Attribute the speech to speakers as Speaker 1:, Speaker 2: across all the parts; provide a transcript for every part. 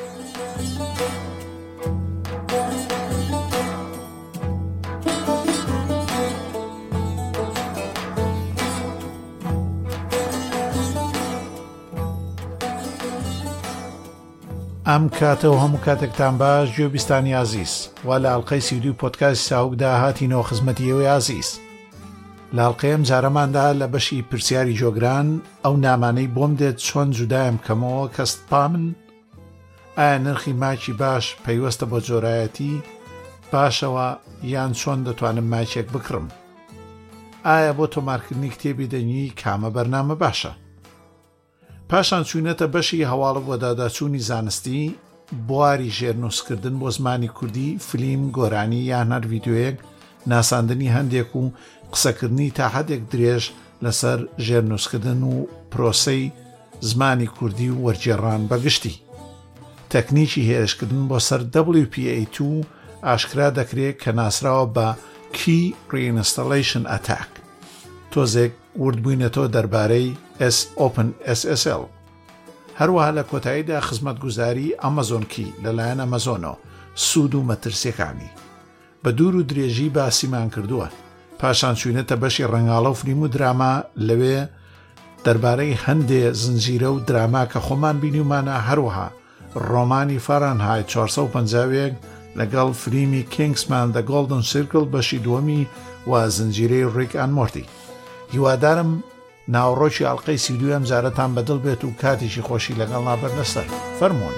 Speaker 1: ئەم کاتەوە هەموو کاتێکتان باش گوێبیستانی عزیز وا لە ئەڵقەی 32 پۆدکاستی ساوکدا هاتینەوە خزمەتیەوەی عزیز. لە ئەڵقەیەم جارەماندا لە بەشی پرسیاری جۆگران ئەو نامانەی بۆم دێت چۆن جودایم بکەمەوە کەست پامن، ئایا نرخی ماچی باش پەیوەستە بۆ جۆرایەتی باشەوە یان چۆن دەتوانم ماچێک بکڕم، ئایا بۆ تۆمارکردنی کتێبی دەنووی کامە بەرنامە باشە. پاشان چوونەتە بەشی هەواڵە بۆ داداچوونی زانستی، بواری ژێرنووسکردن بۆ زمانی کوردی، فلیم، گۆرانی یان هەر ڤیدیۆیەک، ناساندنی هەندێک و قسەکردنی تا حدێک درێژ لەسەر ژێرنووسکردن و پرۆسەی زمانی کوردی و وەرگێڕان بەگشتی. تەکنیکی هێرشکردن بۆ سەر WPA2 ئاشکرا دەکرێت کە ناسراوە بە Key Reinstallation Attack. تۆزێک وردبووینەتەوە دەربارەی OpenSSL. هەروەها لە کۆتاییدا خزمەتگوزاری ئەمازۆن کی لەلایەن ئەمازۆنەوە، سوود و مەترسیەکانی بە دوور و درێژی باسیمان کردووە. پاشان چوینەتە بەشی ڕەنگاڵە و فلیم و دراما، لەوێ دەربارەی هەندێ زنجیرە و دراما کە خۆمان بینیومانە، هەروەها ڕۆمانی فارەنهایت 451 لەگەڵ فلیمی کینگسمان The Golden Circle بەشی دووەمی و زنجیرەی ڕیک ئەند مۆرتی. هیوادارم ناوەڕۆکی ئەڵقەی 32 ئەم جارەتان بەدڵ بێت و کاتێکی خۆشی لەگەڵ نابەر لەسەر. فەرموون.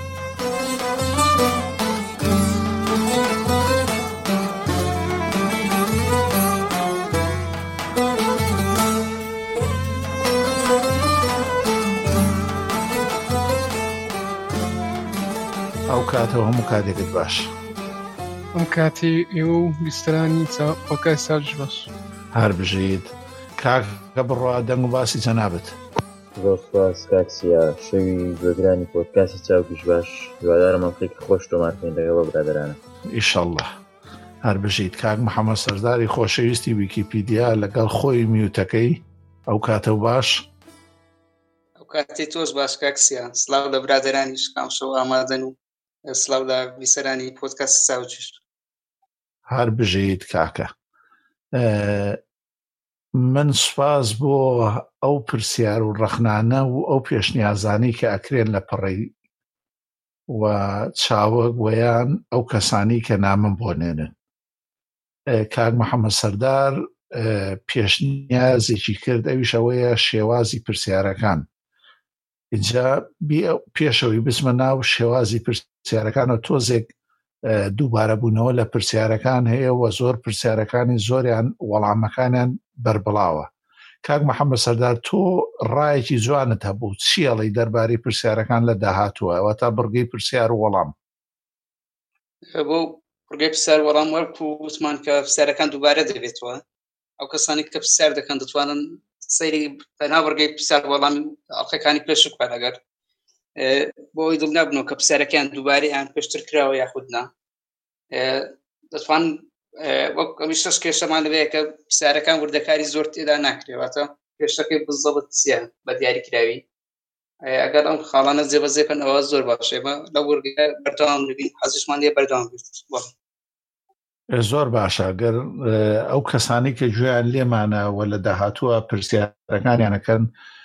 Speaker 1: ئەو کاتەوە هەموو کاتێکت باش.
Speaker 2: ئەم کاتی ئێوە و بیسترانی پۆکای ساژ باش.
Speaker 1: هەر بژیت کاکە بڕوا دەنگ و باسی جەنابەت.
Speaker 3: زۆر سوپاس کاکسیا، شەوی گوێگرانی پۆدکاستی چاوکیش باش. هیوادارم ئەڵقەیەکی خۆش تۆمارکەین لەگەڵ برادەرانە.
Speaker 1: ئیشەڵڵا. هەر بژیت کاک محەممەد سەرداری خۆشەویستی ویکیپیدیا لەگەڵ خۆی میوتەکەی. ئەو کاتە باش.
Speaker 4: ئەو کاتی تۆش باش کاکسیا. سلااو لە برادەرانیش کام شەو ئامادەن و سلااو لە بیسەرانی پۆدکاستی چاوکیش.
Speaker 1: هەر بژیت کاکە. من سوپاس بۆ ئەو پرسیار و ڕەخنانە و ئەو پێشنیازانی کە ئەکرێن لە پەڕی و چاوەک وەیان ئەو کەسانی کە نامم بۆ نێنن. کاک محەممەد سەردار پێشنیازێکی کرد، ئەویش ئەوەیە شێوازی پرسیارەکان. اینجا پێشەوەی بچمە ناو شێوازی پرسیارەکانە، تۆزێک دووبارە بوونەوە لە پرسیارەکان هەیە و زۆر پرسیارەکانی زۆریان وەڵامەکانیان بربڵاوە. کاک محەممەد سەردار، تۆ ڕایەکی جوانت هەبوو، چیەڵی دەربارەی پرسیارەکان لە داهاتووە ئەوە تا بڕگەی پرسیار و وەڵام؟
Speaker 4: بۆ بڕگەی پرسیار وەڵام وەرک و وتمان کە پرسیارەکان دووبارە دەبێتەوە. ئەو کەسانی کە پرسیار دەکەن دەتوانن سەیری بەناو بڕگەی پرسیار وەڵامی ئەڵقەکانی پێش بکەن. ئەگەر بۆ ئەوی دڵ نابنەوە کە پرسیارەکان دووبارە یان پێشتر کراوە یاخودنا، دەتوان وەک ئەمیش شەش کێشەمان لەوەیە کە پرسیارەکان وردەکاری زۆر تێدا ناکرێتە پێشەکەی بزەڵت چییە بە دیاریکراوی. ئەگەر ئەم خاڵانە جێبەجێکەن ئەوە زۆر باشێ لە وەرگە بەردەوام نبین. حەزیشمان لێ بەردەوام بێت.
Speaker 1: زۆر باشە. گەر ئەو کەسانی کە گوێیان لێمانەوە لە داهاتووە پرسیارەکانیانەکەن،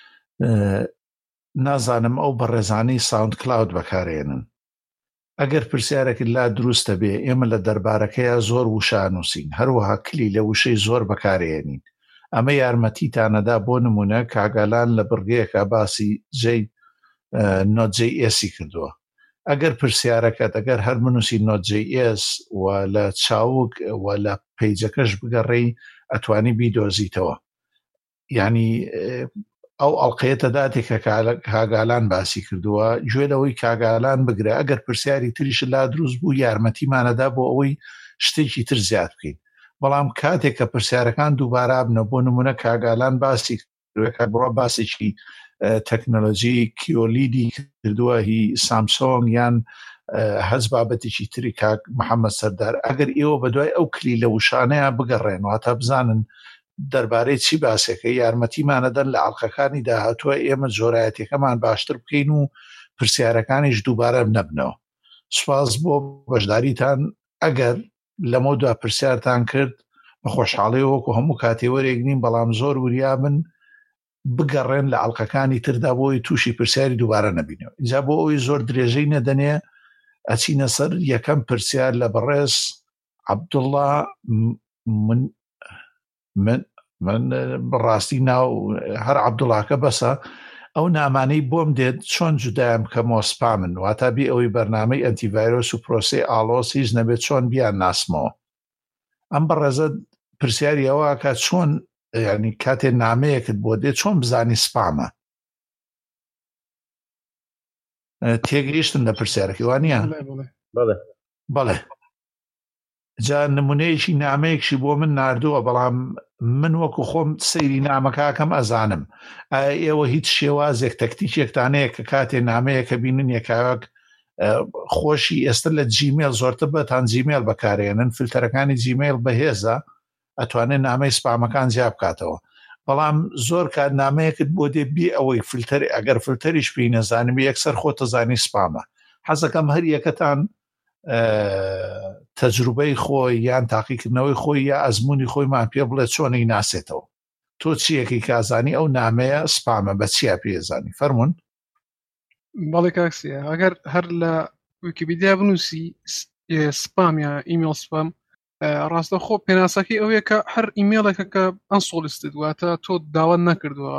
Speaker 1: نازانم ئەو بەڕێزانەی ساوند کلاود بەکارێنن. ئەگەر پرسیارێکی لا دروستە بێ، ئێمە لە دەربارەکەیە زۆر وشە نووسین، هەروەها کلی لە وشەی زۆر بەکارێنین. ئەمە یارمەتیتانەدا. بۆ نمونە کاگالان لە بڕگەیەکە باسی Node.js کردووە. ئەگەر پرسیارەکەت ئەگەر هەر بنووسی Node.js و لە چاوک و لە پیجەکەش بگەڕێی ئەتوانی بیدۆزیتەوە. یعنی ئەو ئەڵقەیەتە داتێکە کاگالان باسی کردووە، گوێ لەوەی کاگالان بگرە. ئەگەر پرسیاری تریش لا دروست بوو یارمەتیمانەدا بۆ ئەوەی شتێکی تر زیاد بکەین. بەڵام کاتێک کە پرسیارەکان دووبارە بنە، بۆ نمونە کاگالان باسی کردووە بڕۆ باسێکی تەکنۆلۆژی کیۆلیدی کردووە، هی سامسۆنگ یان هەز بابەتێکی تری. کاک محەممەد سەردار، ئەگەر ئێوە بەدوای ئەو کلی لە وشانەیە بگەڕێن و هەتا بزانن دەربارەی چی باسێکە، یارمەتیمانەدەن لە ئەڵقەکانی داهاتووە ئێمە جۆرایەتەکەمان باشتر بکەین و پرسیارەکانیش دووبارە نەبنەوە. سوپاس بۆ بەشداریتان. ئەگەر لەمە دوا پرسیارتان کرد بە خۆشحاڵی وەکو هەموو کاتێوەرێک نین، بەڵام زۆر وریابن بگەڕێن لە عەڵقەکانی تردا بۆی تووشی پرسیاری دووبارە نەبینەوە. اینجا بۆ ئەوی زۆر درێژەی نەدەنێ ئەچینە سەر یەکەم پرسیار لە بەڕێز عەبدوڵڵا. من بەڕاستی ناو هەر عەبدوڵڵاکە بەسە، ئەو نامانەی بۆم دێت چۆن جودایم کەمەوە سپامن، واتە بێ ئەوەی بەرنامەی ئەنتیڤایرۆس و پرۆسەی ئاڵۆس هیچ نەبێت چۆن بیان ناسمەوە. ئەم بەڕێزە پرسیاری ئەوە کە چۆن ینی کاتێ نامەیەکت بۆ دێت چۆن بزانی سپامە. تێگەیشتن لە پرسیارەکەی وانە؟ بەڵێ. جا نمونەیەکی نامەیەکشی بۆ من ناردووە، بەڵام من وەکو خۆم سەیری نامەکەکەم ئەزانم. ئێوە هیچ شێوازێک تەکتیکێکتانەیە کە کاتێ نامەیەکە بینن یەکاوەک خۆشی ئێستا لە جیمێل زۆرتر بەتان جیمێل بەکارێنن، فیلتەرەکانی جیمێل بەهێزە ئەتوانێت نامەی سپامەکان جیاب بکاتەوە. بەڵام زۆر کات نامەیەکت بۆ دێ بێ ئەوەی فیلتەر ئەگەر فیلتەریش پێی نەزانم یەکسەر خۆتە زانی سپامە. حەزەکەم هەر یەکەتان تەجروبەی خۆی یان تاقیکردنەوەی خۆی یا ئەزمموی خۆیمان پێ بڵێ چۆنی ناسێتەوە. تۆ چیەکەی کازانی ئەو نامەیە سپامە بە چیا پێزانی فەرمونون؟
Speaker 2: بەڵێ کاکسیە، ئەگەر هەر لە ویکیپیدیا بنووسی سپام یا ئیمێل سپام، ڕاستە خۆ پێناسەکەی ئەوەیە کە هەر ئیمێلێکە کە ئەنسۆڵیستت واتە تۆ داوا نەکردووە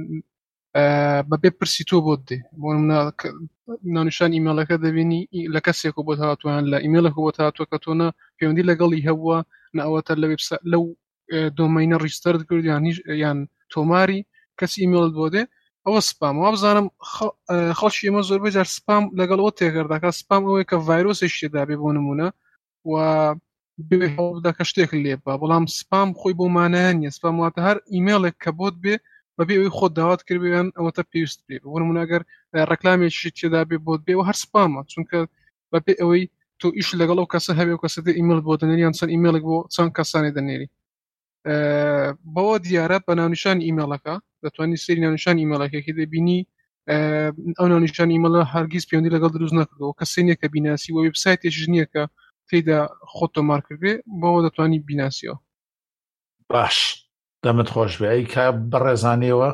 Speaker 2: بەبێ پرسی تۆ بۆت دێ. بۆ ناونیشان ئیمێلەکە دەبینی لە کەسێک بۆ هاتووان لە ئیمێلێک بۆ هاتووە کە تۆ نە پەیوەندی لەگەڵی هەبووە نەوەتە لەو دۆمەینە ڕیجستەرت کرد یان تۆماری کەسی ئیمێلت بۆ دێ، ئەوە سپام. وا بزانم خەڵکی ئێمە زۆربەی جار سپام لەگەڵ ئەوە تێگەرداکە. سپام ئەوەیە کە ڤایرۆسێک شتێدا بێ بۆ نمونە و بێ هەوڵدا کە شتێک لێ بە، بەڵام سپام خۆی بۆ مانایە نیە. سپام واتە هەر ئیمێلێک کە بۆت بێ بەبێ ئەوەی خۆت داوات کردیان ئەوەتە پێویست بێ. بۆ نمونە ئەگەر ڕەکلامێکی تێدا بێ بۆت بێ و هەر سپامە، چونکە بەبێ ئەوەی تۆ ئیش لەگەڵ ئەو کەسە هەبێ و کەسە دێ ئیمێل بۆ دەنێری یان چەند ئیمێلێک بۆ چەند کەسانی دەنێری. بەوە دیارە بە ناونیشانی ئیمێلەکە دەتوانانی سەیری ناونیشانی ئیمێلەکەی دەبینی ئەو ناونیشانی ئیمێلە هەرگیز پەیوەندی لەگەڵ دروست نەکردەوە، کەسێ نییە کە بیناسی و وێبسایتێکیش نییە کە تێیدا خۆت تۆمار کردێ، بەوە دەتوانی بیناسیەوە.
Speaker 1: باش، دەمت خۆش بێ. ئەی کا بەڕێزانەوە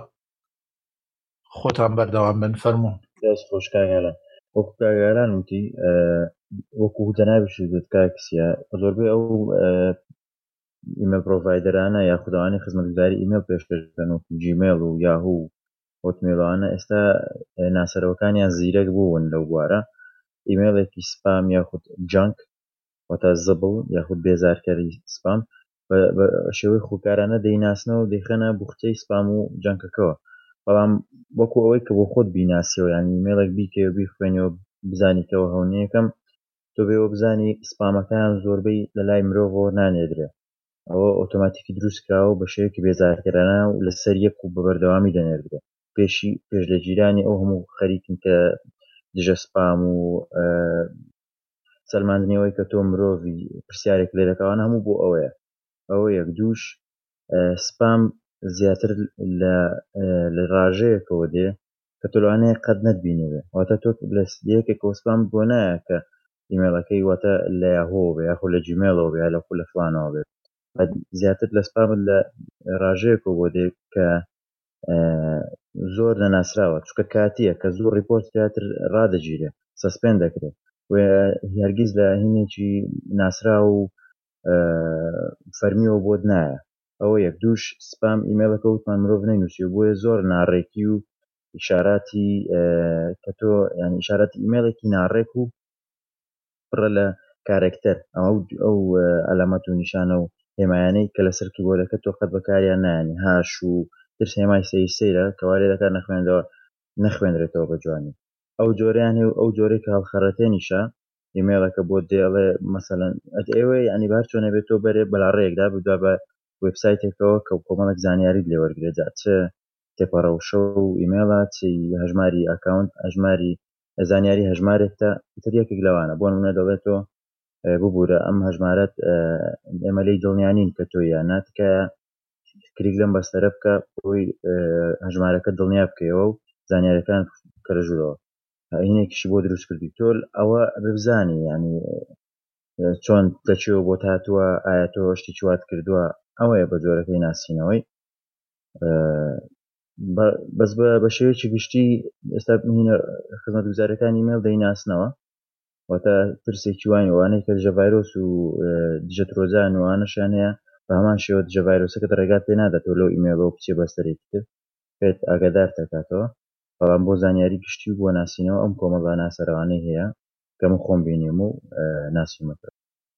Speaker 1: خۆتان بەردەوام بن فەرموون.
Speaker 3: دەست خۆش کاگەلان وەکو کاگەلان وتی وەکو جەنابیش دەت کاکسیە زۆربەی ئەو ئیمێل پرۆڤایدەرانە یاخودەوانی خزمەتگوزاری ئیمێل پێشکەشکەن و جیمێل و یاهوو هۆتمێلەوانە ئێستا ناسەرەوەکانیان زیرەک بوون لەو بوارە. ئیمێلێکی سپام یاخود جانک واتە زبڵ یاخود بێزارکەری سپام بە شێوەی خۆکارانە دەیناسنەوە و دەیخەنە بوختەی سپام و جانکەکەەوە. بەڵام وەکو ئەوەی کە بۆ خۆت بیناسیەوە یانی ئیمێلێک بیکەوە بیخوێنەوە بزانیتەوە هەونیەکەم تۆ بێەوە بزانی سپامەکان زۆربەی لە لای مرۆڤەوە نانێدرێت. ئەوە ئۆتۆماتیکی دروستکراوە بە شێوەیەکی بێزارکەرانە و لەسەر یەک و بەبەردەوامی دەنێردرێت. پێش لە جیرانی ئەو هەموو خەریکن کە دژە سپام و سەلماندنەوەی کە تۆ مرۆڤی پرسیارێک لێ دەکەوانە هەموو بۆ ئەوەیە. ئەوە یەک دووش سپام زیاتر لە ڕاژەیەکەوە دێ کە تۆ لەوانەیە قەت نەتبینێ، واتە تۆ لە یەکێکەوە سپام بۆ نایە کە ئیمێلەکەی واتە لە یاهۆ بێ یاخۆ لە جیمێلەوە بێ لە خۆ لە فلانەوە بێت. زیاتر لە سپامت لە ڕاژەیەکەوە بۆ دێ کە زۆر نەناسراوە، چونکە کاتیە کە زۆر ریپۆرت زیاتر ڕادەگیرێ سەسپێن دەکرێت و هەرگیز لە هینێکی ناسرا و فەرمیەوە بۆت نایە. ئەوە یەک دووش سپام ئیمێلەکە وتمان مرۆڤ نەینووسی و بۆیە زۆر ناڕێکی و ئیشاراتی کە تۆ یانی ئیشاراتی ئیمێلێکی ناڕێک و پڕە لە کارێکتەر ئەو ئەلامەت و نیشانە و هێمایانەی کە لەسەر کیبۆردەکە تۆ قەت بەکاریان نایانی هاش و ترس هێمای سەیرە کەوا لێ دەکات نەخوێنرێتەوە بە جوانی. ئەو جۆرەیان هەیە و ئەو جۆرەی کە هەڵخەڕەتێنیشە ئیمێلەکە بۆ دێڵێ مەسەلەن ئەوێ ینی بار چۆنە بێت تۆ بەرێ بەلاڕێیەکدا بدوا بە وێبسایتێکەوە کە کۆمەڵێک زانیاریت لێ وەرگێجا چ تێپەڕەوشە و ئیمێڵە چی هەژماری ئەکاونت هەژماری زانیاری هەژمارێکتە تر یەکێک لەوانە بۆ نمونە دەڵێتەوە ببوورە ئەم هەژمارەت ئێمە لێی دڵنیانین کە تۆ یانات کە کلیک لەم بەستەرە بکە بۆی هەژمارەکە دڵنیا بکەیەوە و زانیاریەکان کەرەژوورەوە. هینێکیشی بۆ دروست کردی تۆ ئەوە ببزانی ینی چۆن دەچێت بۆ هاتووە ئایا تۆ شتی چوات کردووە ئەوەیە بە جۆرەکەی ناسینەوەی بەس بە شێوەیەکی گشتی ئێستا خزمەتگوزارەکانی ئیمێل دەیناسنەوە واتە ترسێکی وانی ئەوانەی کە دژە ڤایرۆس و دژە ترۆزان وانەشیان هەیە بە هەمان شێوە دژە ڤایرۆسەکەت ڕێگات پێ ناداتەوە لەو ئیمێلەوە بچێ بەستەرێکی تر پێت ئاگادار دەکاتەوە بەڵام بۆ زانیاری گشتی و بۆ ناسینەوە ئەم کۆمەڵە ناسەرەوانەی هەیە کە من خۆم بینیم و ناسیمەکە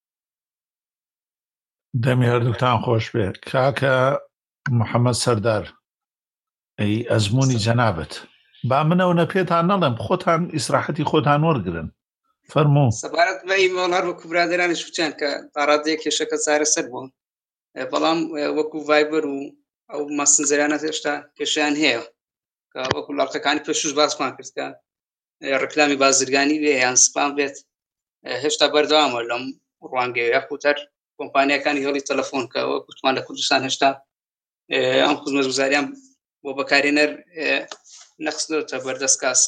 Speaker 1: دەمی هەردووتان خۆش بێ کاکە محەممەد سەردار ئەی ئەزمموی جەنابەت با منەوە پێتان نەڵێم خۆتان ئیسراحەتی خۆتان وەرگرن فەرموو
Speaker 4: سەبارەت بە ئیمێڵ وەکو برادرانی شوچیان کە تاڕادەیە کێشەکە چارەسەر بوون بەڵام وەکو ڤایبەر و ئەو مەسنجەرانە هێشتا کێشیان هەیە کە وەکو لاڵقەکانی پێشوش باسمان کرد کە ڕکلامی بازرگانی بێ یان سپام بێت هێشتا بەردەوامە لەم ڕوانگەیە یاخوتەر کۆمپانیەکانی هێڵی تەلەفۆن کە وەکوتمان لە کوردستان هێشتا ئەم خزمەتگوزاریان بۆ بەکارهێنەر نەخستنەوەتە بەردەست کاس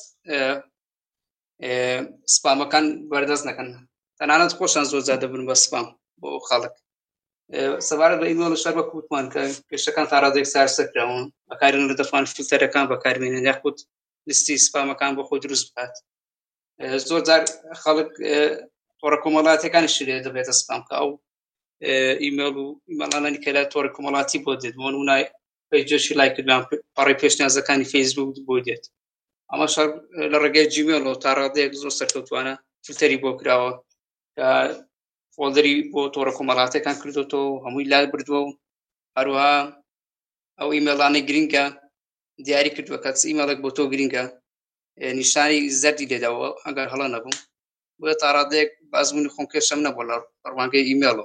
Speaker 4: سپامەکان بەردەست نەکەن تەنانەت خۆشان زۆر زیادە بن بە سپام بۆ خەڵک سەبارەت بە ئیمێڵ شەر بە کووتمان کە کێشەکان تا ڕادێک سارسەکراون بەکارهێنەر دەتوان فیلتەرەکان بەکاربێنن یاخود لیستی سپامەکان بۆ خۆی دروست بکات زۆر جار خەڵک تۆڕە کۆمەڵاتیەکانیشی لێ دەبێتە سپام کە ئەو ئیمێڵ و ئیمێڵانانی کە لە تۆڕە کۆمەڵاتی بۆ دێت بۆ نمونای پێیجێشی لای کردوان پەڕی پێشنیازەکانی فەیسبوک بۆ دێت ئەمە شەر لە ڕێگەی جیمێڵەوە تا ڕادەیەک زۆر سەرکەوتوانە فیلتەری بۆ کراوە کە فۆڵدەری بۆ تۆڕە کۆمەڵاتیەکان کردوتەوە هەمووی لای بردووە و هەروەها ئەو ئیمێڵانەی گرینگە دیاری کردووە کە ئیمێڵێک بۆ تۆ گرینگە نیشانی زەردی لێداوە ئەگەر هەڵە نەبوو بۆیە تا ڕادەیەک بازبوونی خۆم کێشەم نەبوو لە ڕوانگەی ئیمێڵەوە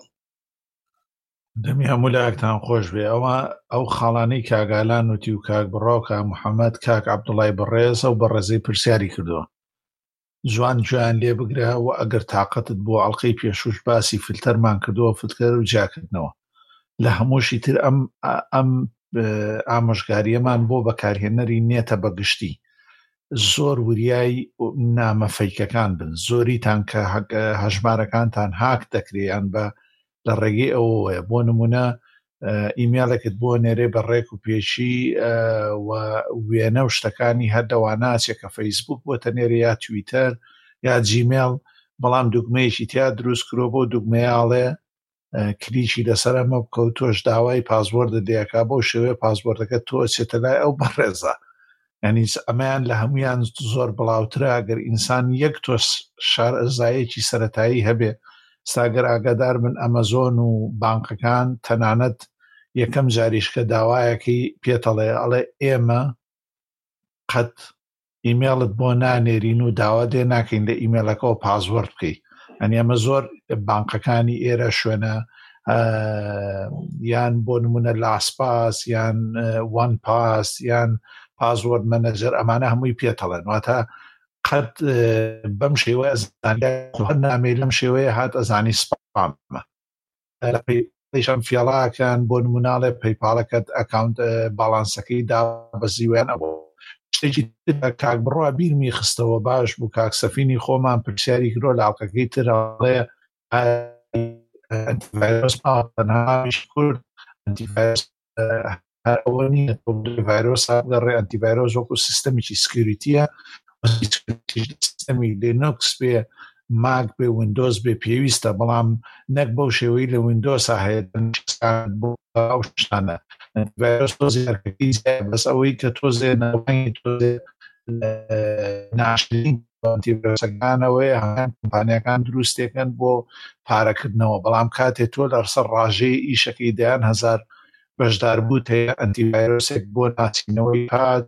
Speaker 1: دەمی هەموو لایەکتان خۆش بێ ئەو خاڵانەی کاگالان وتی و کاک بڕاوکە محەممەد کاک عەبدوڵای بەڕێز ئەو بەڕێزەی پرسیاری کردووە جوان گویان لێ بگرە و ئەگەر تااقەتت بۆ ئەڵلقەی پێشوش باسی فلتەرمان کردووە فتکەر و جاکردنەوە لە هەمووشی تر ئەم ئامۆژگاریەمان بۆ بەکارهێنەری نێتە بەگشتی زۆر وریای نامەفەیکەکان بن زۆریتان کە هەژمارەکانتان هاک دەکرێیان بە لە ڕێگەی ئەوەیە بۆ نمونە ئیمێڵێکت بۆ نێرێ بە ڕێک و پێشی وێنە و شتەکانی هەردەواناچێک کە فەیسبوک بۆ تەنێرە یا تویتەر یا جیمێڵ بەڵام دوگمەیەکی تیا دروست کرۆ بۆ دوگمەیاڵێ کلیکی لەسەر ئەمە بکە و تۆش داوای پاسوۆردە دەیەکا بۆ شێوەیە پاسوۆردەکە تۆ چێتە لای ئەو بەڕێزە ینی ئەمەیان لە هەمویان زۆر بڵاوترە ئەگەر ئینسان یەک تۆ شارەزایەکی سەرەتایی هەبێ ساگەر ئاگادار من ئەمەزۆن و بانکەکان تەنانەت یەکەم جاریشکە داوایەکی پێتەڵێ ئەڵێ ئێمە قەت ئیمێڵت بۆ نانێرین و داوا دێ ناکەین لە ئیمێلەکەەوە پاسوۆرد بکەیت ئەنی ئەمە زۆر بانکەکانی ئێرە شوێنە یان بۆ نمونە لاسپاس یان وان پاس یان پاسوۆرد مەنەجەر ئەمانە هەمووی پێتەڵێن واتە قەت بەم شێوەیە نامێ لەم شێوەیە هات ئەزانی سپامە لەپیشم فیاڵاکان بۆ نموناڵێ پەیپاڵەکەت ئەکاونت باڵانسەکەی دا بەزیوێن ئەوە شتێکی کاک بڕوا بیرمی خستەوە باش بوو کاک سەفینی خۆمان پرسیاری کرۆ لاڵقەکەی ترڵێ ئەنتیڤایرۆس تەنهاش کورد ئەنتیڤایرۆس ئەوە نیە ڤایرۆس گەڕێ ئەنتیڤایرۆس وەکو سیستەمێکی سکیوریتیە سیستەمی لینوکس بێ ماک بێ ویندۆز بێ پێویستە بەڵام نەک بەو شێوەی لە ویندۆسا هەیە بۆ ئەو شتانە ڤایرۆس تۆزێرکەکەی بەس ئەوەی کە تۆزێ نەوەی تۆزێ ناشرین ئەنتیڤایرۆسەکانەوەی هەمان کۆمپانیەکان دروستێکن بۆ پارەکردنەوە بەڵام کاتێ تۆ لەسەر ڕاژەی ئیشەکەی دەیان هەزار بەشدار بوو هەیە ئەنتیڤایرۆسێک بۆ ناچینەوەی هات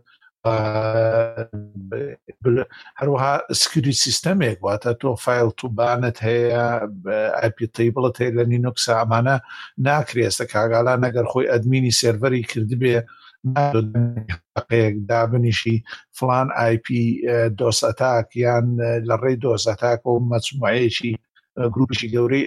Speaker 1: هەروەها سکیوریتی سیستەمێک واتە تۆ فایل توبانت هەیە ئایپی تیبڵت هەیە لە لینوکس ئەمانە ناکرێستە کاگالان ئەگەر خۆی ئەدمینی سێڤەری کردبێ دابنیشی فلان آیپی دۆس ئەتاک یان لە ڕێی دۆس ئەتاک و مەجموعەیەکی گروپیشی گەورەی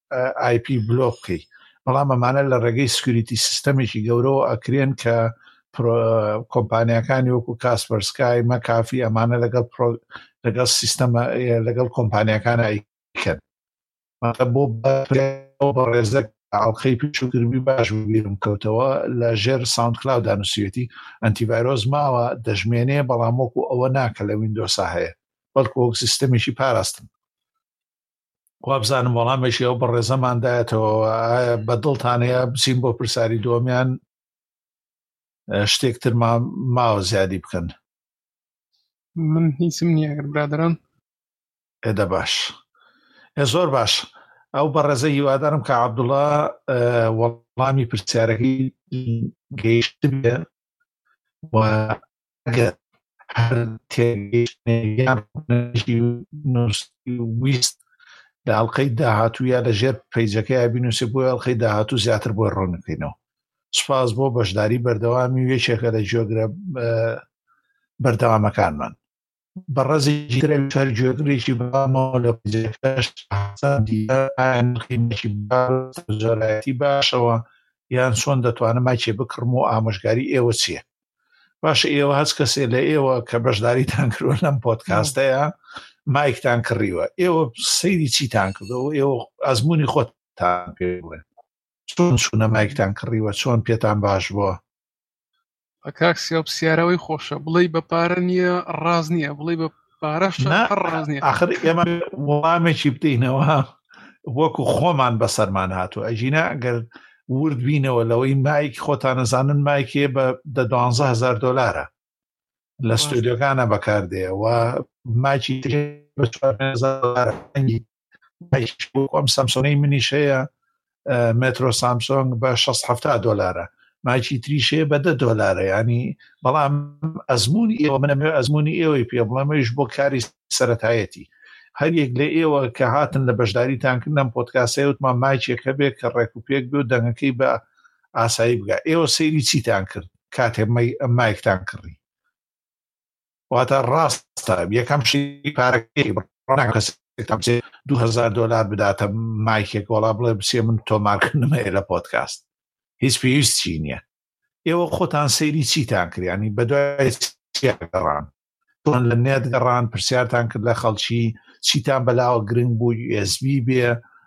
Speaker 1: آیپی بلۆک بکەی بەڵام ئەمانە لە ڕێگەی سکیوریتی سیستەمێکی گەورەوە ئەکرێن کە کۆمپانیەکانی وەکو کاسپەرسکای مەکافی ئەمانە لەگەڵ سیستەمە لەگەڵ کۆمپانیەکانە ئەیکەن بۆ بە ڕێزەک ئاڵخەی پێچووکردبی باش بیرم کەوتەوە لە ژێر ساوند کلااود دانووسێتی ئەنتیڤایرۆز ماوە دەژمێنێ بەڵام وەکو ئەوە ناکە لە ویندۆسا هەیە بەڵکو وەک سیستەمێکی پاراستن وابزانم وەڵامێکی ئەو بە ڕێزەماندایەتەوە بەدڵتانەیە بچین بۆ پرسیاری دووەمیان شتێکتر ماوە زیادی بکەن
Speaker 2: من هیچم نییە ئەگەر برادران
Speaker 1: ئێدە باش زۆر باش ئەو بەڕێزە هیوادارم کە عەبدوڵڵا وەڵامی پرسیارەکەی گەیشت بێ و ئەگەر هەر تێگەیشتیان ویست لە ئەڵقەی داهاتوو یا لە ژێر پەیجەکەی بینووسێ بۆی ئەڵقەی داهاتوو زیاتر بۆی ڕۆنەکەینەوە سوپاس بۆ بەشداری بەردەوامی وێچێکە لە جۆگرە بەردەوامەکانمان بەڕێزێکی تر جۆگرێکی بامەوە لە پەیجەکەش قیمەتی زۆرایەتی باشەوە یان چۆن دەتوانم ماچێ بکڕم و ئامۆژگاری ئێوە چییە باشە ئێوە هەست کەسێ لە ئێوە کە بەشداریتان کردوە لەم پۆدکاستەیە مایکتان کڕیوە ئێوە سەیری چیتان کردەوە ئێوە ئەزمموی خۆتان پێ بڵێن چۆن چوونە مایکتان کڕیوە چۆن پێتان باش بووە
Speaker 2: کاکسیا پرسیارەوەی خۆشە بڵێ بە پارە نییە ڕاز نییە بڵێ بە پارەش ڕاز نییە
Speaker 1: ئاخر ئێمە وەڵامێکی بدەینەوە وەکو خۆمان بەسەرمان هاتووە ئەژینە ئەگەر ورد بینەوە لەوەی مایک خۆتان نەزانن مایکێ بە $12,000 لە ستودیۆکانە بەکاردێ و ماچی ئەم سامسۆنەی منیش هەیە مترۆ سامسۆنگ بە $670 ماچی تریشێ بە $10 ینی بەڵام ئەزمموی ئێوە منەمێ ئەزمموی ئێوەی پێ بڵەمەش بۆ کاری سەرەتایەتی هەر یەک لە ئێوە کە هاتن لە بەشداریتانکردن پۆدکاستی وتمان مایکێکە بێت کە ڕێک و پێک بێ و دەنگەکەی بە ئاسایی بگە ئێوە سەیری چیتان کرد کاتێ مایکتان کڕی واتە ڕاستە یەکەم شی پارەکەی $2,000 بداتە مایکێک وەڵا بڵێ بچێ من تۆمارکردنمەیە لە پۆدکاست هیچ پێویستی نییە ئێوە خۆتان سەیری چیتان کردیانی بەدوای گەڕان چۆن لە نێت گەڕان پرسیارتان کرد لە خەڵکی چیتان بەلاوە گرنگ بوو USB بێ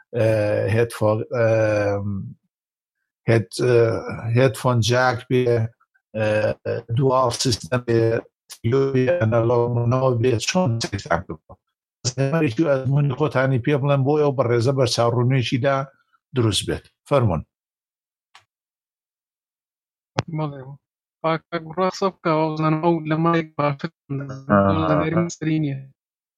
Speaker 1: هێدفۆن جاک بێ دوال سیستەم بێ ئەنەلۆگەوە بێت چۆن سەیرتان کردووە ئەمەێکی ئەزمموی خۆتانی پێ بڵێن بۆ ئەو بەڕێزە بەرچاوڕوونێکیدا دروست بێت فەرمونون
Speaker 2: ڕاستە بکەوەزانم ئەو لە مایک باشتری نییە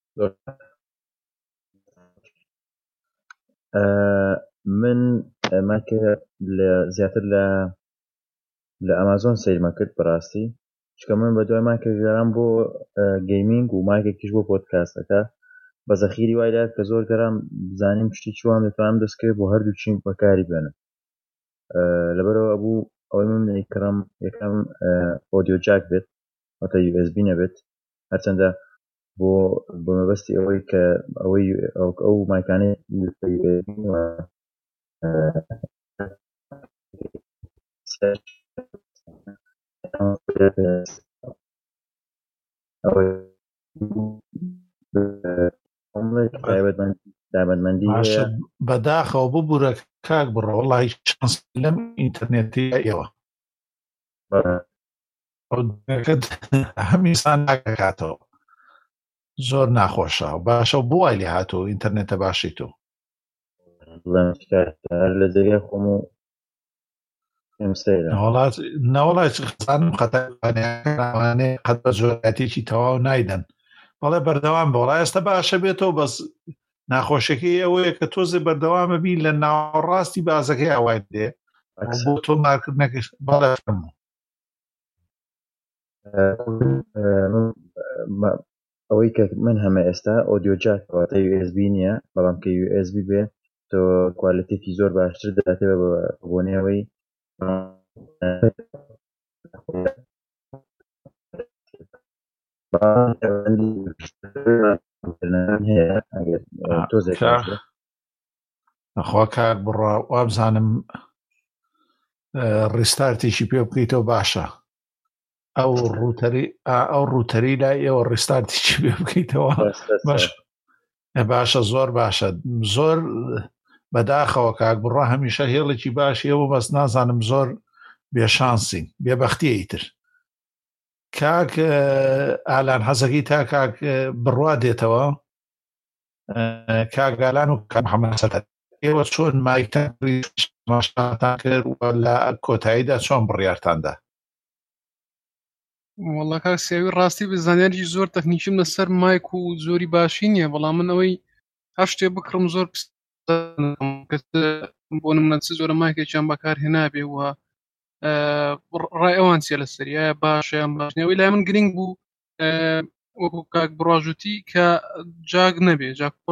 Speaker 3: من ماکە زیاتر لە ئەمازۆن سەیرمە کرد بەڕاستی چکە من بە دوای ماکە گەرام بۆ گەیمینگ و ماکێکیش بۆ پۆدکاستەکە بە زەخیری وایدا کە زۆر گەرام بزانیم پشتی چوان دەتوانم دەستکرێت بۆ هەردوو چین بەکاری بێنم لەبەرەوە بوو ئەوەی من کڕم یەکەم ئۆدیۆ جاک بێت واتە USB نەبێت هەرچەندە بۆ مەبەستی ئەوەی کە ئەو مایکانەی دابەتمەندی
Speaker 1: بەداخەوە ببوورە کاک بڕە وەڵی چانس لەم ئینتەرنێتی ئێوە هەمیسان ناکاتەوە زۆر ناخۆشە باشە بۆ وای لێ هاتوو ئینتەرنێتە باشی تۆ
Speaker 3: لە جێگای خۆم و
Speaker 1: ناوەڵای خزانم خەتانێ قەت بە زۆرەتێکی تەواو نایدەن بەڵێ بەردەوام بە وڵای ئێستا باشە بێتەوە بەس ناخۆشەکەی ئەوەیە کە تۆزێ بەردەوامە بی لە ناوەڕاستی بازەکەی ئاوای دێ بۆ تۆ مارکردنەکەش بەڵێ فەرموو
Speaker 3: ئەوەی کە من هەمە ئێستا ئۆدیۆ جاک واتە USB نییە بەڵام کە USB بێ تۆ کوالیتێکی زۆر باشتر دەداتێت بۆ نێوەی
Speaker 1: نەخوا کار بڕە وابزانم ڕیستارتێکی پێ بکەیتەوە باشە ئەو ڕوتەری لای ئێوە ڕێستارتیی بێ بکەیتەوە باشە زۆر باشە زۆر بەداخەوە کاک بڕە هەمیشە هێڵێکی باشی ئەوە بەس نازانم زۆر بێشانسین بێبەختیە ئیتر کاک ئالان حەزەکەی تا کاک بڕوا دێتەوە کاگالان و کامحەمەسەتە ئێوە چۆن مایتان کرد لە کۆتاییدا چۆن بڕیارتاندا
Speaker 2: وەڵا کاک سیاوی ڕاستی بزانیاری زۆر تەکنیکیم لەسەر مایک و زۆری باشی نییە بەڵام من ئەوەی هەر شتێ بکڕم زۆر بۆ نمونە زۆرە مایکێکیان بەکار هێنابێ وە ڕای ئەوان چێ لەسەری ئایا باشیان باشنەوەی لای من گرنگ بوو وەکو کاک بڕواژوتی کە جاگ نەبێ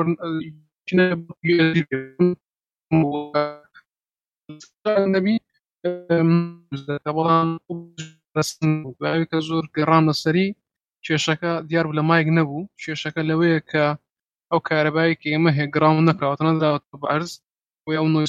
Speaker 2: نەبی بەڵام کە زۆر گەڕام لەسەری کێشەکە دیار بوو لە مایک نەبوو کێشەکە لەوەیە کە ئەو کارەبایی کە ئێمە هێگراون نەکراوەتە نەداوەتە بە عەرز و ئەو نۆیس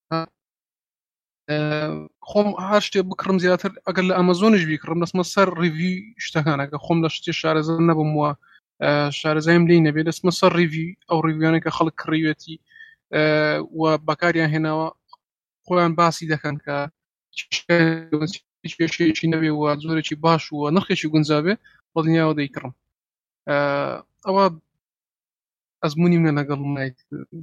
Speaker 2: خۆم هەر شتێ بکڕم زیاتر ئەگەر لە ئەمەزۆنش بیکڕم دەستمە سەر ڕیڤی شتەکانەکە خۆم لە شتێ شارەزە نەبم وە شارەزایم لێی نەبێت دەستمە سەر ڕیڤی ئەو ڕیڤیانە کە خەڵک کڕیوێتی و بەکاریان هێناوە خۆیان باسی دەکەن کە هیچ پێشەیەکی نەبێ و زۆرێکی باش وە نرخێکی گونجابێ بە دنیاوە دەیکڕم ئەوە ئەزمموی منە لەگەڵ مایت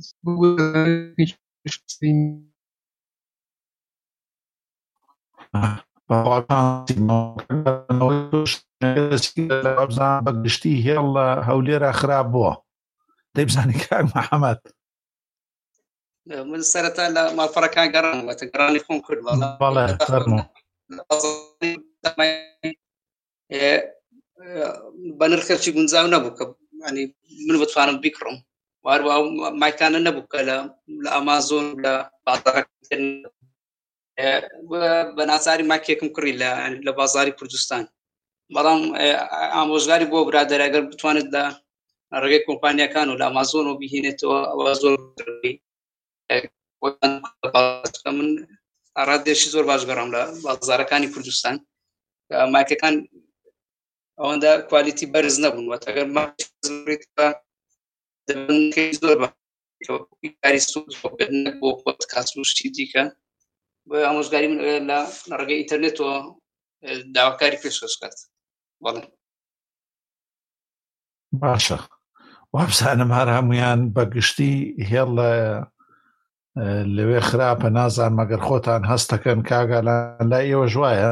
Speaker 1: بەگشتی هێڵ لە هەولێرە خراپ بووە دەیبزانی کاک محەممەد
Speaker 4: من سەرەتا لە ماڵپەڕەکان گەڕانەوەتە گەڕانی خۆم کرد
Speaker 1: بەڵێ
Speaker 4: بە نرخێکی گونجاو نەبوو کە من بتوانم بیکڕم واروە مایکانە نەبوو کە لە ئامازۆن لە بە ناچاری ماکێکم کڕی لە بازاری کوردستان بەڵام ئامۆژگاری بۆ برادەر ئەگەر بتوانێت لە ڕێگەی کۆمپانیەکان و لە ئامازۆن و بهێنێتەوە ئەوە زۆر من ئارادێشی زۆر باش گەڕام لە بازارەکانی کوردستان مایکەکان ئەوەندە کوالیتی بەرز نەبوون وەتەگەر زۆر کاری سوود بۆ پۆدکاست و شتی دیکە بە ئامۆژگاری من لە ڕێگەی ئینتەرنێتەوە داواکاری پێشکەش کرد بەڵێ
Speaker 1: باشە وابزانم هەر هەمویان بەگشتی هێڵ لەوێ خراپە نازان مەگەر خۆتان هەستەکەن کاگالان لای ئێوە ژوایە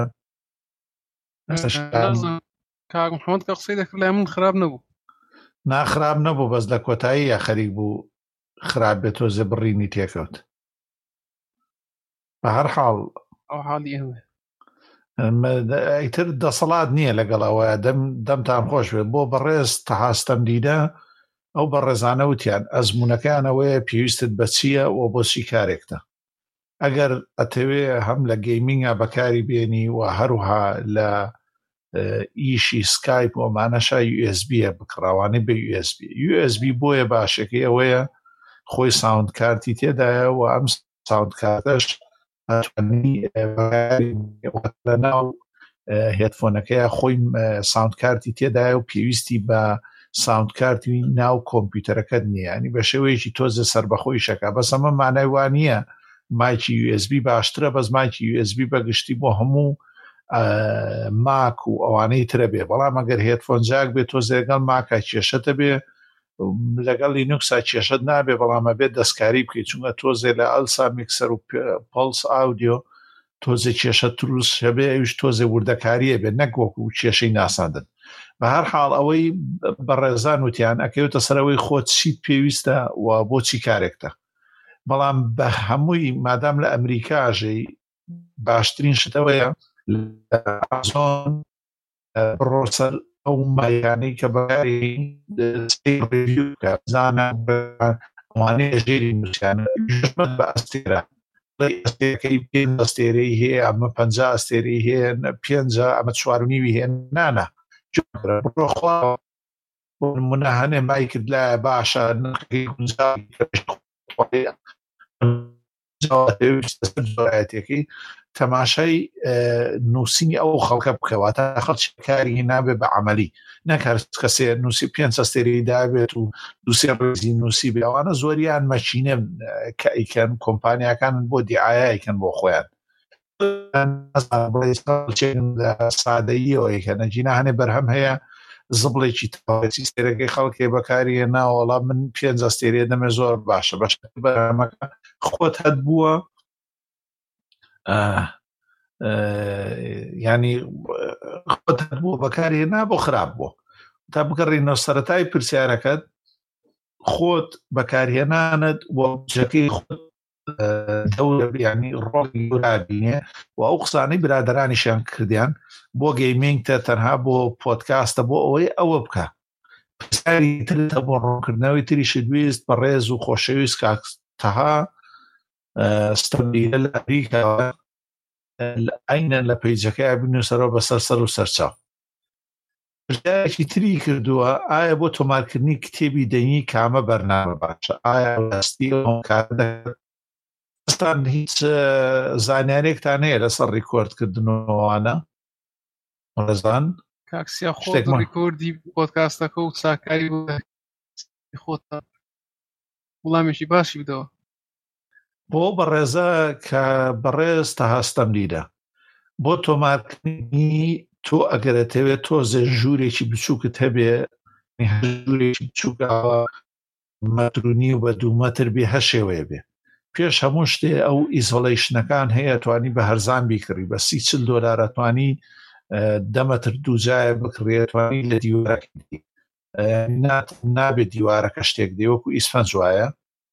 Speaker 2: کاک محەممەد کە قسەی دەکرد لای من خراپ نەبوو
Speaker 1: ناخراب نەبوو بەس لە کۆتایی یا خەریک بوو خراپ بێت تۆزێ بڕینی تێکەوت بە هەر حاڵ
Speaker 2: ئەو حاڵی
Speaker 1: ئیتر دەسەڵات نییە لەگەڵەوە دەمتان خۆش بێت بۆ بەڕێز تەحاستەم دیدە ئەو بەڕێزانە وتیان ئەزمونونەکانەوەیە پێویستت بە چییە و بۆ چی کارێکتە ئەگەر ئەتەوێ هەم لە گەیمینگە بەکاری بێنی و هەروها لە ئیشی سکایپ ومانەشا USB بکڕاوانەی بە USB بۆیە باشەکەی ئەوەیە خۆی ساوند کارتی تێدایە و ئەم ساوند کارتەش لە ناو هێدفۆنەکەیە خۆی ساوند کارتی تێدایە و پێویستی بە ساوند کارتی ناو کۆمپیوتەرەکەت نییە ینی بە شێوەیەکی تۆزە سەربەخۆی شەکە بەس ئەمە مانای وانە مایکی USB باشترە بەس مایکی USB بەگشتی بۆ هەموو ماک و ئەوانەی ترە بێ بەڵام ئەگەر هێدفۆن جاک بێت تۆزە لەگەڵ ماکە کێشەتە بێ لەگەڵ لینوکسا کێشەت نابێ بەڵامە بێت دەستکاری بکەیت چونکە تۆزێ لە ئەلسا میکسەر و پڵس ئاودیۆ تۆزێ کێشە تروس هەبێ ئەوش تۆزێ وردەکاریە بێت نەک وەکو کێشەی ناساندن بە هەر حاڵ ئەوەی بەڕێزان وتیان ئەکەوتە سەرەوەی خۆت چیت پێویستە و بۆچی کارێکتە بەڵام بە هەمووی مادام لە ئەمریکاژەی باشترین شتەوەیە لە ئازۆن بڕۆسەر ئەو مایانەی کە بەکاری ڕێڤیو زانە ئەوانەیە ژێری نووسیانە بە ئەستێرە ئەستێرەکەی 5 ئەستێرەی هەیە ئەمە 5 ئەستێرەی هەیە 5 ئەمە 4.5 هەیە نانە بڕۆخوا بۆ نمونە هەنێ مای کرد لایە باشە نرخی گونجاوی زۆرایەتێکی تەماشای نووسینی ئەو خەڵکە بکەواتە خەڵکی کاری نابێ بە عملی نەکار کەسێ نووسی 5 ئەستێرەی دابێت و دووسێ ڕێزی نووسی بێ ئەوانە زۆریان مەچینە کە ئیکەن کۆمپانیاکان بۆ دیعایەکەن بۆ خۆیان سادەییەوە کە نەجینا هەنێ بەرهەم هەیە زبڵێکی تاوەتی سێرەکەی خەڵکێ بەکاریە ناوەڵا من 5 ئەستێرێ دەمێ زۆر باشە بەش بەرهەمەکە خۆت هەت بووە ینی خۆت هەت بووە بەکارێ نا بۆ خراپ بووە تا بگەڕێنەوە سەرەتای پرسیارەکەت خۆت بەکارهێنانت بۆ بجەکەی خۆت ینی ڕۆڵی گورابینێ و ئەو قسانەی برادرانیشیان کردیان بۆ گەیمینگتە تەنها بۆ پۆدکاستە بۆ ئەوەی ئەوە بکە پرسیاری ترتە بۆ ڕوونکردنەوەی تریشت ویست بە ڕێز و خۆشەویست کاکتەها ستەمبیلە لە ئەمریکا ئەینە لە پەیجەکەی بنووسەرەوە بەسەر سەر و سەرچاو پرسیارێکی تری کردووە ئایا بۆ تۆمارکردنی کتێبی دەنگی کامە بەرنامە باشە ئایا ڕاستی ئەستان هیچ زانیارێکتان هەیە لەسەر ڕیکۆردکردنەوەوانە ڕێزان
Speaker 2: کاکسیا خۆ ڕیکۆردی پۆدکاستەکە و چاکاری خۆتە وڵامێکی باشی بدەوە
Speaker 1: بۆ بەڕێزە کە بەڕێز تا هەستەم دیدە بۆ تۆمارکردنی تۆ ئەگەرەتەوێت تۆزێ ژوورێکی بچووکت هەبێ ژوورێکی بچووکەوە مەترونی و بە 2 مەتر بێ هەشێوەیە بێ پێش هەموو شتێ ئەو ئیزۆڵەیشنەکان هەیە توانی بە هەرزان بیکڕی بە $30 توانی 10 مەتر دووجایە بکڕێت توانی لە دیوارەکەی نابێت دیوارەکە شتێک دێوەکو ئیسفەنج وایە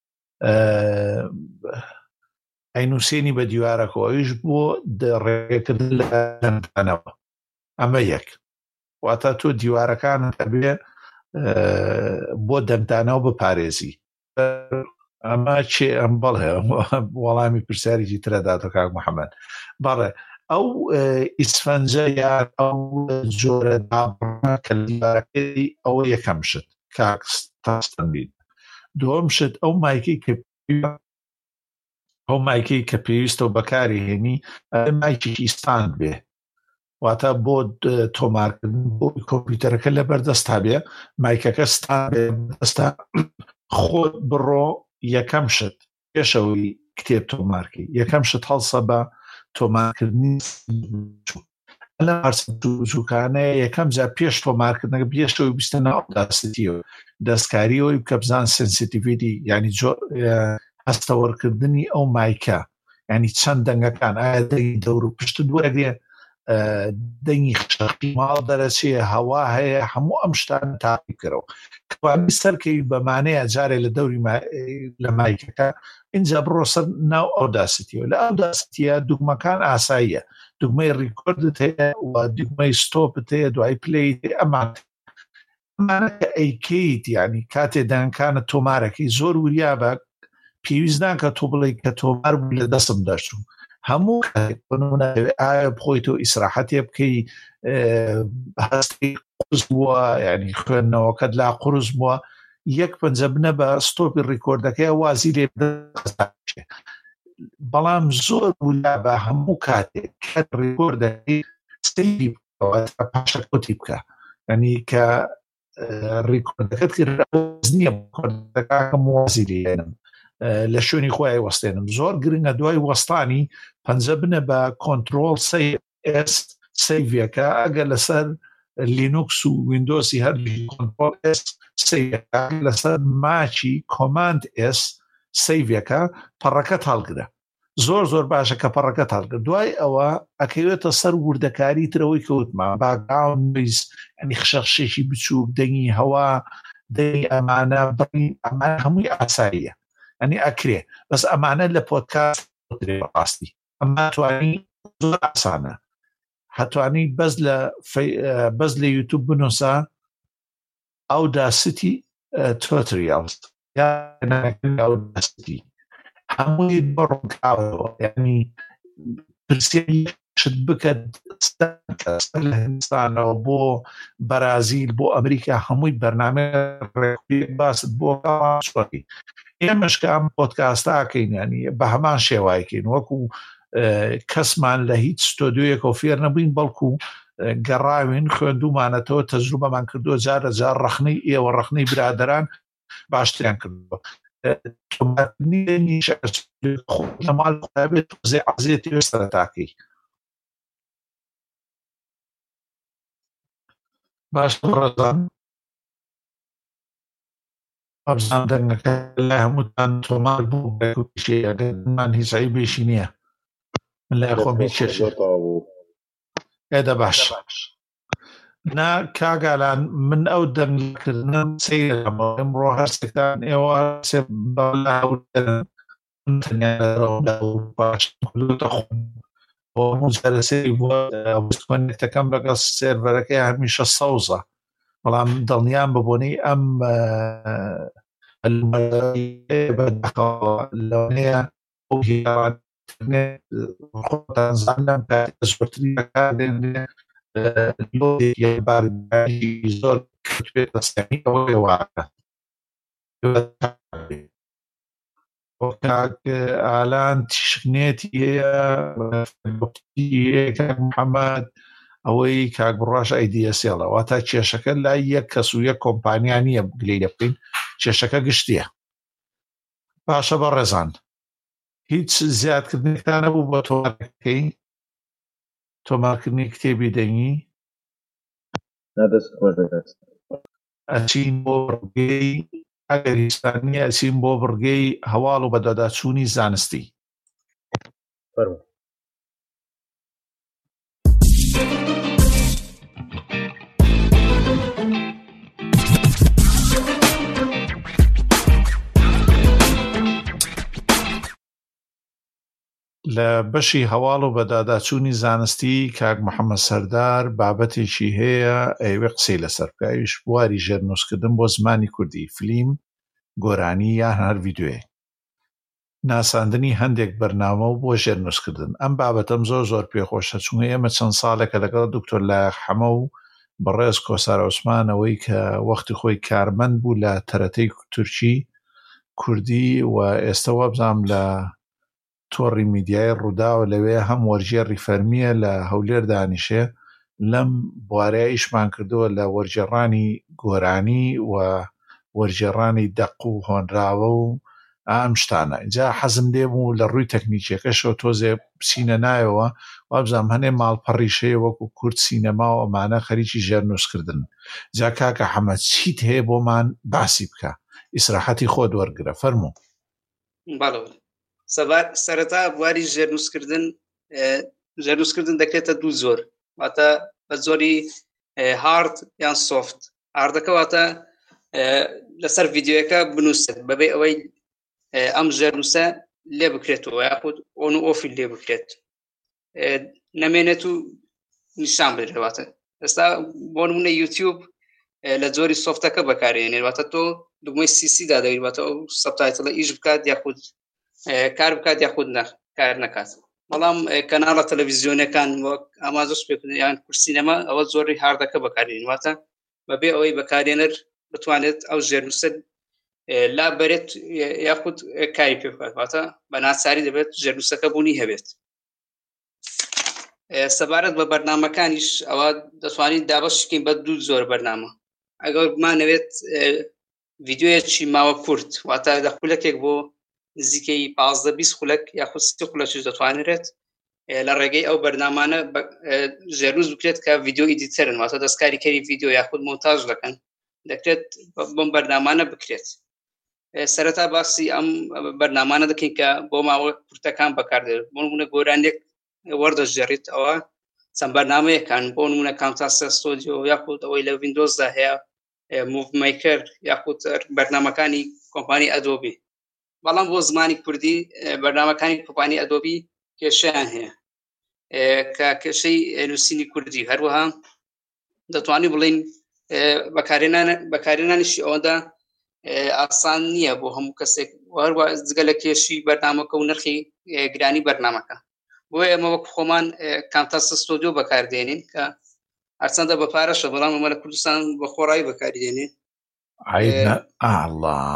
Speaker 1: ئەینوسێنی بە دیوارەکەەوەیش بۆ ڕێگەکردن لە دەنگدانەوە ئەمە یەک واتە تۆ دیوارەکانت هەبێ بۆ دەنگدانەوە بپارێزی ئەمە چێ ئەم بەڵێ وەڵامی پرسیارێکی ترەداتە کاک محەممەد بەڵێ ئەو ئیسفەنجە یان ئەو جۆرە دابڕە کە دیوارەکەی ئەوە یەکەم شت کاکس تاستەنبین دووەم شت ئەو مایکەی کە پێویستە و بەکاری هێنی مایکێکی ستاند بێ واتە بۆ تۆمارکردن بۆ کۆمپیوتەرەکە لە بەردەستا بێ مایکەکە ستاند بێ بەردەستا خۆت بڕۆ یەکەم شت پێشەوەی کتێب تۆمارکەی یەکەم شت هەڵسە بە تۆمارکردنی لە هەرچووکانەیە یەکەم جا پێش تۆمارکردنەکە پێشەوەی بیستە ئەوداسیتیەوە دەستکاریەوەی بکە بزان سنسیتیڤیتی ینی هەستەوەرکردنی ئەو مایکە ینی چەند دەنگەکان ئایا دەنگی دەور و پشت دووەرەگرێ دەنگی خشەقی ماڵ دەرەچێ هەوا هەیە هەموو ئەم شتان تاقی بکەرەوە کەوانی سەرکەوی بەمانەیە جارێ لە دەوری لە مایکەکە اینجا بڕۆ سەر ناو ئەوداسیتیەوە لە ئەوداسیتیە دوگمەکان ئاساییە دوگمەی ڕیکۆردت هەیە و دوگمەی ستۆپت هەیە دوای پلەیت ئەمانەکە ئەیکەیت ینی کاتێ دەنگەکانت تۆمارەکەی زۆر وریا بە پێویستدان کە تۆ بڵێ کە تۆمار بوو لە دەستم دەچوو هەموو ئایا بخۆیتەوە ئیسراحەتێ بکەی هەستی قورس بووە ینی خوێندنەوەکەت لا قورس بووە یەک پەنجە بنە بە ستۆپی ڕیکۆردەکەی وازی لێ بەڵام زۆر ولا بە هەموو کاتێک کە ڕیکۆردەکەی سەیری بکەوە پاشە کۆتی بکە ینی کە ڕیکۆردەکەت کرد نییە ڕیکۆردەکەم وازی لێنم لە شوێنی خۆی وەستێنم زۆر گرنگە دوای وەستانی پەنجە بنە بە کۆنترۆل سەیڤەکە ئەگە لەسەر لینوکس و ویندۆسی هەر کۆنترۆل سەیڤەکە لەسەر ماچی کۆماند سەیڤەکە پەڕەکەت هەڵگرە زۆر باشە کە پەڕەکەت هەڵگرە دوای ئەوە ئەکەوێتە سەر وردەکاری ترەوەی کەوتمان باگراوند نویز ئەنی خشەخشێکی بچووک دەنگی هەوا دەنگی ئەمانە بڕی ئەمانە هەمووی ئاساییە ئەنی ئەکرێ بەس ئەمانە لە پۆدکاست ڕاستی ئەمە توانی زۆر ئاسانە هەتوانی بەس لە یوتیوب بنووسە ئەوداسیتی توتریالز ئەوداسیتی هەمووی بڕۆکاوەوە یعنی پرسیاری شت بکەت لە هندستانەوە بۆ بەرازیل بۆ ئەمریکا هەمووی بەرنامە ڕێکوپێک باست بۆ ئێمەشکە ئەم پۆدکاستاکەین ینی بە هەمان شێوایکەین وەکو کەسمان لە هیچ ستۆدیۆیەک و فێر نەبووین بەڵکو گەڕاوین خوێندومانەتەوە تەجروبەمان کردو جارە جار ڕەخنەی ئێوە ڕەخنەی برادران باشتریان کردووە ماڵ قوتابێت زێ عەزێتی سەرەتاکەی باش ڕەزان ئەبزان دەنگەکە لای هەمووتان تۆمار بوو بەکوشێمان هیچ عیبێشی نییە من لای خۆم هیچ کێشێ ئێدە باش نا کاگالان من ئەو دەنگکردنم سەیرەمە ئەمڕۆ هەرسێکتان ئێوە هەرسێ باشسەرسەری بووەکەم لەگەڵ سێرڤەرەکەی هەمیشە سەوزە بەڵام دڵنیان ببوونی ئەم لەونەیە خۆتان زانم زۆرتری بەکاردێنێ زۆر ئالان تیشکنێتی محەممەد ئەوەی کاک بڕاش ئەیدیسێڵە واتە کێشەکە لای یەک کەس و یەک کۆمپانیا نییە گلەی لە بکەین کێشەکە گشتیە باشە بە ڕێزان هیچ زیادکردنێکتان نەبوو بۆ تۆمارکەی تۆمارکردنی کتێبی دەنگی ئەچین بۆ بڕگەی ئەگەریستانی ئەچین بۆ بڕگەی هەواڵ و بەدەداچوونی زانستی لە بەشی هەواڵ و بەداداچوونی زانستی کاک محەممەد سەردار بابەتێکی هەیە ئەوێ قسەی لەسەر بکەویش بواری ژێرنووسکردن بۆ زمانی کوردی فلیم گۆرانی یان هەر ڤیدیۆیە ناساندنی هەندێک بەرنامە و بۆ ژێرنووسکردن ئەم بابەتەم زۆر پێخۆشە چونکە ئێمە چەند ساڵێکە لەگەڵ دکتۆر لایق حەمە و بەڕێز کۆسار عوسمانەوەی کە وەختی خۆی کارمەند بوو لە تەرەتەی تورکی کوردی و ئێستا وەبزام لە تۆڕی میدیای ڕووداوە لەوێ هەم وەرجێڕی فەرمیە لە هەولێر دانیشێ لەم بوارەیە ئیشمان کردووە لە وەرجێڕانی گۆرانی و وەرجێڕانی دەق و هۆنراوە و ئەم شتانە اینجا حەزم لێ بوو لە ڕووی تەکنیکیەکەشەوە تۆزێ بچینە نایەوە وابزانام هەنێ ماڵپەڕیشەیە وەکو کورد سینەما و ئەمانە خەریکی ژێرنووسکردن جا کاکە حەمەد چیت هەیە بۆمان باسی بکە ئیسراحەتی خۆت وەرگرە فەرموو.
Speaker 4: سەرەتا بواری ژێرنووسکردن دەکرێتە دوو زۆر واتە بە زۆری هارد یان سۆفت. هاردەکە واتە لەسەر ڤیدیۆیەکە بنووسێت بەبێ ئەوەی ئەم ژێرنووسە لێ بکرێتەوە یاخود ئۆن و ئۆفی لێ بکرێت نەمێنێت و نیشان بدرێتواتە. ئێستا بۆ نمونە یوتیوب لە زۆری سۆفتەکە بەکارێنێت واتە تۆ دوگمەی سیدا دەوێت واتە ئەو سەبتایتڵە ئیش بکات یاخود کار بکات یاخود کار نەکات. بەڵام کەناڵە تەلەڤیزیۆنەکان وەک ئامازۆس یان کورسینەما ئەوە زۆری هاردەکە بەکارێنێت واتە بەبێ ئەوەی بەکارێنەر بتوانێت ئەو ژێرنووسە لا بەرێت یاخود کاری پێ بکات واتە بە ناچاری دەبێت ژێرنووسەکە بوونی هەبێت. سەبارەت بە بەرنامەکانیش ئەوە دەتوانین دابەشکەین بە دوو زۆر بەرنامە. ئەگەر بمانەوێت ڤیدیۆیەکی ماوە کورت واتە لە خولەکێک بۆ نزیکەی 15-20 خولەک یاخود 30 خولەکیش دەتوانرێت لە ڕێگەی ئەو بەرنامانە ژێرنووس بکرێت کە ڤیدیۆ ئیدیتەرن واتە دەستکاری کەری ڤیدیۆ یاخود مۆنتاژ دەکەن دەکرێت بۆم بەرنامانە بکرێت. سەرەتا باسی ئەم بەرنامانە دەکەین کە بۆ ماوە کورتەکان بەکاردێت. بۆ نمونە گۆرانێک وەردەژێڕیت ئەوە چەند بەرنامەیەکان بۆ نمونە کامتاسە ستۆدیۆ یاخود ئەوەی لە ویندۆزدا هەیە موڤ میکەر یاخود بەرنامەکانی کۆمپانی ئەدۆبی. بەڵام بۆ زمانی کوردی بەرنامەکانی کۆمپانی ئەدۆبی کێشەیان هەیە کە کێشەی نووسینی کوردی هەروەها دەتوانین بڵین بەکارهێنانیشی ئەوەدا ئاسان نییە بۆ هەموو کەسێک هەروە جگە لە کێشی بەرنامەکە و نرخی گرانی بەرنامەکە. بۆیە ئێمە وەک خۆمان کامتاسە ستۆدیۆ بەکاردێنین کە هەرچەندە بە پارەشە بەڵام ئەمە لە کوردستان بە خۆڕایی بەکاردێنین.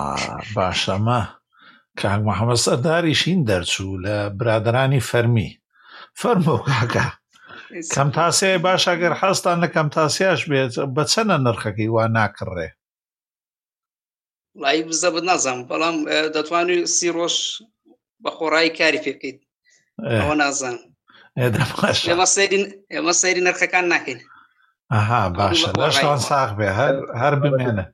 Speaker 1: باشەمە کاک محەممەد سەرداریشین دەرچوو لە برادرانی فەرمی فەرموو کاکە کەم تاسێ باش ئەگەر حەستان لە کەم تاسیاش بێت بە چەنە نرخەکەی وا ناکڕێ
Speaker 4: وڵی بزەبت نازانم بەڵام دەتوانێت 30 ڕۆژ بە خۆڕایی کاری پێ بکەیت ئەوە نازانم ئێمە سەیری نرخەکان ناکەین
Speaker 1: ئەها باشە لەشتان ساغ بێ هەر بمێنە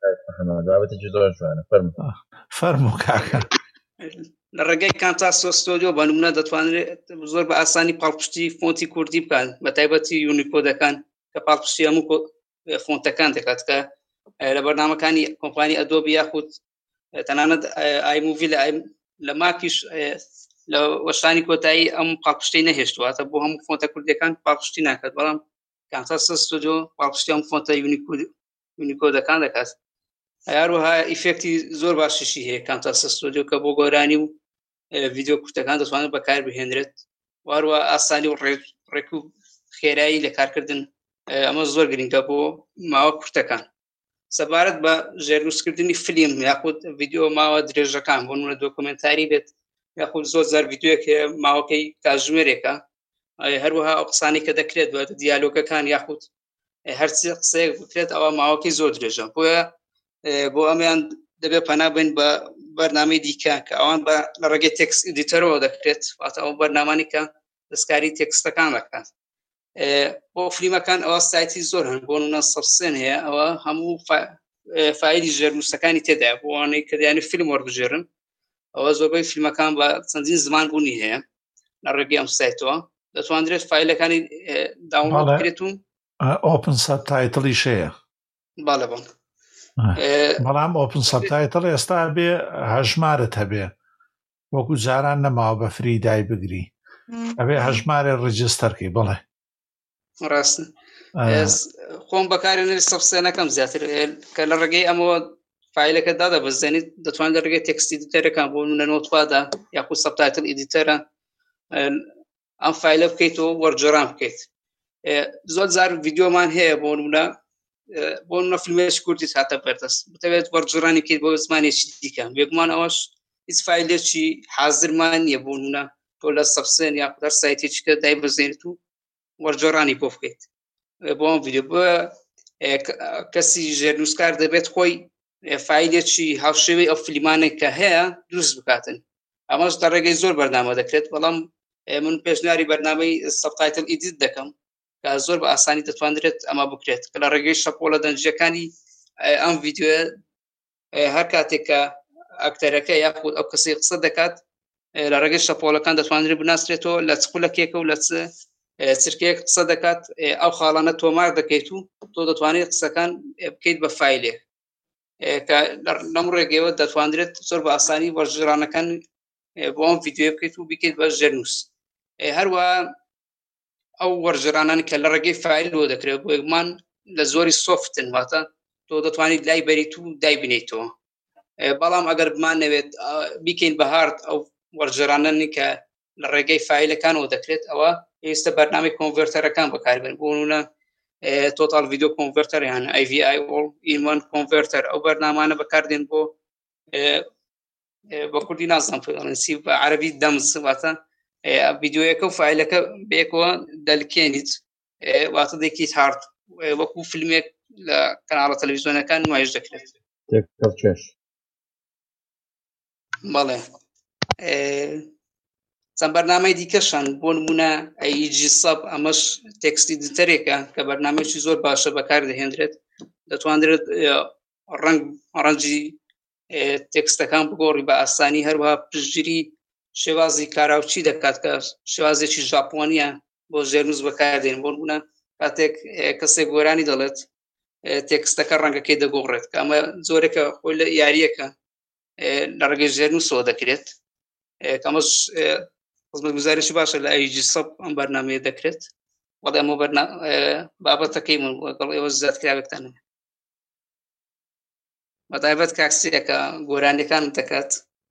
Speaker 1: فەرموو کاکە
Speaker 4: لە ڕێگەی کامتاسۆ ستۆدیۆ بە نمونە دەتوانێت زۆر بە ئاسانی پاڵپشتی فۆنتی کوردی بکات بە تایبەتی یونیکۆدەکان کە پاڵپشتی هەموو فۆنتەکان دەکات کە لە بەرنامەکانی کۆمپانی ئەدۆبی یاخود تەنانەت ئایموڤی لە ماکیش لە وەشانی کۆتایی ئەم پاڵپشتەی نەهێشتواتە بۆ هەموو فۆنتە کوردیەکان پاڵپشتی ناکات بەڵام کامتاسۆ ستۆدیۆ پاڵپشتی هەموو فۆنتە یونیکۆدەکان دەکات هەروەها ئیفێکتی زۆر باشیشی هەیە کامتاسۆ ستۆدیۆ کە بۆ گۆرانی و ڤیدیۆ کورتەکان دەتوانێت بەکار بهێنرێت واروە ئاسانی و ڕێک و خێرایی لە کارکردن ئەمە زۆر گرنگە بۆ ماوە کورتەکان سەبارەت بە ژێرنووسکردنی فیلم یاخود ڤیدیۆ ماوە درێژەکان بۆ نمونە دۆکومنتاری بێت یاخود زۆر زار ڤیدیۆیەک ماوەکەی کاتژمێرێکە هەروەها ئەو قسانی کە دەکرێت بە دیالۆگەکان یاخود هەرچی قسەیەک بکرێت ئەوە ماوەکەی زۆر درێژە بۆیە بۆ ئەمیان دەبێت پەنابێن بە بەرنامەی دیکە کە ئەوان لە ڕێگەی تێکست ئیدیتەرەوە دەکرێت واتە ئەو بەرنامانی کە دەستکاری تێکستەکان دەکات بۆ فیلمەکان ئەوە سایتی زۆر هەن بۆ نمونە سەبسێن هەیە ئەوە هەموو فایلی ژێرنووسەکانی تێدایە بۆ ئەوانەی کە دەیانێت فیلم وەربژێرن ئەوە زۆربەی فیلمەکان بە چەندین زمان بوونی هەیە لە ڕێگەی ئەم سایتەوە دەتوانرێت فایلەکانی داونلۆد بکرێت و
Speaker 1: ئۆپن سەبتایتڵیش هەیە
Speaker 4: باڵێ
Speaker 1: بەڵام ئۆپن سەبتایتڵ ئێستا بێ هەژمارت هەبێ وەکو جاران نەماوە بە فری دای بگری ئەبێ هەژمارێ ڕیجستەرکەی بڵێ
Speaker 4: ڕاستە خۆم بەکارێنێت سەبسێنەکەم زیاتر کە لە ڕێگەی ئەمەوە فایلەکە دادەبەزێنیت دەتوان لە ڕێگەی تێکست ئیدیتەرەکان بۆ نمونە نۆتپادا یاخود سەبتایتڵ ئیدیتەرە ئەم فایلە بکەیتەوە وەرجێڕان بکەیت زۆر جار ڤیدیۆمان هەیە بۆ نمونە فیلمێکی کوردی هاتە بەردەست بتەوێت وەرجێڕانی بکەیت بۆ زمانێکی دیکە بێگومان ئەوەش هیچ فایلێکی حازرمان نییە بۆ نمونە تۆ لە سەبسێن یاخود هەر سایتێکیکە دایبەزێنیت و وەرجێڕانی بۆ بکەیت بۆ ئەم ڤیدیۆ بۆ کەسی ژێرنووسکار دەبێت خۆی فایلێکی هاوشێوەی ئەو فیلمانێک کە هەیە دروست بکاتن ئەمەش لە ڕێگەی زۆر بەرنامە دەکرێت بەڵام من پێشنیاری بەرنامەی سەبتایتڵ ئیدیت دەکەم کە زۆر بە ئاسانی دەتوانرێت ئەمە بکرێت کە لە ڕێگەی شەپۆلە دەنجەکانی ئەم ڤیدیۆ هەر کاتێک کە ئەکتەرەکە یاخود ئەو کەسی قسە دەکات لە ڕێگەی شەپۆلەکان دەتوانرێت بناسرێتەوە لە چقولەکێکە و لە چرکەیەک قسە دەکات ئەو خاڵانە تۆمار دەکەیت و تۆ دەتوانێت قسەکان بکەیت بە فایلێک کە لەم ڕێگەیەوە دەتوانرێت زۆر بە ئاسانی وەرجێڕانەکان بۆ ئەم ڤیدیۆ بکەیت و بکەیت بە ژێرنووس هەروە ئەو وەرجێڕانانی کە لە ڕێگەی فایلەوە دەکرێت بۆ یەکمان لە زۆری سۆفتن واتە تۆ دەتوانیت لای بەریت و دایبنیتەوە بەڵام ئەگەر بمانەوێت بیکەین بە هارد ئەو وەرجێڕانانی کە لە ڕێگەی فایلەکانەوە دەکرێت ئەوە ئێستا بەرنامەی کۆنڤێرتەرەکان بەکاربێن بۆ نمونە تۆتال ڤیدیۆ کۆنڤێرتەر یان AVI ئین1 کۆنڤێرتەر ئەو بەرنامانە بەکاردێن بۆ بە کوردی نازانم فڵەنسی بە عەرەبی دەمز واتە ڤیدیۆیەکە و فایلەکە بەیەکەوە دەلکێنیت واتە دەیکەیت هارد وەکو فیلمێک لە کەناڵە تەلەڤیزیۆنەکان نمایش دەکرێت بەڵێ چەند بەرنامەی دیکەشان بۆ نمونە ئەیجی سەب ئەمەش تێکست ئیدیتەرێکە کە بەرنامەیەکی زۆر باشە بەکار دەهێنرێت دەتوانرێت ڕەنگی تێکستەکان بگۆڕی بە ئاسانی هەروەها پشتگیری شێوازی کاراوچی دەکات کە شێوازێکی ژاپۆنیە بۆ ژێرنووس بەکاردێن بۆ نمونە کاتێک کەسێک گۆرانی دەڵێت تێکستەکە ڕەنگەکەی دەگۆڕێت کە ئەمە زۆرێکە خۆی لە یاریەکە لە ڕێگەی ژێرنووسەوە دەکرێت کەمەش خزمەتگوزاریشی باشە لە ئەیجی سەب ئەم بەرنامەیە دەکرێت وەڵام ئەمە بابەتەکەی من لەگەڵ ئێوە زیادکراوێکتانە بەتایبەت کاکسیەکە گۆرانیەکان دەکات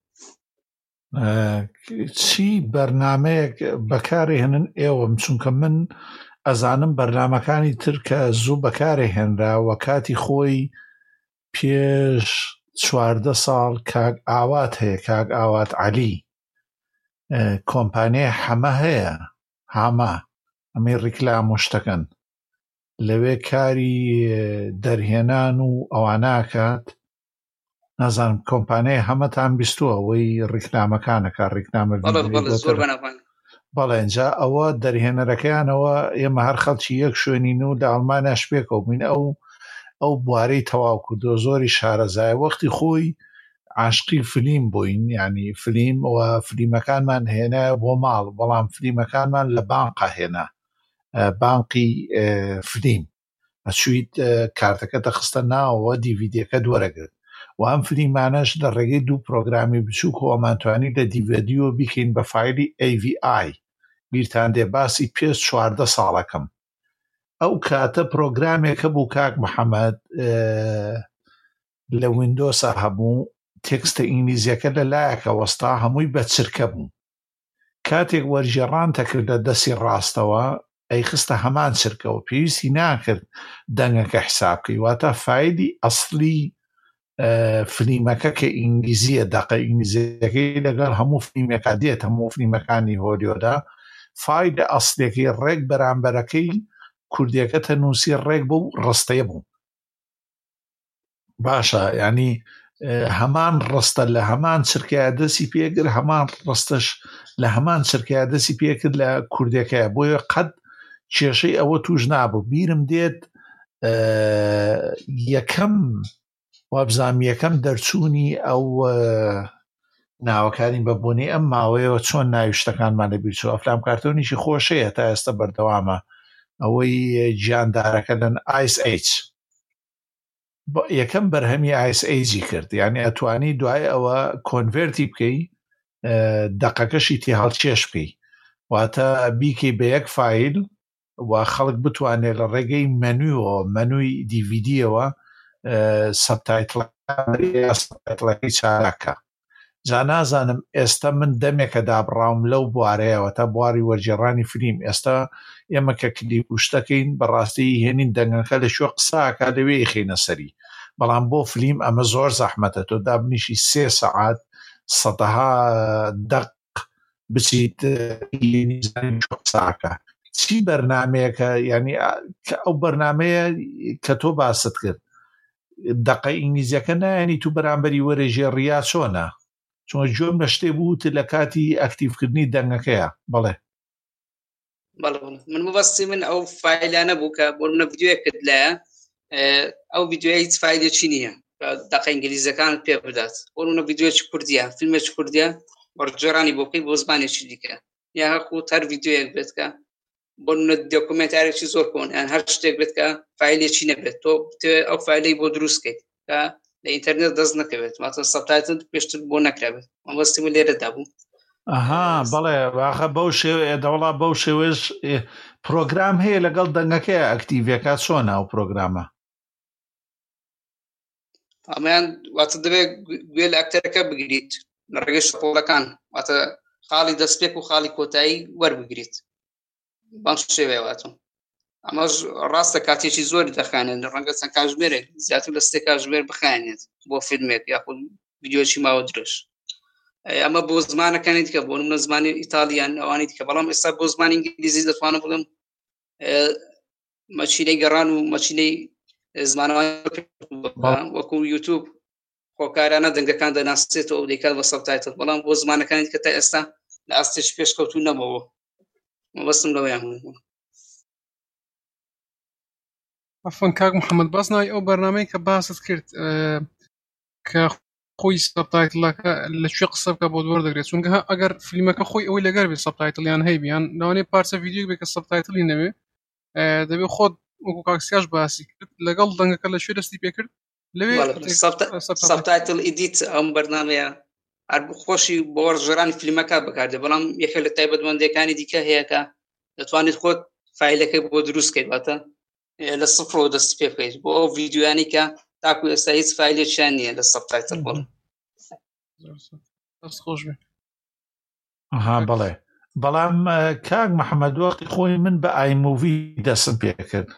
Speaker 1: چی بەرنامەیەک بەکاری هێنن ئێوەم چونکە من ئەزانم بەرنامەکانی تر کە زوو بەکارێ هێنراوە کاتی خۆی پێش 14 ساڵ کاک ئاوات هەیە کاک ئاوات عەلی کۆمپانیای حەمە هەیە هاما ئەمەی ڕیکلام و شتەکەن لەوێ کاری دەرهێنان و ئەواناکات نازانم کۆمپانیای هەمەتان بیستووە ئەوەی ڕیکلامەکانەکە ڕیکلامە بەڵێ اینجا ئەوە دەرهێنەرەکەیانەوە ئێمە هەر خەڵکی یەک شوێنین و لە ئەڵمانیا شپێکەوە بووین ئەو بوارەی تەواو کردو زۆری شارەزای وەختی خۆی عاشقی فلیم بووین یعنی فلیم و فلیمەکانمان هێنا بۆ ماڵ بەڵام فلیمەکانمان لە بانقا هێنا بانقی فلیم ئەچویت کارتەکە دەخستە ناوەوە دیڤیدیەکە دووەرەگرت و ئەم فلیمانەش لە ڕێگەی دوو پرۆگرامی بچووک و ئەمانتوانی لە دیڤیدیۆ بیکەین بە فایلی AVI بیرتان دێ باسی پێش 14 ساڵەکەم ئەو کاتە پرۆگرامێکە بوو کاک محەممەد لە ویندۆسە هەبوو تێکستە ئینگلیزیەکە لە لایەکە وەستا هەمووی بە چرکە بوو کاتێک وەرجێڕانتە کرد لە دەستی ڕاستەوە ئەی خستە هەمان چرکەوە پێویستی ناکرد دەنگەکە حسابکەی واتە فایلی ئەسلی فلیمەکە کە ئینگلیزیە دەقە ئینگلیزیەکەی لەگەڵ هەموو فلیمەکە دێت هەموو فلیمەکانی هۆلیۆدا فایلە ئەسلێکی ڕێک بەرامبەرەکەی کوردیەکە تەنووسی ڕێک بوو ڕستەیە بوو باشە ینی هەمان ڕستە لە هەمان چرکای دەستی پێگر هەمان ڕستەش لە هەمان چرکای دەستی پێکرد لە کوردەکەیە بۆیە قەت کێشەی ئەوە توش نابوو بیرم دێت یەکەم وابزانام یەکەم دەرچوونی ئەو ناوەکانی بەبوونی ئەم ماوەیەوە چۆن ناویشتەکانمان لەبیرچوو ئەفلام کارتۆنیشی خۆشەیە تا ئێستا بەردەوامە ئەوەی گیاندارەکە لەن ISH یەکەم بەرهەمی ISHی کرد یعنی ئەتوانی دوای ئەوە کۆنڤێرتی بکەی دەقەکەشی تی هەڵچێش بکەی واتە بیکەی بە یەک فایل و خەڵک بتوانێت لە ڕێگەی مەنووی دیڤیدیەوە سەبتایتڵەکەی چارەکە جا نازانم ئێستا من دەمێکە دابڕاوم لەو بوارەیەوە تا بواری وەرجێڕانی فلیم ئێستا ئێمە کە کلیپ وشتەکەین بەڕاستی هێنین دەنگەکە لە شوێ قساکە لەوێ خینە سەری بەڵام بۆ فلیم ئەمە زۆر زەحمەتە تۆ دابنیشی 3 سەعات سەدەها دەق بچیت قساکە چی بەرنمەیەکە ینی ئەو بەرنمەیە کە تۆ باست کرد دەقە ئینگلیزیەکە نایانی تو بەرامبەری وەرەژێڕیا چۆنە چۆن جۆم لە شتێ بووت لە کاتی ئەکتیڤکردنی دەنگەکەیە بڵێ
Speaker 4: من مەبەستی من ئەو فایلانە بوو کە بۆ منە ڤیدیۆیە کرد لایە ئەو ڤیدیۆیە هیچ فایدێکی نییە دەقە ئینگلیزیەکانت پێ بدات بۆ منە ڤیدیۆیەکی کوردیە فیلمێکی کوردیە وەرجێڕانی بۆ بکەی بۆ زمانێکی دیکە یا هەرقوت هەر ڤیدیۆیەک بێت کە بۆ دۆکومنتارێکی زۆر کۆن یان هەر شتێک بێت کە فایلێکی نەبێت تۆ ئەو فایلەی بۆ دروستکەیت کە لە ئینتەرنێت دەست نەکەوێت ماتە سەبتایتڵ پێشتر بۆ نەکرابێت مەبەستی من لێرەدا بوو
Speaker 1: بەڵێ واخە بەو شێوەیە دەوڵا بەو شێوێش پرۆگرام هەیە لەگەڵ دەنگەکەی ئەکتیڤەکە چۆنە ئەو پرۆگرامە
Speaker 4: ئەمەیان واتە دەبێت گوێ لە ئەکتەرەکە بگریت لە ڕێگەی شەپۆڵەکان واتە خاڵی دەستپێک و خاڵی کۆتایی وەربگریت بەم شێوەیەواتم ئەمەش ڕاستە کاتێکی زۆری دەخانێن ڕەنگە چەند کاتژمێرێک زیاتر لە 3 کاتژمێر بخانێت بۆ فیلمێک یاخود ڤیدیۆکی ماوە درێژ ئەمە بۆ زمانەکانی دیکە بۆ منە زمانی ئیتالیان ئەوانی دیکە بەڵام ئێستا بۆ زمانی ئینگلیزی دەتوانم بڵێم مەچینەی گەڕان و مەچینەی زمانەوەی وەکو یوتیوب خۆکارانە دەنگەکان دەناسێتەوە و دەیکات بە سەبتایتڵ بەڵام بۆ زمانەکانی دیکە تا ئێستا لە ئاستێش پێشکەوتوو نەبەوە مەبەستم لەوەیان بوو
Speaker 2: عفوا کاک محەممەد باس ناوی ئەو بەرنامەی کە باست کرد کە خۆی سەبتایتڵەکە لەکوێ قسە بکە بۆ دووەردەگرێت چونکە ئەگەر فیلمەکە خۆی ئەوەی لەگەر بێت سەبتایتڵیان هەیبیان لەوانەیە پارچە ڤیدیۆ بێت کە سەبتایتڵی نەوێ دەبێت خۆت وەکو کاکسیاش باسی کرد لەگەڵ دەنگەکە لەکوێ دەستی پێکرد لەوێ
Speaker 4: سەبتایتڵ ئیدیت ئەم بەرنامەیە هەر خۆشی بۆ وەرجێڕانی فیلمەکە بەکاردێت بەڵام یەکێک لە تایبەتمەندیەکانی دیکە هەیە کە دەتوانیت خۆت فایلەکەی بۆ دروستکەیت واتە لە سفرەوە دەست پێ بکەیت بۆ ئەو ڤیدیۆیانی کە تاکو ئێستا هیچ فایلێکیان نییە لە سەبتایتڵ بڵێ
Speaker 2: خۆش بێ
Speaker 1: بەڵێ بەڵام کاک محەممەد وەختی خۆی من بە ئایموڤی دەستم پێ کرد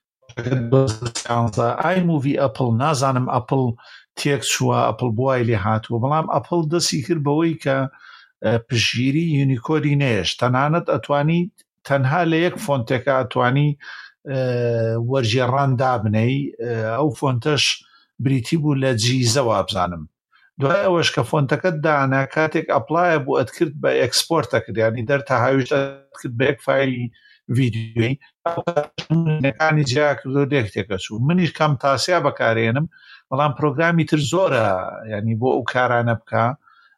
Speaker 1: ئایموڤی ئەپڵ نازانم ئەپڵ تێک چووە ئەپڵ بوای لێ هاتووە بەڵام ئەپڵ دەستی کرد بەوەی کە پشگیری یونیکۆدی نێش تەنانەت ئەتوانیت تەنها لە یەک فۆنتێکە ئەتوانی وەرجێڕان دابنەی ئەو فۆنتەش بریتی بوو لە جیزەوە بزانم دوای ئەوەش کە فۆنتەکەت دانا کاتێک ئەپلایە بوو ئەتکرد بە ئەکسپۆرتە کرد ینی دەرتا هاویشت کرد بە یەک فایلی ڤیدیۆی ئەوەکانی جیا کردو دێکتێکە چوو منیش کەم تاسیا بەکارێنم بەڵام پرۆگرامی تر زۆرە ینی بۆ ئەو کارانە بکە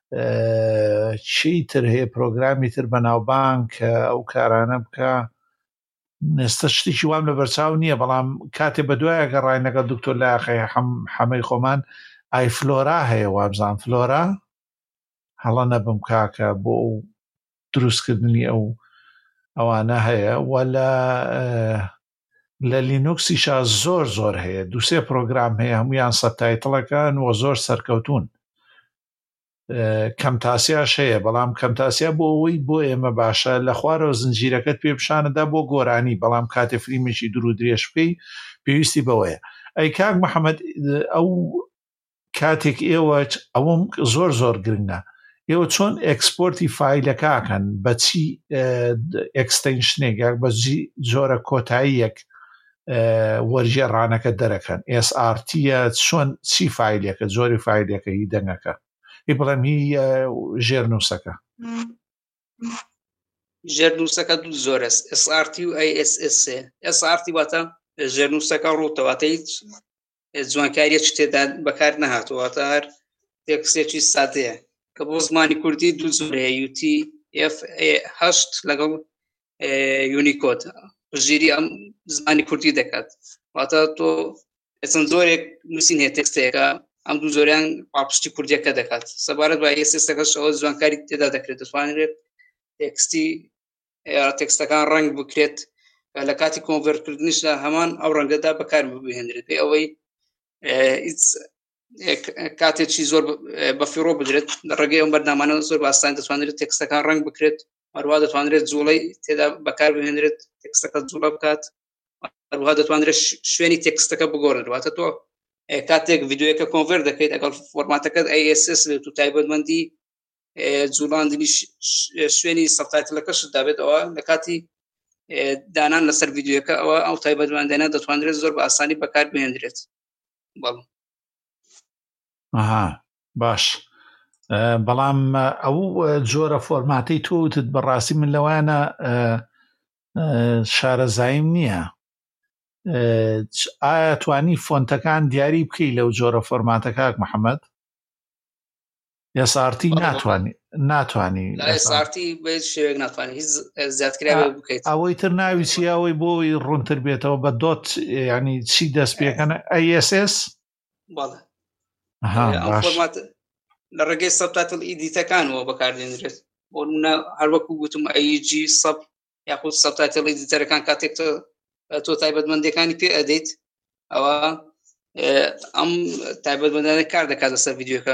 Speaker 1: چی تر هەیە پرۆگرامی تر بەناوبانگ کە ئەو کارانە بکە نێستە شتێکی وام لە بەرچاو نییە بەڵام کاتێ بە دوایە گەڕای لەگەڵ دکتۆر لاقی حەمەی خۆمان ئای فلۆرا هەیە وابزان فلۆرا هەڵە نەبم کاکە بۆ ئەو دروستکردنی ئەوانە هەیە وەلا لە لینوکسیشا زۆر هەیە دووسێ پرۆگرام هەیە هەمویان سەبتایتڵەکەن و زۆر سەرکەوتون کەمتاسیاش هەیە بەڵام کەمتاسیا بۆ ئەوەی بۆ ئێمە باشە لە خوارەوە زنجیرەکەت پێ پیشانەدا بۆ گۆرانی بەڵام کاتێ فریمێکی دوور و درێژ بکەی پێویستی بەوەیە ئەی کاک محەممەد ئەو کاتێک ئێوە ئەوەم زۆر گرنگە ئێوە چۆن ئەکسپۆرتی فایلەکەکەن بەچی ئەکستەنشنێک یاک بەجی جۆرە کۆتاییەک وەرجێڕانەکە دەرەکەن SRTە چۆن چی فایلەکە زۆری فایلەکە هی دەنگەکە بڵێم هی ژێرنووسەکە
Speaker 4: ژێرنووسەکە دوو زۆرە SRT و ISS SRT واتە ژێرنووسەکە ڕوتەواتە هیچ جوانکاریە تێدا بەکار نەهاتواتە هەر تێکسێکی سادەیە کە بۆ زمانی کوردی دوو زۆرەیە UTF-8 لەگەڵ یونیکۆد ژیری ئەم زمانی کوردی دەکات واتە تۆ چەند زۆرێک نووسین هەیە تێکستەیەەکە ئەم دوو زۆریان پاپشتی کوردیەکە دەکات سەبارەت بە ئێسێسەکەش ئەوە جوانکاری تێدا دەکرێت دەتوانرێت تێکستەکان ڕنگ بکرێت لە کاتی کۆنڤەرتکردنیشدا هەمان ئەو ڕەنگەدا بەکار بهێنرێت پێ ئەوەی کاتێکی زۆر بەفیڕۆ بدرێت ڕێگەی ئەم بەردامانە زۆر باسان دەتوانرێت تێکستەکان ڕنگ بکرێت هەروە دەتوانرێت جوڵەی تێدا بەکار بهێنرێت تێکستەکە جوڵە بکات هەروە دەتوانرێت شوێنی تێکستەکە بگۆڕێت واتە تۆ کاتێک ڤیدیۆیەکە کۆنڤەرت دەکەیت ئەگەڵ فۆرماتەکەت ISS بێت و تایبەتمەندی جوڵاندنی شوێنی سەبتایتڵەکەشت دابێت ئەوە لە کاتی دانان لەسەر ڤیدیۆیەکە ئەوە ئەو تایبەتمەندانە دەتوانرێت زۆر بە ئاسانی بەکار بهێنرێت بەڵێ
Speaker 1: باش بەڵام ئەو جۆرە فۆرماتەی تۆوتت بەڕاستی من لەوانە شارەزایم نییە ئایا توانی فۆنتەکان دیاری بکەی لەو جۆرە فۆرماتە کاک محەممەد SRT ناتوانی ئەوەی تر ناوی چیاوەی بۆی ڕوونتر بێتەوە بە دۆت ینی چی دەست پێکەنە ISS
Speaker 4: لە ڕێگەی سەبتایتڵ ئیدیتەکانەوە بەکاردێنرێت بۆ نمونە هەروەکو گوتم AEG سەب یاخود سەبتایتڵ ئیدیتەرەکان کاتێک تۆ تایبەتمەندیەکانی پێ ئەدەیت ئەوە ئەم تایبەتمەندانە کار دەکات لەسەر ڤیدیۆکە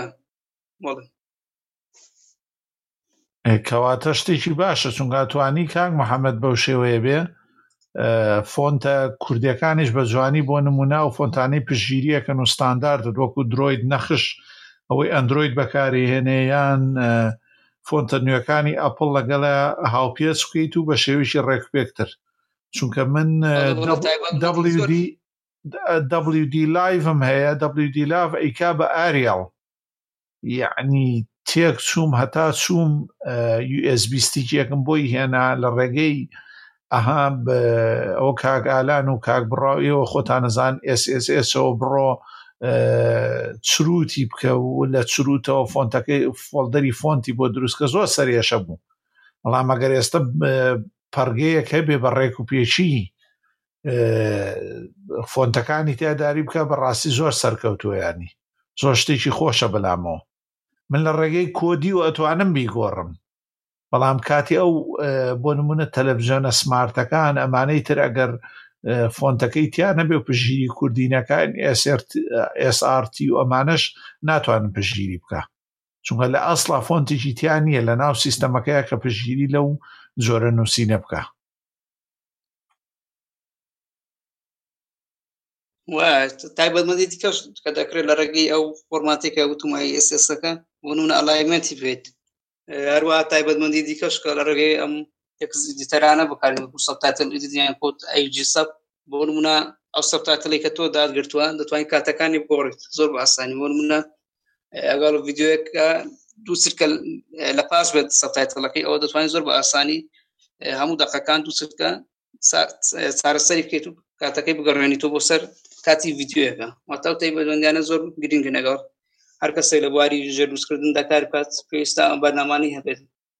Speaker 1: کەواتە شتێکی باشە چونکە توانی کاک محەممەد بەو شێوەیە بێ فۆنتە کوردیەکانیش بە جوانی بۆ نمونە و فۆنتانەی پشگیریەکەن و ستانداردت وەکو درۆید نەخش ئەوەی ئەندروید بەکاری هێنەیان فۆنتە نوێەکانی ئەپڵ لەگەڵە هاوپێچ بکەیت و بە شێویشی ڕێکپێکتر چونکە من WD لایڤم هەیە WD لایڤ ئەیکا بە ئاریاڵ یعنی تێک چووم هەتا چووم USB ستیکێکم بۆی هێنا لە ڕێگەی ئەها ئەو کاک ئالان و کاک بڕاویەوە خۆتانەزان SSSەوە بڕۆ چروتی بکە و لە چروتەوە فۆنتەکەی فۆڵدەری فۆنتی بۆ دروستکە زۆر سەرێشە بوو بەڵام ئەگەر ئێستا پەرگەیەک هەبێ بە ڕێک و پێچی فۆنتەکانی تیاداری بکە بەڕاستی زۆر سەرکەوتووە ینی زۆر شتێکی خۆشە بەلامەوە من لە ڕێگەی کۆدی و ئەتوانم بیگۆڕم بەڵام کاتی ئەو بۆ نمونە تەلەڤیزیۆنە سمارتەکان ئەمانەی تر ئەگەر فۆنتەکەی تیان نەبێ و پشگیری کوردینەکان SRT و ئەمانەش ناتوانم پشگیری بکە چونکە لە ئەسڵا فۆنتێکی تیان نییە لە ناو سیستەمەکەیە کە پشگیری لەو جۆرە نووسینە بکە
Speaker 4: تایبەتمەندی دیکەش کە دەکرێت لە ڕێگەی ئەو فۆرماتێکە وتمای SSەکە بۆ نمونە ئەلایمەنتی بێت هەروە تایبەتمەندی دیکەش کە لە ڕێگەی ئەم دیتەرانە بەکارێن وەکو سەبتایتڵ ئیدیتیان کۆت ئەیجی سەب بۆ نمونە ئەو سەبتایتڵی کە تۆ دادگرتووە دەتوانین کاتەکانی بگۆڕیت زۆر بە ئاسانی بۆ نمونە ئەگەڵ ڤیدیۆیەکە دوو چرکە لە پاش بێت سەبتایتڵەکەی ئەوە دەتوانین زۆر بە ئاسانی هەموو دەقەکان دوو چرکە چارەسەری بکەیت و کاتەکەی بگەڕێنیتەوە بۆ سەر کاتی ڤیدیۆیەکە واتە ئەو تایبەتمەندیانە زۆر گرنگن لەگەڵ هەر کەسێک لە بواری ژێرنووسکردندا کار بکات پێویستە ئەم بەرنامانەی هەبێت.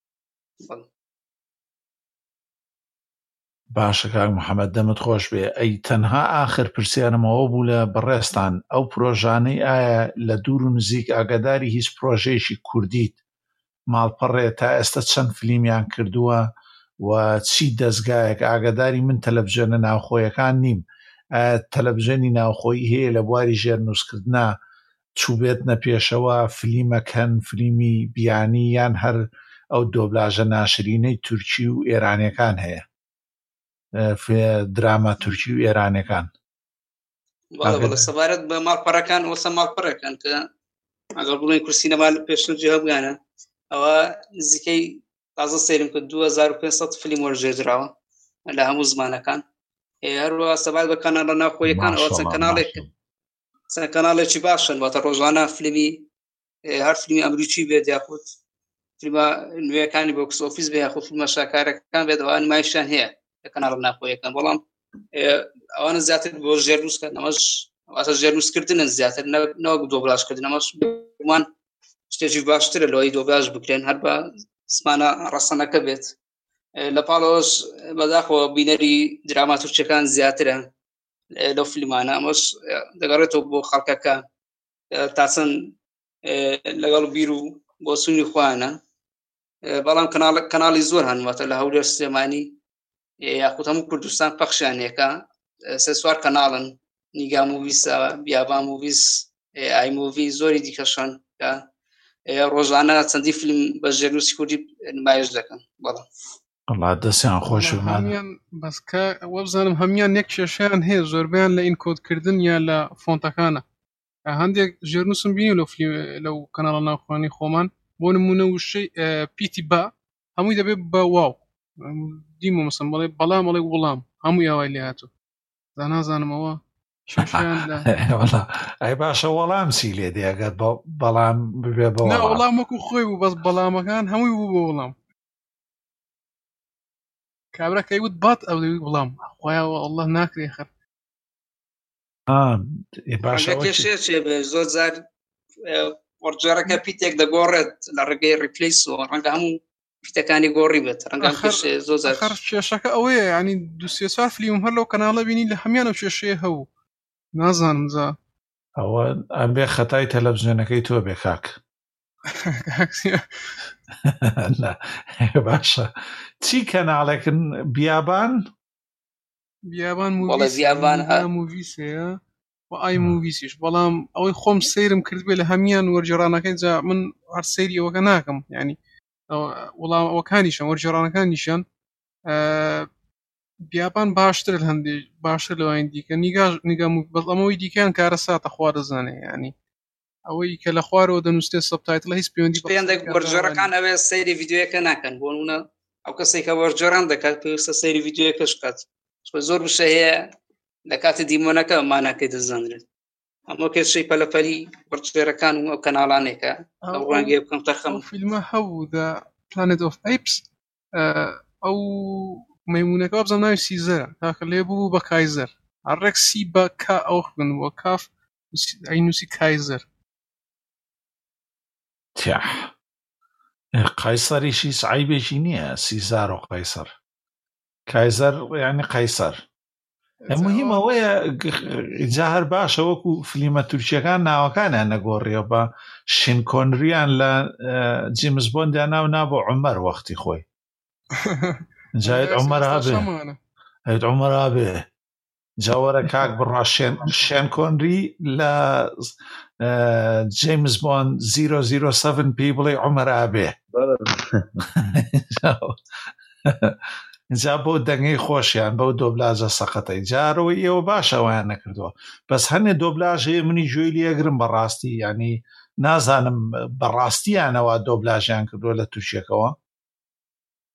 Speaker 1: باشە کاک محەممەد دەمت خۆش بێ. ئەی تەنها ئاخر پرسیارمەوە بوو لە بەڕێستان ئەو پرۆژانەی ئایا لە دوور و نزیک ئاگاداری هیچ پرۆژەیەکی کوردیت ماڵپەڕێ تا ئێستا چەند فلیمیان کردووە و چی دەستگایەک ئاگاداری من تەلەڤیزیۆنە ناوخۆیەکان نیم تەلەڤیزیۆنی ناوخۆیی هەیە لە بواری ژێرنووسکردنا چوو بێتنە پێشەوە فلیمەکەن فلیمی بیانی یان هەر ئەو دۆبلاژە ناشرینەی تورکی و ئێرانیەکان هەیە دراما تورکی و ئێرانەکان
Speaker 4: بەڵێ سەبارەت بە ماڵپەڕەکان وەسە ماڵپەڕەکان کە ئەگەر بڵێن کورسینەما لە پێشنجی هەبگانە ئەوە نزیکەی تازە سەیرم کرد 2500 فیلم وەرژێدراوە لە هەموو زمانەکان هەروەها سەبارەت بە کاناڵە ناوخۆیەکان ئەوە چەند کەناڵێکی باشن واتە ڕۆژانە فیلمی هەر فیلمی ئەمریکی بێت یاخود فیلمە نوێیەکانی بۆکس ئۆفیس بێ یاخود فیلمە شاکارەکان بێت ئەوە نمایشیان هەیە لە کەناڵە ناوخۆیەکان بەڵام ئەوانە زیاتر بۆ ژێرنووسکە ئەمەش واتە ژێرنووسکردنە زیاتر نەوەک دۆبلاژکردن ئەمەش گومان شتێکی باشترە لەوەی دۆبلاژ بکرێن هەر بە زمانە ڕەسەنەکە بێت لە پاڵەوەش بەداخەوە بینەری دراماتورکیەکان زیاترە لەو فیلمانە ئەمەش دەگەڕێتەوە بۆ خەڵکەکە تا چەند لەگەڵ بیر و بۆ سوونی خوانە بەڵام کەناڵی زۆر هەنواتە لە هەولێر سلێمانی یاخود هەموو کوردستان پەخشیانێکە سێ سوار کەناڵن نیگا موڤیسە بیابان موڤیس ئای موڤی زۆری دیکەشان کە ڕۆژانە چەندی فیلم بە ژێرنووسی کوردی نمایش دەکەن بەڵام
Speaker 1: وڵا دەستیان خۆش
Speaker 2: بەسکە وە بزانم هەمیان یەک کێشەیان هەیە زۆربیان لە ئینکۆدکردن یا لە فۆنتەکانە هەندێک ژێرنووسم بینی لەو کەناڵە ناوخۆانی خۆمان بۆ نمونە وشەی پیتی با هەمووی دەبێت بە واو دیمە مەسەن بڵێ بەڵام بڵێ وڵام هەمووی ئەوای لێ هاتوو زانازانمەوە
Speaker 1: ئەی باشە وەڵام سی لێ دێگەر بەڵام ببێ بە
Speaker 2: وەڵام وەکو خۆی بوو بەس بەڵامەکان هەمووی بوو بە وەڵام کابراکەی وت بات ئەو دەوی وڵام خۆیاوە ئەڵڵە ناکرێ خەر
Speaker 4: زۆر زار وەرجێڕەکە پیتێک دەگۆڕێت لە ڕێگەی ریپلیسەوە ڕەنگە هەموو پیتەکانی گۆڕی بێت ڕەنگە زۆر
Speaker 2: کێشەکە ئەوەیە ینی دو سێ چوار فیلم هەر لەو کەناڵە بینی لە هەمیان ئەو کێشەیە هەبوو نازانم زا
Speaker 1: ئەوە ئەبێ خەتای تەلەڤیزیۆنەکەی تۆ بێ کاک باشە چی کەناڵێکن بیابان
Speaker 2: موڤیسەیە و ئای موڤیسیش بەڵام ئەوەی خۆم سەیرم کرد بێ لە هەمیان وەرجێڕانەکەی جا من هەر سەیری ئەوەکە ناکەم ینی وەڵام ئەوەکانیشان وەرجێڕانەکانیشان بیابان باشتر هەندێک باشتر لەوەین دیکە نیگەم بەڵ ئەمەوەی دیکەیان کارە ساتە خوا دەزانێ ینی ئەوەی کە لە خوارەوە دەنووسێ سەبتایتڵە هیچ پەیوەندی
Speaker 4: وەرجێڕەکان ئەوێ سەیری ڤیدیۆیەکە ناکەن بۆ نمونە ئەو کەسێک کە وەرجێڕان دەکات پێویستە سەیری ڤیدیۆیەکەش بکات زۆر بشە هەیە لە کاتی دیمۆنەکە ماناکەی دەزانرێت ئەمە کێشەی پەلەپەلی وەرجێڕەکان و ئەو کەناڵانێکە ئەو ڕەنگێ بکەم تەخەم
Speaker 2: فیلمە هەبوو The Planet of Apes ئەو مەیمونەکە بزەم ناوی سیزەرە تاکە لێ بوو بە کایزەر هەڕێک سی بە کا ئەو خوێن وە کاف ئەینوسی کایزەر
Speaker 1: قایسەریشی سعیبێکی نییە سیزار و قایسەر کایزەر یعنی قایسەر مهم ئەوەیە جا هەر باشە وەکو فلیمە تورکیەکان ناوەکانیان نەگۆڕیەوە بە شینکۆنریان لە جیمز بۆندیان نابۆ عومەر وەختی خۆی جاید عومەر هەبێ جاوەرە کاک بڕا شێن کۆنری لە جیمز بۆند 007 پێی بڵێ عومەر هەبێ جا بۆ دەنگەی خۆشیان بەو دۆبلاژە سەقەتەی جارەوەی ئێوە باشەوەیان نەکردووە بەس هەنێ دۆبلاژێ منی گوێی لێگرم بەڕاستی ینی نازانم بەڕاستیانەوە دۆبلاژیان کردووە لە تووشێکەوە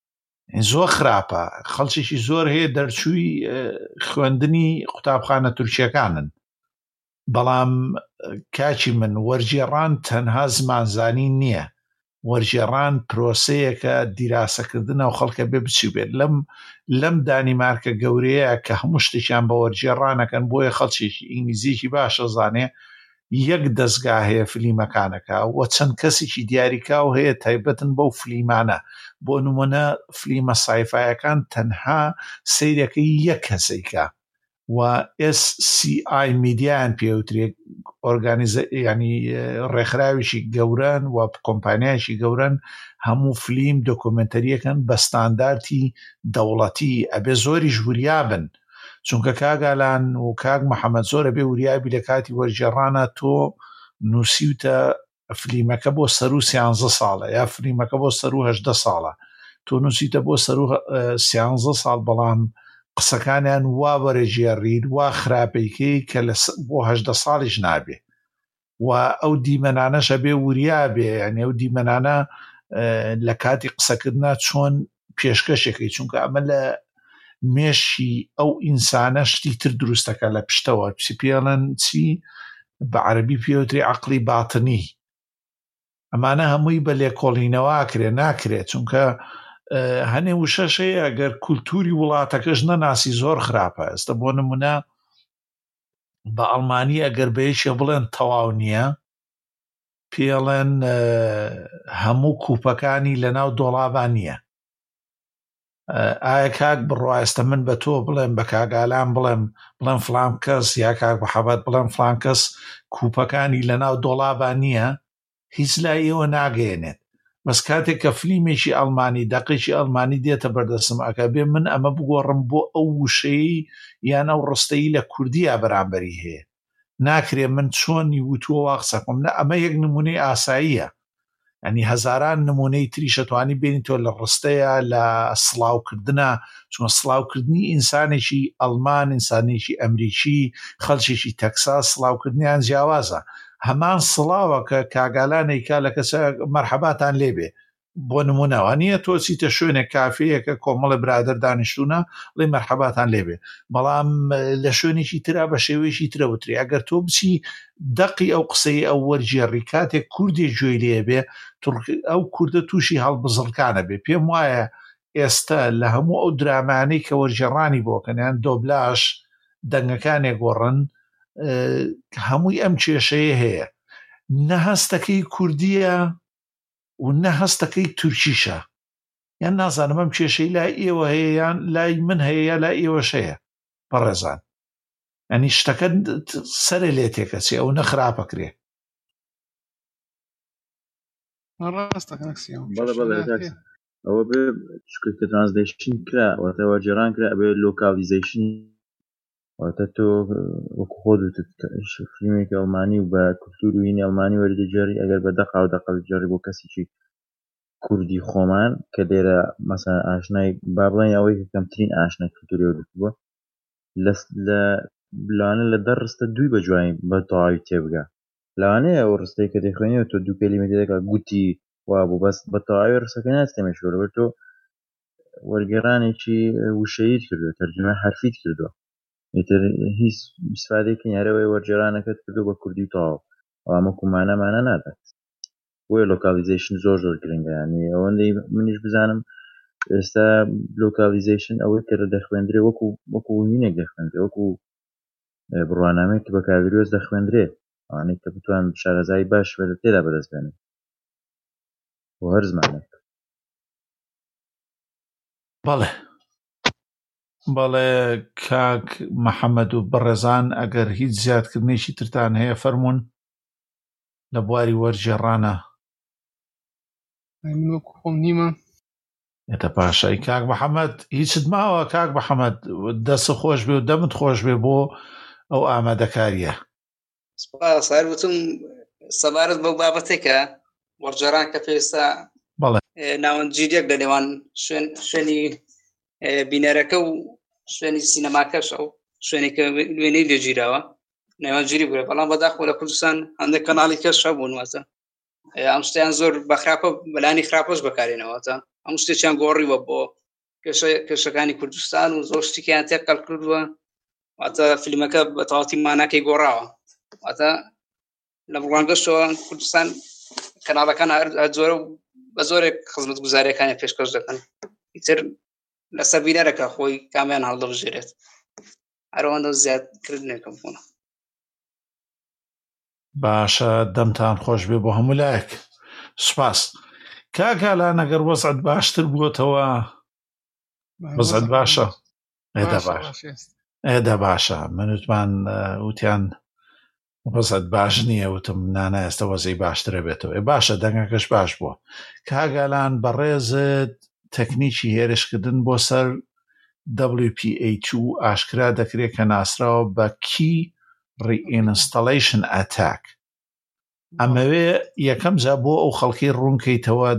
Speaker 1: زۆر خراپە خەڵکیشی زۆر هەیە دەرچووی خوێندنی قوتابخانە تورکیەکانن بەڵام کاچی من وەرگێڕان تەنها زمانزانی نییە وەرگێڕان پرۆسەیەکە دیراسەکردنە و خەڵکە بێ بچی بێت لەم دانیمارکە گەورەیە کە هەموو شتێکیان بە وەرگێڕانەکەن بۆیە خەڵکێکی ئینگلیزیێکی باشە زانێ یەک دەستگا هەیە فلیمەکانەکە و چەند کەسێکی دیاریکاو هەیە تایبەتن بەو فلیمانە بۆ نمونە فلیمە سایفایەکان تەنها سەیرەکەی یەک کەسێکە و SCI میدیان پێوترێت ینی ڕێکخراویشی گەورن و کۆمپانیایشی گەورن هەموو فلیم دۆکومنتەریەکەن بە ستانداردی دەوڵەتی ئەبێ زۆری ژوریابن چونکە کاگالان و کاک محەممەد زۆرە بێ وریابی لە کاتی وەرگێڕانە تۆ نووسیوتە فلیمەکە بۆ سەر و 13 ساڵە یا فلیمەکە بۆ سەر و 18 ساڵە تۆ نووسیتە بۆ سەر و 13 ساڵ بەڵام قسەکانیان وا وەرەژێڕید وا خراپەیکەی کە بۆ 18 ساڵیش نابێ و ئەو دیمەنانەشە بێ وریابێ یعنی ئەو دیمەنانە لە کاتی قسەکردنا چۆن پێشکەشێکی چونکە ئەمە لە مێشی ئەو ئینسانە شتی تر دروستەکە لە پشتەوە چی پێڵەن چی بە عەرەبی پێوتری عەقڵی باتنی ئەمانە هەمووی بە لێکۆڵینەوە کرێ ناکرێت چونکە هەنێ وشەشەیە ئەگەر کولتوری وڵاتەکەش نەناسی زۆر خراپە ئێستا بۆ نمونە بە ئەڵمانی ئەگەر بەیەکێ بڵێن تەواو نییە پێڵێن هەموو کوپەکانی لەناو دۆڵابان نییە ئایا کاک بڕوایستە من بە تۆ بڵێم بە کاگالان بڵێم فلان کەس یا کاک محەممەد بڵێم فلان کەس کوپەکانی لەناو دۆڵابان نییە هیچ لای ئێوە ناگەێنێت بەس کاتێک کە فلیمێکی ئەڵمانی دەقێکی ئەڵمانی دێتە بەردەسم ئەکە بێ من ئەمە بگۆڕم بۆ ئەو وشەی یان ئەو ڕستەی لە کوردیا بەرامبەری هەیە ناکرێ من چۆنی وتووە وا قسەکەم نە ئەمە یەک نمونەی ئاساییە ینی هەزاران نمونەی تریشەتوانی بینی تۆ لە ڕستەیە لە سڵاوکردنە چون سڵاوکردنی ئینسانێکی ئەڵمان ئینسانێکی ئەمریکی خەڵکێکی تەکساس سڵاوکردنیان جیاوازە هەمان سڵاوە کە کاگالانێکا لە کەسە مەرحەباتان لێبێ بۆ نمونەوە نییە تۆ چیتە شوێنێک کافەیەکە کۆمەڵە برادر دانیشتوونە لێ مەرحەباتان لێبێ بەڵام لە شوێنێکی ترا بە شێوەیەکی ترەوتری ئەگەر تۆ بچی دەقی ئەو قسەی ئەو وەرگێڕی کاتێک کوردێک گوێی لێ بێ ئەو کوردە تووشی هەڵبزڵکانە بێ پێم وایە ئێستا لە هەموو ئەو درامانەی کە وەرگێڕانی بۆکەنیان دۆبلاژ دەنگەکانێک گۆڕن هەمووی ئەم کێشەیە هەیە نە هەستەکەی کوردیە و نە هەستەکەی تورکیشە یان نازانم ئەم کێشەی لای ئێوە هەیە یان لای من هەیە یا لای ئێوەش هەیە بەڕێزان ینی شتەکە سەرێ لێ تێکەچێ ئەو نەخراپەکرێ
Speaker 3: ئەوە بێ کە ترانسلیشن کرا واتە وەرگێڕان کرا ئەبێ لۆکالیزیشن واتە تۆ وەکو خۆت فیلمێکی ئەڵمانی و بە کولتور و هینی ئەڵمانی وەردەجێڕی ئەگەر بە دەقا و دەقەڵ جێڕی بۆ کەسێکی کوردی خۆمان کە لێرە مەسەڵەن ئاشنای با بڵێن ئەوەی کە کەمترین ئاشنای کولتوری وەردەبووە لە لەوانە لە دە ڕستە دووی بە جوانی بە تەواوی تێبگا لەوانەیە ئەو ڕستەی کە دەیخوێنیەوە تۆ دوو کەلیمە تێدەکا گوتی وا بوو بەس بە تەواوی ڕستەکە ناستێمەش وەرەوە تۆ وەرگێڕانێکی وشەیت کردووە تەرجمە حرفیت کردووە ئیتر هیچ استفادەیەکی یارەوەی وەرگێڕانەکەت کردو بە کوردی تەواو ئەوامە کومانەمانە نادات بۆیە لۆکالیزیشن زۆر گرنگە ینی ئەوەندەی منیش بزانم ئێستا لۆکالیزیشن ئەوەی کە دەخوێندرێ وەکو وینێک دەخوێندرێ وەکو بڕوانامەیە کە بە کاویرۆز دەخوێندرێ ئەوانەی کە بتوان شارەزای باش بە تێدا بەدەستبێنن بۆ هەر زمانێک
Speaker 1: بەڵێ کاک محەممەد و بەڕێزان ئەگەر هیچ زیادکردنێکی ترتان هەیە فەرمونون لە بواری وەرگێڕانە
Speaker 2: خۆم نیمە
Speaker 1: ئێتە پاشای کاک محەممەد هیچت ماوە کاک محەممەد دەست خۆش بێ و دەمت خۆش بێ بۆ ئەو ئامادەکاریە
Speaker 4: سپاس وتم سەبارەت بەو بابەتێکە وەرگێڕان کە پێویستە ناوەندگیریەک لە نێوان شوێنی بینەرەکە و شوێنی سینەماکەش ئەو شوێنێکە وێنەی لێگیراوە نێوانگیری بووە بەڵام بەداخۆ لە کوردستان هەندێک کەناڵی کەش هەبوون واتە ئەم شتیان زۆر بە خراپە بەلانی خراپەش بەکارێنەوەتە ئەم شتێکیان گۆڕیوە بۆ کێشەکانی کوردستان و زۆر شتێکیان تێقەڵ کردووە واتە فیلمەکە بە تەواوەتی ماناکەی گۆڕاوە واتە لە بڕوانگەشتەوە کوردستان کەناڵەکان زۆرە و بە زۆرێک خزمەتگوزاریەکانی پێشکەش دەکەن ئیتر لەسەر بینەرەکە خۆی کامیان هەڵدەبژێرێت هەروەندە زیادکردنێکم بوونە.
Speaker 1: باشە دەمتان خۆش بێ بۆ هەموو لایەک. سوپاس. کاکالان ئەگەر وەزعت باشتر بووەتەوە وەزعت باشە؟ ئێدە باشە. منوتمان وتیان وەزعت باش نییە، وتم نانە ئێستا وەزەی باشترە بێتەوە. باشە دەنگەکەش باش بووە. کاگالان بەڕێزت تەکنیکی هێرشکردن بۆ سەر WPA2 ئاشکرا دەکرێت کە ناسراوە بە Key Reinstallation Attack. ئەمەوێ یەکەم جا بۆ ئەو خەڵکی ڕوونکەیتەوە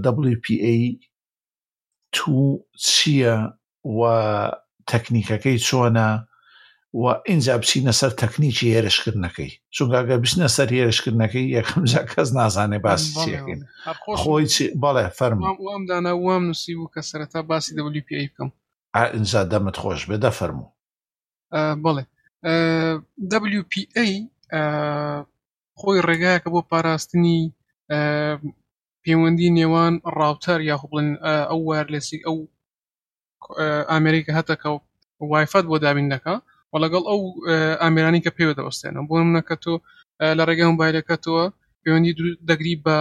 Speaker 1: WPA2 چییە و تەکنیکەکەی چۆنە و ئینجا بچینە سەر تەکنیکی هێرشکردنەکەی، چونکە ئەگەر بچنە سەر هێرشکردنەکەی یەکەم جا کەس نازانێ باسی چیەکەین. خۆی بەڵێ فەرموو.
Speaker 2: وام دانا وام نووسی بوو کە سەرەتا باسی WPA بکەم.
Speaker 1: ئینجا دەمت خۆش بێ دەفەرموو.
Speaker 2: بەڵێ WPA خۆی ڕێگایەکە بۆ پاراستنی پەیوەندی نێوان ڕاوتەر یاخۆ بڵێن ئەو وایرلێسی ئەو ئامێریکە هەتەکە وایفات بۆ دابین دەکا و لەگەڵ ئەو ئامێرانی کە پێوە دەوەستێنە بۆ نمونەکە تۆ لە ڕێگای مۆبایلەکەتەوە پەیوەندی دەگری بە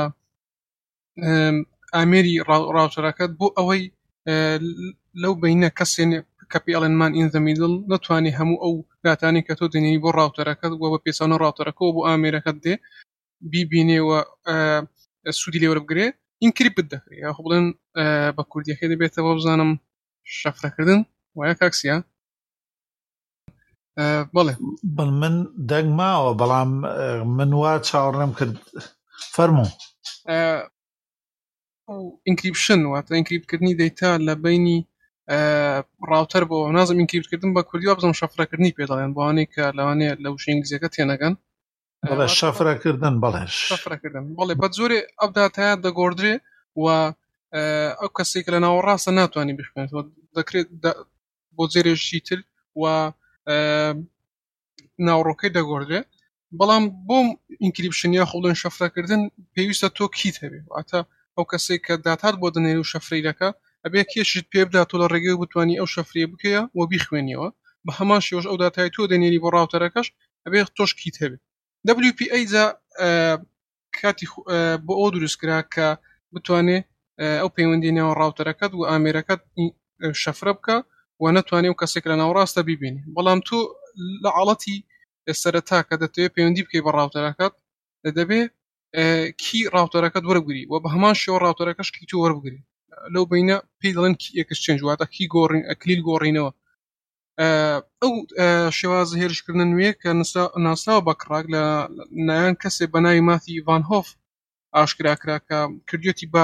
Speaker 2: ئامێری ڕاوتەرەکەت بۆ ئەوەی لەو بینە کەسێنێ کە پێڵێنمان ئین ذا میدڵ نەتوانێ هەموو ئەو داتانی کە تۆ دێنی بۆ ڕاوتەرەکەت و بە پێچەوانە ڕاوتەرەکەەوە بۆ ئامێرەکەت دێ بیبینێەوە سوودی لێوە بگرێ ئینکریپت دەکرێت یاخۆ بڵێن بە کوردیەکەی دەبێتەوە بزانم شەفرەکردن وایە کاکسیە. بەڵێ
Speaker 1: من دەنگ ماوە بەڵام من وا چاوەڕێم کرد. فەرموو.
Speaker 2: ئینکریپشن واتە ئینکریپتکردنی دەیتا لە بینی ڕاوتەر بۆ نازم ئینکریپتکردن بە کوردی بزانم شەفرەکردنی پێدەڵێن بۆوانەی کە لەوانەیە لە وشەی ئینگلیزیەکە تێنەگەن.
Speaker 1: بەڵێ شەفرەکردن. بەڵێ
Speaker 2: شەفرەکردن. بەڵێ بە زۆرێ ئەو داتایە دەگۆڕدرێ و ئەو کەسێک لە ناوەڕاستە ناتوانانی بخوێنێتەوە دەکرێت بۆ جێرێژی تر و ناوڕۆکەی دەگۆڕدرێ. بەڵام بۆم ئینکریپشن یا خۆڵێن شەفرەکردن پێویستە تۆ کیت هەبێ واتە ئەو کەسێک کە داتات بۆ دەنێری و شەفرەیەکە ئەبێ کێشت پێ بدات تۆ لە ڕێگەی بتوانانی ئەو شەفرێ بکەیە و بیخوێنیەوە بە هەمان شێوەش ئەو داتای تۆ دەنێری بۆ ڕاوتەرەکەش ئەبێ تۆش کیت هەبێ. WPA جا کاتی بۆ ئەو دروستکرا کە بتوانێ ئەو پەیوەندی نێوان ڕاوتەرەکەت و ئامێرەکەت شەفرە بکە و نەتوانێ و کەسێک لە ناوڕاستە بیبینی. بەڵام تۆ لە حاڵەتی سەرەتا کە دەتەوێت پەیوەندی بکەی بە ڕاوتەرەکەت دەبێ کی ڕاوتەرەکەت وەربگری و بە هەمان شێوە ڕاوتەرەکەش کی تۆ وەربگری. لەو بینە پێی دەڵێن ئەکسچێنج واتە کی گۆڕین ئەکلیل گۆڕینەوە. ئەو شێوازە هێرشکردن نوێ کە ناسراوە بە کڕاک لە نایان کەسێ بە ناوی ماتی ڤان هۆف ئاشکراکرا کە کردوێتی بە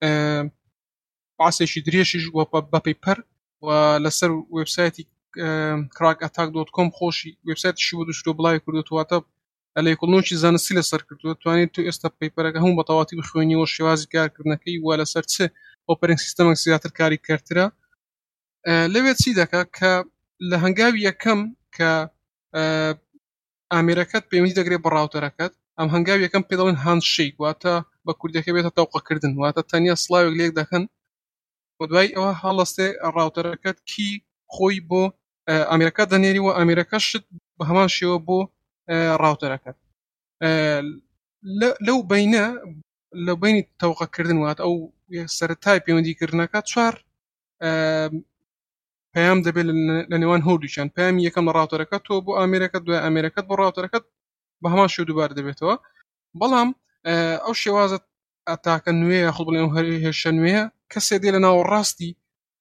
Speaker 2: پاسێکی درێژیش بە پەیپەر و لەسەر وێبسایتی crackAttack.com خۆشی وێبسایتیشی بۆ دوشتۆ بڵاوی کردوتواتە لە یەکڵنۆکی زانستی لەسەر کردووە توانێت تو ئێستا پەیپەرەکە هەموو بە تەواتی بخوێنیەوە شێوازی کارکردنەکەی و لەسەر چ ئۆپەرینگ سیستەمێک زیاتر کاری کردترە. لەوێت چی دەکات کە لە هەنگاوی یەکەم کە ئامێرەکەت پەیوەندی دەگرێت بە ڕاوتەرەکەت ئەم هەنگاوی یەکەم پێ دەڵێن هاندشیک واتە بە کوردیەکە بێتە تەوقەکردن واتە تەنیا سڵاوێک لێک دەکەن و دوای ئەوە هەڵەستێ ڕاوتەرەکەت کی خۆی بۆ ئامێرەکە دەنێری و ئامێرەکەشت بە هەمان شێوە بۆ ڕاوتەرەکەت. لەو بینە لە بینی تەوقەکردن واتە ئەو سەرەتای پەیوەندیکردنەکە چوار پەیام دەبێت لە نێوان هەردووچیان. پەیامی یەکەم لە ڕاوتەرەکەت تۆ بۆ ئامێرەکەت دوای ئامێرەکەت بۆ ڕاوتەرەکەت بە هەمان شێوە دووبار دەبێتەوە. بەڵام ئەو شێوازە ئەتاکە نوێ یاخۆ بڵێن ئەو هێرشە نوێیە کەسێ دێ لە ناوەڕاستی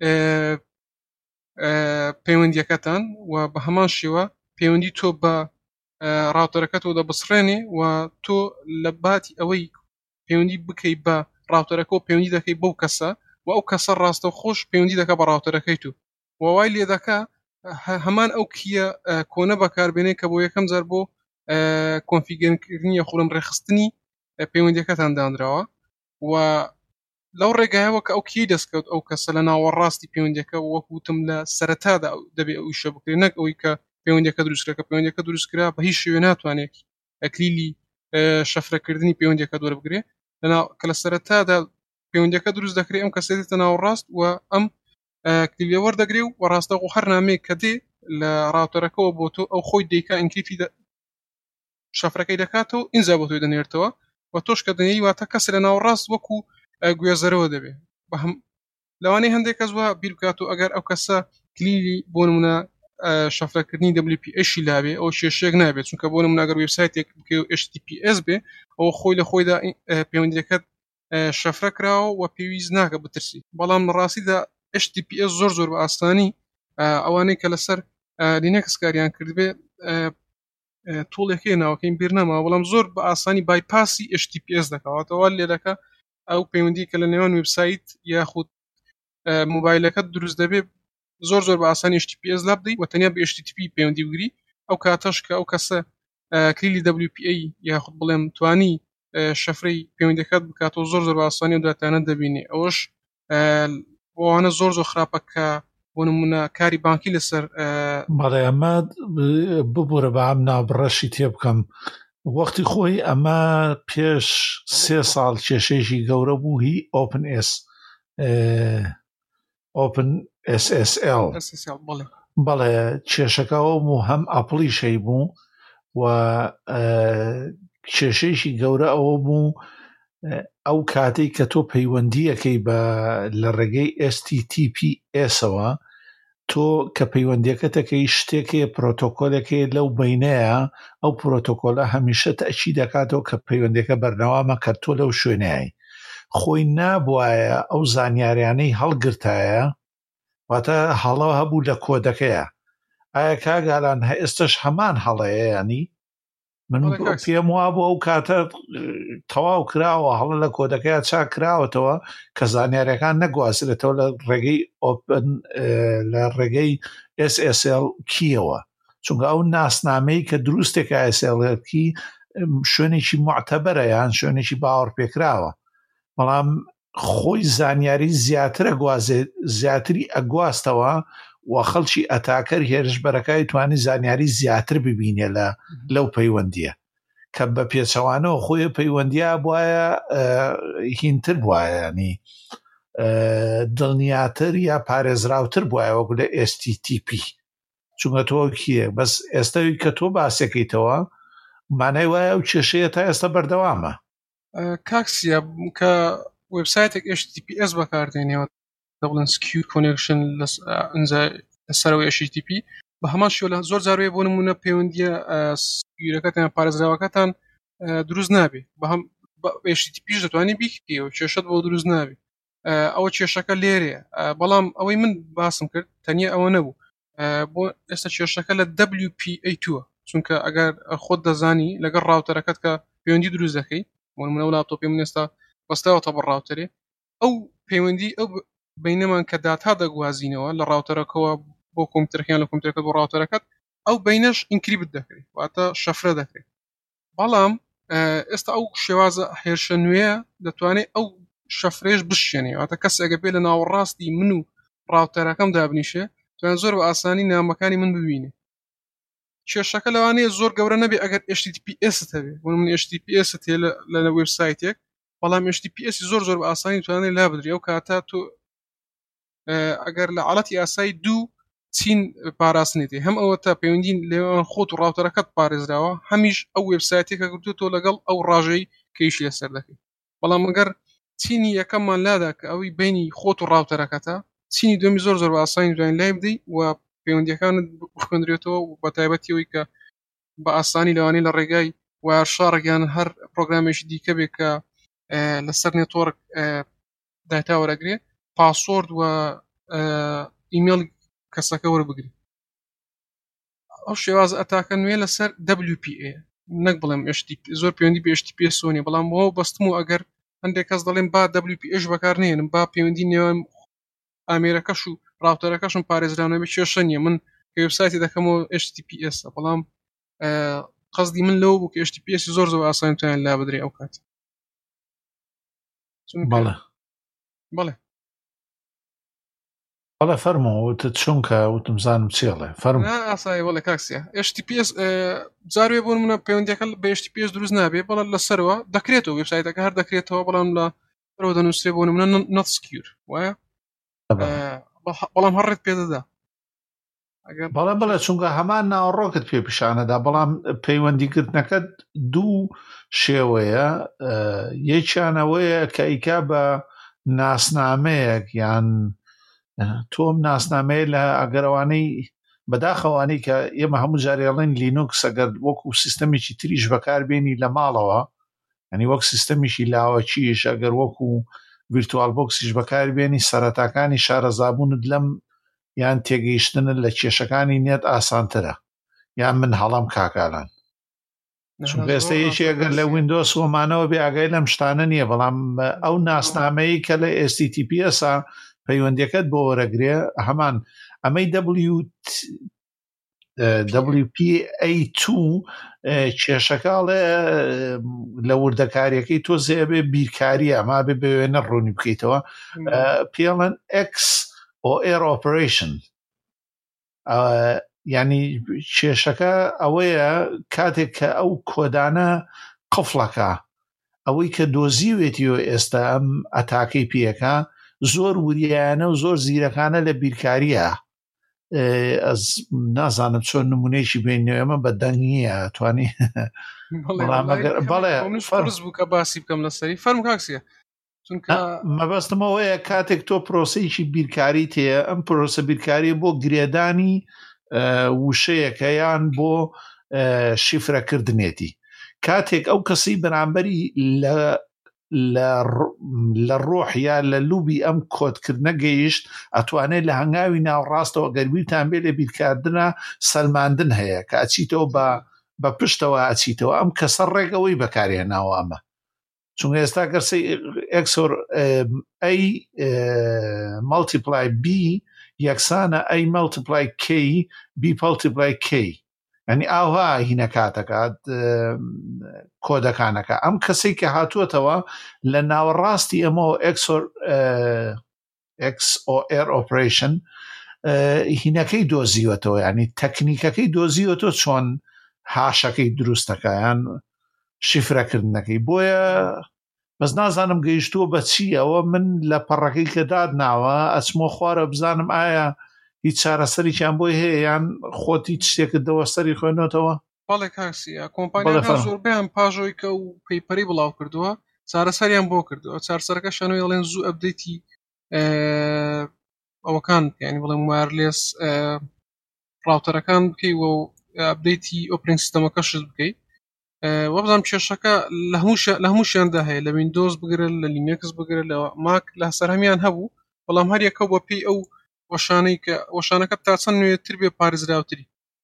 Speaker 2: پەیوەندیەکەتان و بە هەمان شێوە پەیوەندی تۆ بە ڕاوتەرەکەتەوە دەبسڕێنێ و تۆ لە باتی ئەوەی پەیوەندی بکەی بە ڕاوتەرەکە و پەیوەندی دەکەی بەو کەسە و ئەو کەسە ڕاستە خۆش پەیوەندی دەکە بە ڕاوتەرەکەی تو ووای لێ دەکا هەمان ئەو کیە کۆنە بەکاربێنێ کە بۆ یەکەم جار بۆ کۆنفیگەرکردنی خوڵم ڕێخستنی پەیوەندیەکەتان دانراوە و لەو ڕێگایەوە کە ئەو کی دەستکەوت ئەو کەسە لە ناوەڕاستی پەیوەندیەکە وەکوتم لە سەرەتادا دەبێ ئەو شە بکرێت نەک ئەوەی کە پەیوەندیەکە دروستکرا کە پەیوەندیەکە دروستکرا بە هیچ شێوێ ناتوانێت ئەکلیلی شەفرەکردنی پەیوەندیەکە دووەربگرێت کە لە سەرەتادا پەیوەندیەکە دروست دەکرێت ئەم کەسە دێتە ناوەڕاست و ئەم کلیلە وەردەگرێ و ڕاستەوە هەر نامەیەک کە دێ لە ڕاوتەرەکەەوە بۆ تۆ ئەو خۆی دیکا ئینکریپی شەفرەکەی دەکاتەوە ئینجا بۆ تۆی دەنێرتەوە و تۆش کە دەنێری واتە کەس لە ناوەڕاست وەکو گوێزەرەوە دەبێت بە هەم لەوانەیە هەندێک کەس وە بیر بکات و ئەگەر ئەو کەسە کلیلی بۆ نمونە شەفرەکردنی WPA-شی لابێ ئەو شێشێک نابێت چونکە بۆ نمونە ئەگەر وێبسایتێک HTTPS بێ ئەو خۆی لە خۆیدا پەیوەندیەکەت شەفرە کراوە و پێویست ناکە بترسی بەڵام ڕاستیدا HTTPS زۆر بە ئاسانی ئەوانەی کە لەسەر لینەکس کاریان کردبێ تۆڵێکی ناوەکەین بیر نەما بەڵام زۆر بە ئاسانی بایپاسی HTTPS دەکەواتەوە لێرەکە ئەو پەیوەندی کە لە نێوان وێبسایت یاخود موبایلەکەت دروست دەبێت زۆر بە ئاسانی HTTPS لا بدەیت و تەنیا بە HTTP پەیوەندی بگری ئەو کاتەش کە ئەو کەسە کلیلی WPA یاخود بڵێم توانی شەفرەی پەیوەندیەکەت بکاتەوە زۆر بە ئاسانی و داتانە دەبینێ ئەوەش بۆوانە زۆر خراپە کە بۆ نمونە کاری بانکی لەسەر
Speaker 1: بەڵێ ئەمە ببوورە بە ئەم نابڕەشی تێ بکەم وەختی خۆی ئەمە پێش 3 ساڵ کێشەیەکی گەورە بوو هی OpenSSL بەڵێ کێشەکەەوە بوو هەم ئەپڵی شەی بوو و کێشەیەکی گەورە ئەوە بوو ئەو کاتێک کە تۆ پەیوەندیەکەی بە لە ڕێگەی STTPS-ەوە تۆ کە پەیوەندیەکەتەکەی شتێکێ پرۆتۆکۆلەکەی لەو بینەیە ئەو پرۆتۆکۆلە هەمیشە تەچی دەکاتەوە کە پەیوەندیەکە بەرنەوامە کە تۆ لەو شوێنایی خۆی نابوایە ئەو زانیاریانەی هەڵگرتایە واتە هەڵە هەبوو لە کۆدەکەیە ئایا کاگالان ئێستش هەمان هەڵەیە ینی من پێم وابوو ئەو کاتە تەواو کراوە هەڵە لە کۆدەکەیە چاک کراوەتەوە کە زانیاریەکان نەگوازرێتەوە لە ڕێگەی لە ڕێگەی SSL کیەوە چونکە ئەو ناسنامەی کە دروستێکە SSLکی شوێنێکی معتەبەرە یان شوێنێکی باوەڕ پێکراوە بەڵام خۆی زانیاری زیاتری ئەگواستەوە و خەڵکی ئەتاکەر هێرشبەرەکەی توانی زانیاری زیاتر ببینێ لەو پەیوەندیە کە بە پێچەوانەوە خۆی پەیوەندیە بواە هینتر بواە ینی دڵنیاتر یا پارێزراوتر بواە وەکو لە STTP چونکە تۆ کیە بەس ئێستاوی کە تۆ باسەکەیتەوە مانای وایە ئەو کێشەیە تا ئێستا بەردەوامە
Speaker 2: کاکسیە کە وێبسایتێک HTTPS بەکاردێنێەوە دەبڵێن سکیور کۆنێکشن لەسەرەوەی HTTP بە هەمان شێوە لە زۆر جاروێ بۆ نمونە پەیوەندیە سکیورەکەتان پارێزراوەکەتان دروست نابێت بە هەم HTTPش دەتوانێت بیکەوە کێشەت بۆ دروست نابێت ئەوە کێشەکە لێرەیە بەڵام ئەوەی من باسم کرد تەنیا ئەوە نەبوو بۆ ئێستا کێشەکە لە WPA2 چونکە ئەگەر خۆت دەزانی لەگەڵ ڕاوتەرەکەت کە پەیوەندی دروست دەکەی بۆ نمونە و لاپتۆپی من ئێستا بەستاوەتە بە ڕاوتەرێ ئەو پەیوەندی ئەو بینەمان کە داتا دەگوازینەوە لە ڕاوتەرەکەەوە بۆ کۆمپیوتەرەکەیان لە کۆمپیوتەرەکەت بۆ ڕاوتەرەکەت ئەو بینەش ئینکریپت دەکرێت واتە شەفرە دەکرێت بەڵام ئێستا ئەو شێوازە هێرشە نوێیە دەتوانێت ئەو شەفرێش بشێنێ واتە کەس ئەگە بێ لە ناوەڕاستی من و ڕاوتەرەکەم دابنیشێ توان زۆر بە ئاسانی نامەکانی من ببینێ کێشەکە لەوانەیە زۆر گەورە نەبێ ئەگەر HTTPS هەبێ بۆ من HTTPS هەیە لە وێبسایتێک بەڵام HTTPS زۆر بە ئاسانی توانێت لا بدرێ ئەو کاتە تۆ ئەگەر لە حاڵەتی ئاسایی دوو چین پاراستنێتی هەم ئەوە تا پەیوەندی لێوان خۆت و ڕاوتەرەکەت پارێزراوە هەمیش ئەو وێبسایتێکە گرتووە لەگەڵ ئەو ڕاژەی کەیشی لەسەر دەکەیت بەڵام ئەگەر چینی یەکەممان لادا کە ئەوەی بینی خۆت و ڕاوتەرەکەتە چینی دومی زۆر بە ئاسانی دوای لای بدەیت و پەیوەندیەکانت بخوێنرێتەوە و بە تایبەتیەوەی کە بە ئاسانی لەوانەیە لە ڕێگای وایرشارێکیان هەر پرۆگرامێکی دیکە بێت کە لەسەر نێتۆرک داتا وەرەگرێ پاسۆرد و ئیمێل کەسەکە وەربگری ئەو شێواز ئەتاکە نوێ لەسەر WPA نەک بڵێم زۆر پەیوەندی بە HTTPS سۆنی بەڵام بۆ بەستم و ئەگەر هەندێک کەس دەڵێن با WPAش بەکارنێنم با پەیوەندی نێوان ئامێرەکەش و ڕاوتەرەکەشم پارێزراونەبێ کێشە نییە من کە وێبسایتی دەکەمەوە HTTPS بەڵام قەزدی من لەوە بوو کە HTTPS زۆر ئاسانتوان لا بدرێ ئەو کات
Speaker 1: بەڵێ
Speaker 2: بەڵێ
Speaker 1: بەڵێ فەرمۆ وتت چونکە وتم زانم چێڵێ فەرمو
Speaker 2: ئاسایی وەڵێ کاکسیە HTTPS جاروێ بۆ منە پەیوەندیەکە بە HTTPS دروست نابێ بەڵام لەسەرەوە دەکرێتەوە وێبسایتەکە هەر دەکرێتەوە بەڵام لە سەرەوە دەنووسێ بۆ منە not secure وایە بەڵام هەڕێت پێدەدا
Speaker 1: بەڵێ چونکە هەمان ناوەڕۆکت پێ پیشانەدا بەڵام پەیوەندیکردنەکەت دوو شێوەیە یەکیانەوەیە کە ئیکا بە ناسنامەیەک یان تۆم ناسنامەیە لە ئەگەرەوانەی بەداخەوانەی کە ئێمە هەموو جارێڵێن لینوکس ئەگەر وەکو سیستەمێکی تریش بەکاربێنی لە ماڵەوە ینی وەک سیستەمیشی لاوەچیش ئەگەر وەکو ڤیرتوال بۆکسیش بەکاربێنی سەرەتاکانی شارەزابوونت لەم یان تێگەیشتنت لە کێشەکانی نێت ئاسانترە یان من هەڵام کاکالان چونکە ئێستا یەکی ئەگەر لە ویندۆس وەمانەوە بێ ئاگای لەم شتانە نییە بەڵام ئەو ناسنامەیە کە لە HTTPS پەیوەندیەکەت بۆ وەرەگرێ هەمان ئەمەی WPA2 کێشەکاڵێ لە وردەکاریەکەی تۆ زێبێ بیرکاریە ما بێ بە وێنە ڕوونی بکەیتەوە پێڵەن XOR operation ینی کێشەکە ئەوەیە کاتێک کە ئەو کۆدانە قفڵەکە ئەوەی کە دۆزیوێتیەوە ئێستا ئەم ئەتاکەی پێەکە زۆر وریانە و زۆر زیرەکانە لە بیرکاریە ئەس نازانم چۆن نمونەیەکی بینەوە ئەمە بە دەنگیە توانی
Speaker 2: بەڵێ بوو کە باسی بکەم لەسەری فەرم کاکسیە
Speaker 1: مەبەستمەوەیە کاتێک تۆ پرۆسەیەکی بیرکاری تەیە ئەم پرۆسە بیرکاری بۆ گرێدانی وشەیەکە یان بۆ شیفرەکردنێتی کاتێک ئەو کەسی بەرامبەری لە ڕۆح یا لە لوبی ئەم کۆدکردنە گەیشت ئەتوانێت لە هەنگاوی ناوڕاستەوە گەربیرتان بێ لە بیرکاردنە سەلماندن هەیە کە ئەچیتەوە بە پشتەوە ئەچیتەوە ئەم کەسە ڕێگەوەی بەکارهێناوە ئەمە چونکە ئێستا گەرسی XOR A multiply B یەکسانە A multiply K B multiply K ینی ئاوها هینە کاتەکات کۆدەکانەکە ئەم کەسەی کە هاتووەتەوە لە ناوەڕاستی ئەمەوە XOR operation هینەکەی دۆزیوەتەوە ینی تەکنیکەکەی دۆزیوەتەوە چۆن هاشەکەی دروستەکە یان شیفرەکردنەکەی بۆیە بەس نازانم گەیشتووە بە چی ئەوە من لە پەڕەکەی کە دادناوە ئەچمۆ خوارە بزانم ئایا هیچ چارەسەریان بۆی هەیە یان خۆت هیچ شتێکت دەوەستەری خوێنەوەتەوە
Speaker 2: بەڵێ کاکسیە کۆمپانیەکان زۆربیان پاژۆی کە و پەیپەری بڵاو کردووە چارەسەریان بۆ کردووە چارەسەرەکە شانۆی دەڵێن زوو ئەپدەیتی ئەوەکان یعنی بڵێم وایرلێس ڕاوتەرەکان بکەیت و ئەپدەیتی ئۆپرینگ سیستەمەکەشت بکەیت وەبزانام کێشەکە لە هەمووشیاندا هەیە لە ویندۆز بگرن لە لینکس بگرن لە ماک لە سەر هەمیان هەبوو بەڵام هەر یەکە بۆ پێی ئەو وەشانەکە تا چەند نوێتر بێ پارێزراوتری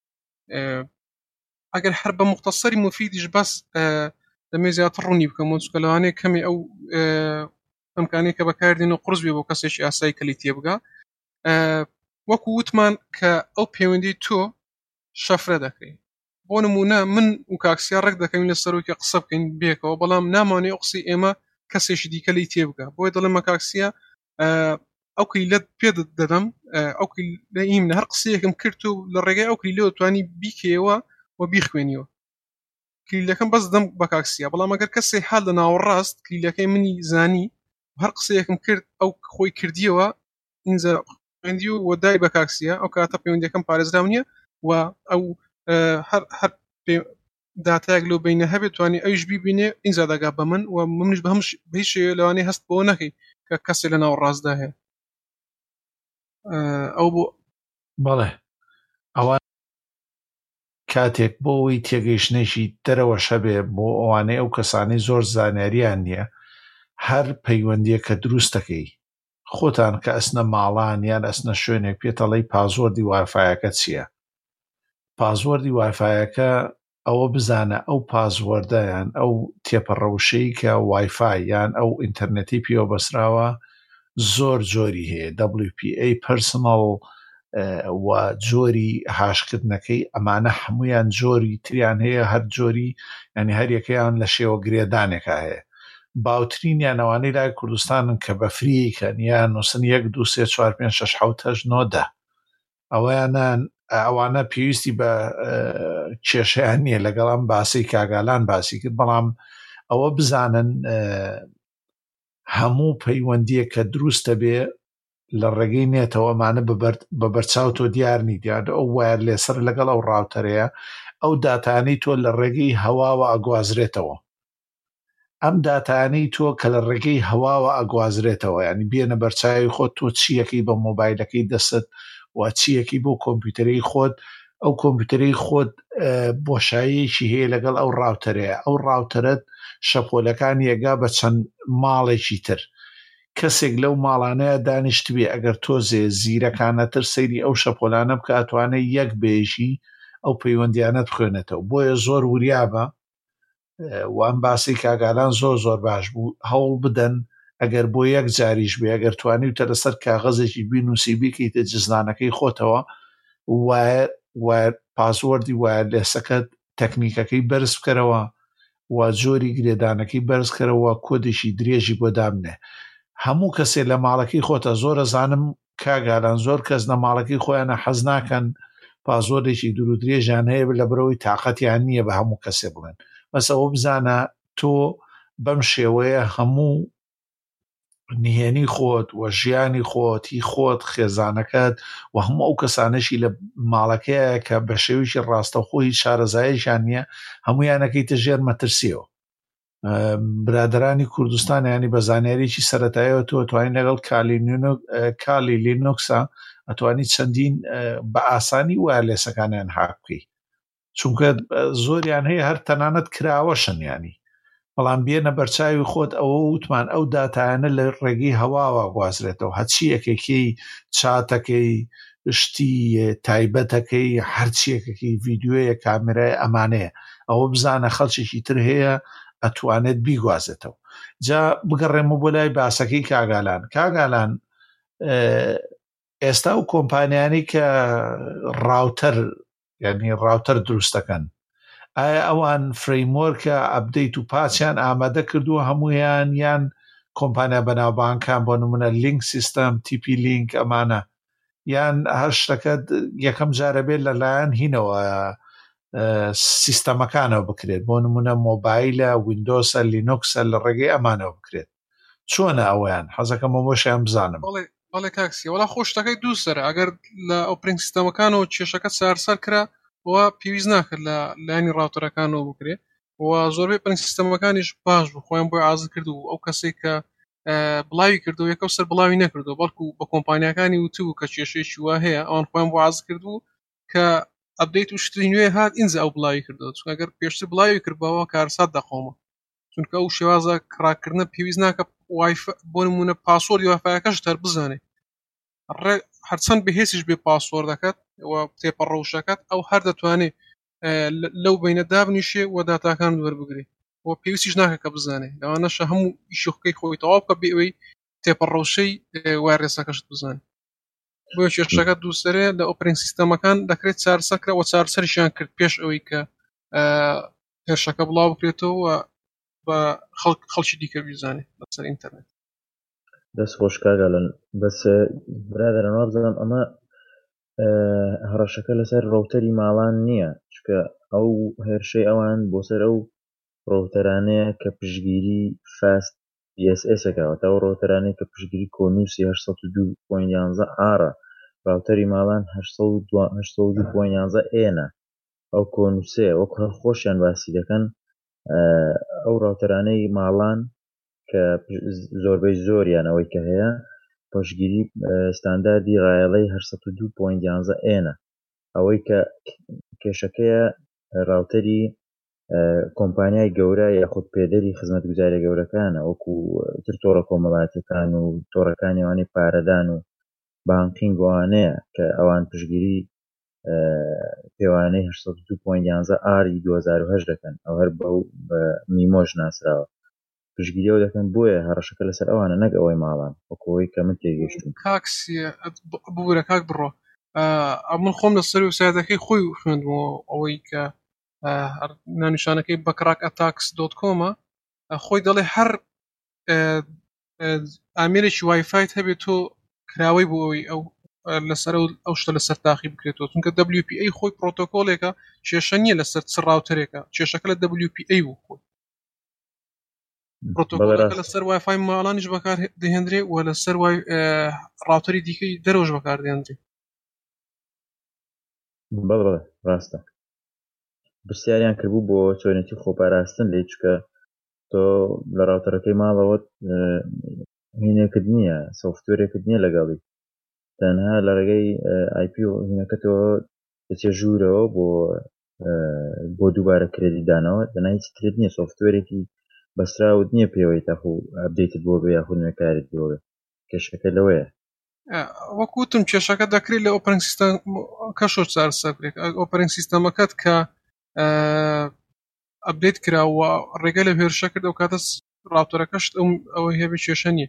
Speaker 2: ئەگەر هەر بە مختصری مفیدیش بەس دەمێ زیاتر ڕوونی بکەم چونکە لەوانەیە کەمی ئەو ئەمکانەیە کە بەکاردێن و قرس بێ بۆ کەسێکی ئاسایی کەلی تێبگا وەکو وتمان کە ئەو پەیوەندی تۆ شەفرە دەکەی بۆ نمونە من و کاکسیا ڕێک دەکەین لە سەرۆکی قسە بکەین بێکەوە بەڵام نامانێ قسەی ئێمە کەسێکی دیکە لی تێبگا بۆیە دەڵێمە کاکسیا ئەو کلیلەت پێ دەدەم ئەو لە ئیم هەر قسەیەکم کرد و لە ڕێگای ئەو کلیلەوە توانی بیکەوە و بیخوێنیەوە کلیلەکەم بەس دەم بە کاکسیا بەڵام ئەگەر کەسێ حال لە ناوەڕاست کلیلەکەی منی زانی هەر قسەیەکم کرد ئەو خۆی کردیەوە ئینجا خوێندی و وەدای بە کاکسیا ئەو کاتە پەیوەندیەکەم پارێزراو نییە و ئەو هەر داتایەک لەو بینە هەبێت توانی ئەوش بیبینێ ئینجا دەگا بە من و منش بە هەمش هیچ لەوانەیە هەست بۆ نەکەی کە کەسێک لە ناوەڕاستدا هەیە ئەو بۆ
Speaker 1: بەڵێ ئەوە کاتێک بۆ ئەوەی تێگەیشتنێکی دەرەوە شەبێ بۆ ئەوانەی ئەو کەسانی زۆر زانیاریان نییە هەر پەیوەندیە کە دروستەکەی خۆتان کە ئەسنە ماڵان یان ئەسنە شوێنێک پێتەڵی پازوەردی وایفایەکە چییە پازوەردی وایفایەکە ئەوە بزانە ئەو پازوەردەیان ئەو تێپەڕەوشەی کە وایفای یان ئەو ئینتەرنێتی پێوە بەسراوە زۆر جۆری هەیە WPA پەرسنەڵ و جۆری هاشکردنەکەی ئەمانە هەمویان جۆری تریان هەیە هەر جۆری ینی هەر یەکەیان لە شێوە گرێدانێکە هەیە باوترینیان ئەوانەی لای کوردستانن کە بە فریکەن یان نووسن 1 2 3 4 5 6 7 8 9 10 ئەوانە پێویستی بە کێشەیان نییە لەگەڵ ئەم باسی کاگالان باسی کرد بەڵام ئەوە بزانن هەموو پەیوەندیە کە دروستە بێ لە ڕێگەی نێتەوەمانە بە بەرچاو تۆ دیارنی دیار ئەو وایر لێسەر لەگەڵ ئەو ڕاوتەرەیە ئەو داتانەی تۆ لە ڕێگەی هەواوە ئەگوازرێتەوە ئەم داتانەی تۆ کە لە ڕێگەی هەواوە ئەگوازرێتەوە ینی بێنە بەرچاوی خۆت تۆ چیەکەی بە مۆبایلەکەی دەست و چیەکی بۆ کۆمپیوتەرەی خۆت ئەو کۆمپیوتەرەی خۆت بۆشاییەکی هەیە لەگەڵ ئەو ڕاوتەرەیە ئەو ڕاوتەرت شەپۆلەکانی ئەگا بە چەند ماڵێکی تر کەسێک لەو ماڵانەیە دانیشتبێ ئەگەر تۆزێ زیرەکانەتر سەیری ئەو شەپۆلانە بکە ئەتوانێت یەک بێژی ئەو پەیوەندیانەت بخوێنێتەوە بۆیە زۆر وریابە وان باسی کاگالان زۆر باش بوو هەوڵ بدەن ئەگەر بۆ یەک جاریش بێ ئەگەر توانیتە لەسەر کاغەزێکی بینووسی بیکەیتە جزدانەکەی خۆتەوە وایر پاسوەردی وایرلێسەکەت تەکنیکەکەی بەرز بکەرەوە و جۆری گرێدانەکەی بەرزکەرەوە کۆدێکی درێژی بۆ دامنێ هەموو کەسێ لە ماڵەکەی خۆتە زۆرە زانم کاگالان زۆر کەس لە ماڵەکەی خۆیانە حەز ناکەن پازۆرێکی دوور و درێژیان هەیە لە بەرەوەی تااقەتیان نییە بە هەموو کەسێ بڵێن بەسەوە بزانە تۆ بەم شێوەیە هەموو نهێنی خۆت و ژیانی خۆتی خۆت خێزانەکەت و هەموو ئەو کەسانەشی لە ماڵەکەیە کە بە شێویشی ڕاستەوخۆی شارەزاییشان نییە هەمویانەکەیتە ژێر مەترسیەوە برادرانی کوردستان ینی بە زانیاریی سەرەتاییەوە تۆ توانین لەگەڵ کالی لینوکسە ئەتوانی چەندین بە ئاسانی وایرلێسەکانیان حاک بکەی چونکە زۆریان هەیە هەر تەنانەت کراوەشن ینی بەڵام بێنە بەرچاوی خۆت ئەوە وتمان ئەو داتایانە لە ڕێگەی هەواوە گوازرێتەوە هەچیەکێکی چاتەکەی شتی تایبەتەکەی هەرچیەکەکی ڤیددیوەیە کامێرای ئەمانەیە ئەوە بزانە خەڵکێکی تر هەیە ئەتوانێت بیگوازێتەوە جا بگەڕێمە بۆ لای باسەکەی کاگالان ئێستا و کۆمپانیانی کە ڕاوتەر دروستەکەن ئایا ئەوان فرەیموەرکە ئەپدەیت و پاچیان ئامادە کردووە هەمویان یان کۆمپانیا بەناوبانکان بۆ نمونە لینک سیستەم تیپی لینک ئەمانە یان هەر شتەکە یەکەم جارە بێت لەلایەن هینەوە سیستەمەکانەوە بکرێت بۆ نمونە مۆبایلە ویندۆسە لینوکسە لە ڕێگەی ئەمانەوە بکرێت چۆنە ئەویان حەزەکەمە بۆشیان بزانم
Speaker 2: بەڵێ کاکسی وەڵا خۆشتەکەی دووسەر ئەگەر لە ئۆپرینگ سیستەمەکانەوە کێشەکە سارسەر کرا و پێویست ناکرد لە لایانی ڕاوتەرەکانەوە بکرێت و زۆربەی ئۆپرینگ سیستەمەکانیش باش بوو خۆیان بۆی ئازاد کرد و ئەو کەسێک کە بڵاوی کردو یەکەو سەر بڵاوی نەکردو بەڵکو بە کۆمپانیەکانی وتبوو کە کێشەیەکی وا هەیە ئەوان خۆیان بۆ ئازاد کردو کە ئەپدەیت و شتی نوێ هات ئینجا ئەو بڵاوی کردو چونکە ئەگەر پێشتر بڵاوی کردبەوە کارسات دەخۆمە چونکە ئەو شێوازە کڕاکردنە پێویست ناکە بۆ نمونە پاسوەردی وایفایەکەش تەر بزانێت هەرچەند بەهێزیش بێ پاسوەردەکەت و تێپەڕەوشەکەت ئەو هەر دەتوانێت لەو بینە دابنیشێ و داتاکان وەربگرێت و پێویستیش ناکە کە بزانێت لەوانەشە هەموو ئیشوخەکەی خۆی تەواو بکە بێ ئەوەی تێپەڕەوشەی وایرلێسەکەشت بزانێت بۆ کێشەکە دووسەرێ لە ئۆپرینگ سیستەمەکان دەکرێت چارەسەرکرا و چارەسەریشیان کرد پێش ئەوەی کە هێرشەکە بڵاو بکرێتەوە و بە خەڵکی دیکە بیزانێت لەسەر ئینتەرنێت
Speaker 3: دەست خۆش کاگالن بەس برادرانەوە بزانم ئەمە هەڕەشەکە لەسەر ڕەوتەری ماڵان نییە چکە ئەو هێرشەی ئەوان بۆ سەر ئەو ڕەوتەرانەیە کە پشگیری فاست PSS-ەکەوە تا ئەو ڕەوتەرانەیە کە پشگیری کۆنووسی 802.11 ئارە ڕاوتەری ماڵان 802.11 ئێنە ئەو کۆنووسێ وەک هەر خۆشیان باسی دەکەن ئەو ڕاوتەرانەی ماڵان کە زۆربەی زۆریان ئەوەی کە هەیە پشگیری ستانداردی ڕایەڵەی 802.11 ئێنە ئەوەی کە کێشەکەیە ڕاوتەری کۆمپانیای گەورە یاخود پێدەری خزمەتگوزاریە گەورەکانە وەکو تر تۆڕە کۆمەڵاتیەکان و تۆڕەکانی ئەوانەی پارەدان و بانکینگ وانەیە کە ئەوان پشگیری پێوانەی 802.11 ئاری 2008 دەکەن ئەو هەر بە میمۆژ ناسراوە پشگیری ئەو دەکەن بۆیە هەڕەشەکە لەسەر ئەوانە نەک ئەوەی ماڵان وەکەوەی کە من تێگەیشتم
Speaker 2: کاکسیە ببوورە کاک بڕۆ من خۆم لەسەر وسایەتەکەی خۆی خوێندمەوە ئەوەی کە نانیشانەکەی بەکراک ئەتاکس.com خۆی دەڵێ هەر ئامێرێکی وایفایت هەبێت تۆ کراوەی بۆ ئەوەی ئەو لەسەر ئەو شتە لەسەر تاقی بکرێتەوە چونکە WPA خۆی پرۆتۆکۆلێکە کێشە نییە لەسەر چ ڕاوتەرێکە کێشەکە لە WPA بوو خۆی پرۆتۆکۆلەکە لەسەر وایفای ماڵانیش بەکار دەهێنرێ و لەسەر ڕاوتەری دیکەی دەرەوەش بەکار دێنرێ.
Speaker 3: بەڵێ ڕاستە پرسیاریان کردبوو بۆ چۆنێتی خۆپاراستن لێ چکە تۆ لە ڕاوتەرەکەی ماڵەوەت هینێکت نییە سۆفتوێرێکت نییە لەگەڵی تەنها لە ڕێگەی IP هینەکەتەوە دەچێ ژوورەوە بۆ دووبارە کرێدی دانەوە دەنا هیچ ترێت نییە سۆفتوێرێکی بەستراوت نییە پێوەی تاخو ئەپدەیتت بۆ بێ یاخود نوێکارت بۆ بێ کێشەکە لەوەیە
Speaker 2: وەکوتم کێشەکە دەکرێت لە ئۆپەرینگ سیستەم کەشۆ چارەسەرێک ئۆپەرینگ سیستەمەکەت کە ئەپدەیت کراوە ڕێگە لە هێرشە کرد ئەو کاتە ڕاوتەرەکەشت ئەوەی هەبێ کێشە نییە.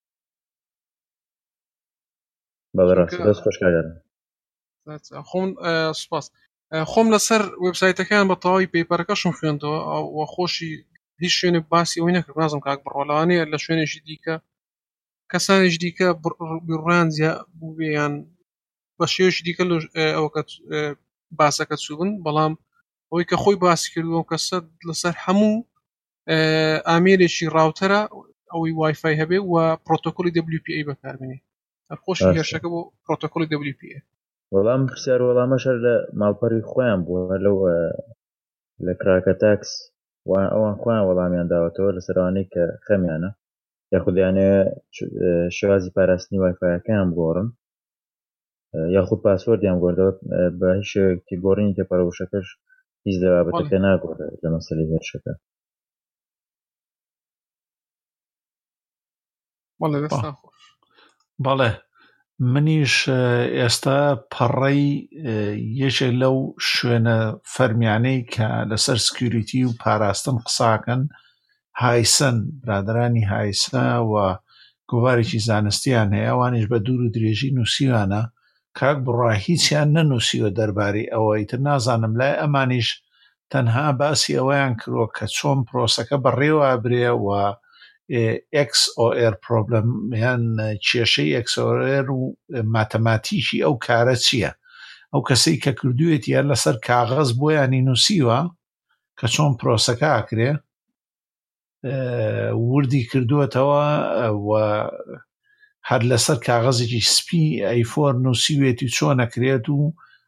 Speaker 3: بەڕاستی خۆشکارم
Speaker 2: خۆم سوپاس خۆم لەسەر وێبسایتەکان بە تەواوی پێپەرەکەشم خوێندەوە و خۆشی هیچ شوێنێک باسی ئەوەی نەکرد نازم کاک بڕۆڵانەیە لە شوێنێکی دیکە کەسانێک دیکە بڕیان بوویان بە شێوەشی دیکە ئەوکە باسەکە چوبن بەڵام ئەوەی کە خۆی باسی کردووە کەسە لەسەر هەموو ئامێرێکی ڕاوتەرە ئەوەی وایفای هەبێ و پرۆتۆکۆلی WPA بەکاربێنێ خۆشی هێرشەکە بۆ پرۆتۆکۆلی WPA.
Speaker 3: وەڵام پرسیار وەڵامەشەر لە ماڵپەڕی خۆیان بووە لەو لە کراکە تاکس ئەوان خۆیان وەڵامیان داوەتەوە لەسەرانەی کە خەمیانە یاخودیانێ شێوازی پاراستنی وایفایەکەیان بگۆڕن یاخود پاسوەردیان گۆڕدەوە بە هیچ شێوەیەکی گۆڕینی تێپەڕەوشەکەش هیچ لە بابەتەکە ناگۆڕێ لە مەسەلەی هێرشەکە.
Speaker 1: بەڵێ منیش ئێستا پەڕەی یەکێک لەو شوێنە فەرمیانەی کە لەسەر سکیوریتی و پاراستن قساکەن هایسن برادرانی هایسە و گۆوارێکی زانستیان هەیە ئەوانیش بە دوور و درێژی نووسیوانە کاک بڕا هیچیان نەنووسیوە دەربارەی ئەوەی تر نازانم لای ئەمانیش تەنها باسی ئەوەیان کردووە کە چۆن پرۆسەکە بەڕێوە برێ و XOR پرۆبلەم یان کێشەی XOR و ماتەماتیکی ئەو کارە چییە ئەو کەسەی کە کردوێت یان لەسەر کاغەز بۆیانی نووسیوە کە چۆن پرۆسەکە ئاکرێ وردی کردووەتەوە و هەر لەسەر کاغەزێکی سپی ئەیفۆر نووسیوێتی چۆن ئەکرێت و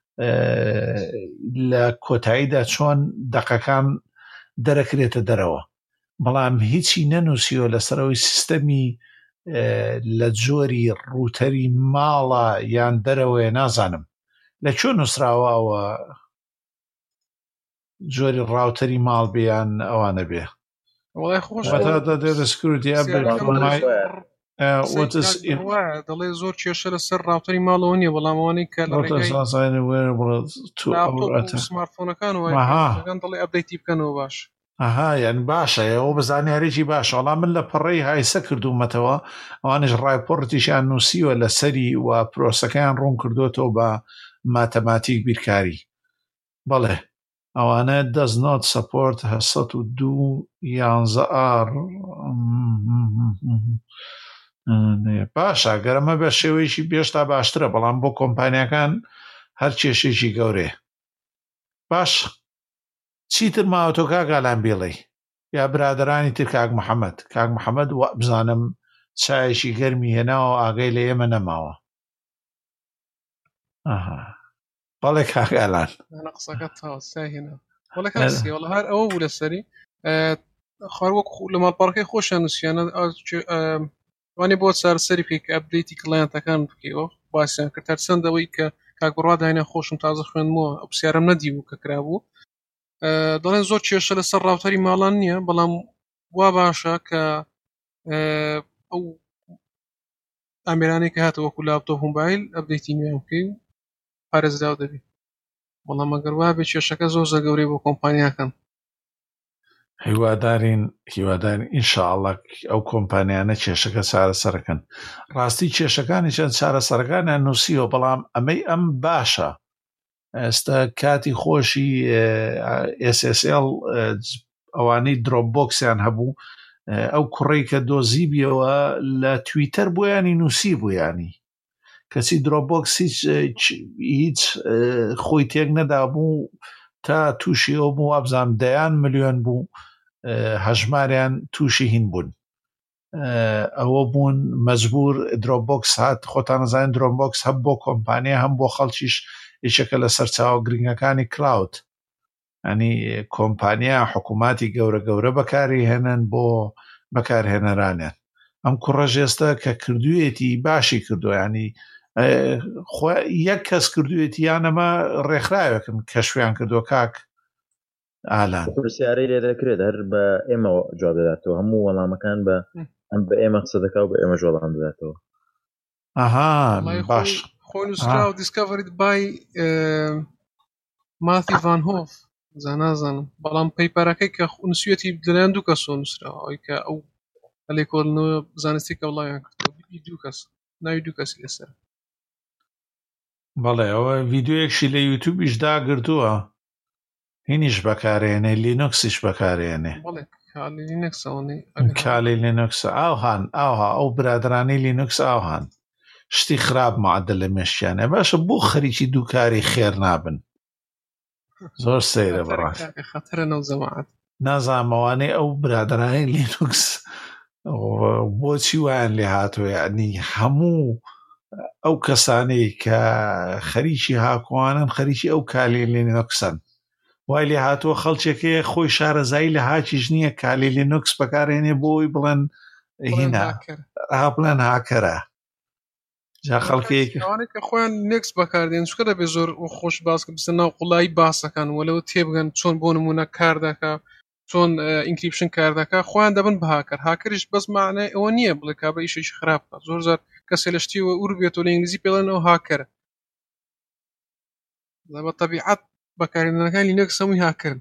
Speaker 1: لە کۆتاییدا چۆن دەقەکان دەرەکرێتە دەرەوە بەڵام هیچی نەنووسیوە لەسەرەوەی سیستەمی لە جۆری ڕوتەری ماڵە یان دەرەوەیە نازانم لەکوێ نووسراوەوە جۆری ڕاوتەری ماڵ بیان ئەوانە بێ
Speaker 2: دەڵێ زۆر کێشە لەسەر ڕاوتەری ماڵەوە نیە بەڵامەوەی کە سمارتفۆنەکان دەڵێ ئەپدەیتی بکەنەوە باش
Speaker 1: یان باشە ئەوە بەزانیارێکی باش وەڵام من لە پەڕەی هایسە کردومەتەوە ئەوانش ڕایپۆرتیشیان نووسیوە لەسەری و پرۆسەکەیان ڕوون کردوێتەوە بە ماتەماتیک بیرکاری بەڵێ ئەوانە does not support 102.11r باشە گەرەمە بە شێوەیەکی بێشتا باشترە بەڵام بۆ کۆمپانیەکان هەر کێشێکی گەورێ باش چیتر ماوەتۆ کاگالان بێڵێ یا برادرانی تر کاک محەممەد بزانم چایشی گەرمی هێناوە ئاگەی لە ئێمە نەماوە بەڵێ کاگالان
Speaker 2: قسەکەت هێنا وەڵە کاسیوەڵە هەر ئەوە بوو لەسەری خاروەک لە ماڵپەڕەکەی خۆشیان نووسیانە وانێ بۆ چارەسەری پێی کە ئەپدەیتی کڵایەنتەکان بکەیەوە باسییان کرد هەرچەندەوەی کە کاک بڕوا داینە خۆشم تازە خوێنمەوە ئەو پرسیارەم نەدیبوو کە کرابوو دەڵێن زۆر کێشە لەسەر ڕاوتەری ماڵان نییە بەڵام وا باشە کە ئەو ئامێرانەی کە هاتە وەکو لاپتۆپ موبایل ئەپدەیتی نوێ بکەی و پارێزراو دەبێت بەڵام ئەگەر وا بێت کێشەکە زۆر زەگەورەی بۆ کۆمپانیاکەن
Speaker 1: هیوادارین ئینشاءڵڵا ئەو کۆمپانیانە کێشەکە چارەسەرەکەن ڕاستی کێشەکانی چەند چارەسەرەکانیان نووسیوە بەڵام ئەمەی ئەم باشە ئێستا کاتی خۆشی SSL ئەوانەی درۆپ بۆکسیان هەبوو ئەو کوڕی کە دۆزی بیەوە لە تویتەر بۆیانی نووسی بوویانی کەسی درۆبۆکس هیچ خۆی تێک نەدابوو تا تووشی ئەو بوو وابزانام 10 ملیۆن بوو هەژماریان تووشی هین بوون ئەوە بوون مەجبور درۆبۆکس هات خۆتان نەزانین درۆبۆکس هەم بۆ کۆمپانیا هەم بۆ خەڵکیش یەکێکە لە سەرچاوە گرنگەکانی کلااود ئەنی کۆمپانیا حکووماتی گەورە بەکاری هێنن بۆ بەکارهێنەرانیان ئەم کوڕەژ ئێستا کە کردوێتی باشی کردو ینی یەک کەس کردوێتی یانەمە ڕێکخراوێکن کە شویان کردو کاک ئالان
Speaker 3: پرسیارەی لێ دەکرێت هەر بە ئێمە جواب دەداتەوە هەموو وەڵامەکان بە ئێمە قسە دەکا و بە ئێمە وەڵام دەداتەوە
Speaker 1: ئاها باش
Speaker 2: خۆی نووسرا و دیسکەڤریت بای ماتی ڤان هۆف نازانم بەڵام پەیپەرەکەی کە نووسویەتی لەلایەن دوو کەسەوە نووسراوە ئەوەی کە ئەو لێکۆڵنەوە زانستی کە وڵایان کردەوە دوو کەس ناوی دوو کەسی لەسەر
Speaker 1: بەڵێ ئەوە ڤیددیۆیەکشی لە یوتیوبیش داگرتووە هینیش بەکارێنێ لینوکسیش بەکارێنێ کالی لینوکس ئاوهان ئاها ئەو برادرانی لینوکس ئاوهان شتی خراپ معدل لە مێشیانە باشە بۆ خەریکی دووکاری خێر نابن زۆر سەیرە بەڕاست
Speaker 2: خەتەرە نەوزەماعەت
Speaker 1: نازانمەوانەی ئەو برادرانی لینوکس بۆچی وایان لێ هاتووە یعنی هەموو ئەو کەسانەی کە خەریکی هاکوانن خەریکی ئەو کالی لینوکسن وای لێ هاتووە خەڵکێکەیە خۆی شارەزایی لە هاچیش نییە کالی لینوکس بەکارێنێ بۆی بڵێن هینە بڵێن هاکەرە جا خەڵکێکەوانێک
Speaker 2: کە خۆیان نێکس بەکاردێن چکە دەبێ زۆر خۆش باسکە بستە ناو قوڵایی باسەکان وەلەوە تێبگەن چۆن بۆ نمونە کار دەکا چۆن ئینکریپشن کار دەکا خۆیان دەبن بە هاکەر هاکەریش بەس معنای ئەوە نییە بڵێ کابرا ئیشێکی خراپ بکات زۆر زار کەسێ لە شتیوە ئور بێتەوە لە ئینگلیزی پێڵێن ئەو هاکەرە بە تەبیعەت بەکارهێنەرەکان لینوکس هەمووی هاکردن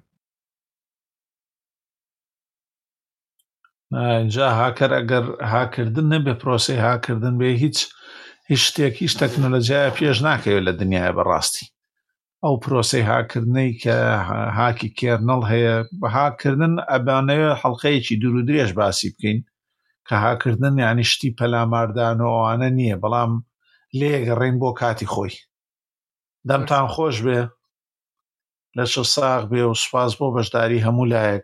Speaker 1: اینجا هاکەر ئەگەر هاکردن نەبێ پرۆسی هاکردن بێ هیچ شتێک هیچ تەکنۆلۆژیایە پێش ناکەوێت لە دنیای بەڕاستی ئەو پرۆسی هاکردنەی کە هاکی کێرنەڵ هەیە بە هاکردن ئەبانەوێت حەڵقەیەکی دوور و درێژ باسی بکەین کە هاکردن یعنی شتی پەلاماردان و ئەوانە نییە بەڵام لێگەڕێن بۆ کاتی خۆی دەمتان خۆش بێ لە چ ساغ بێ و سوپاس بۆ بەشداری هەموو لایەک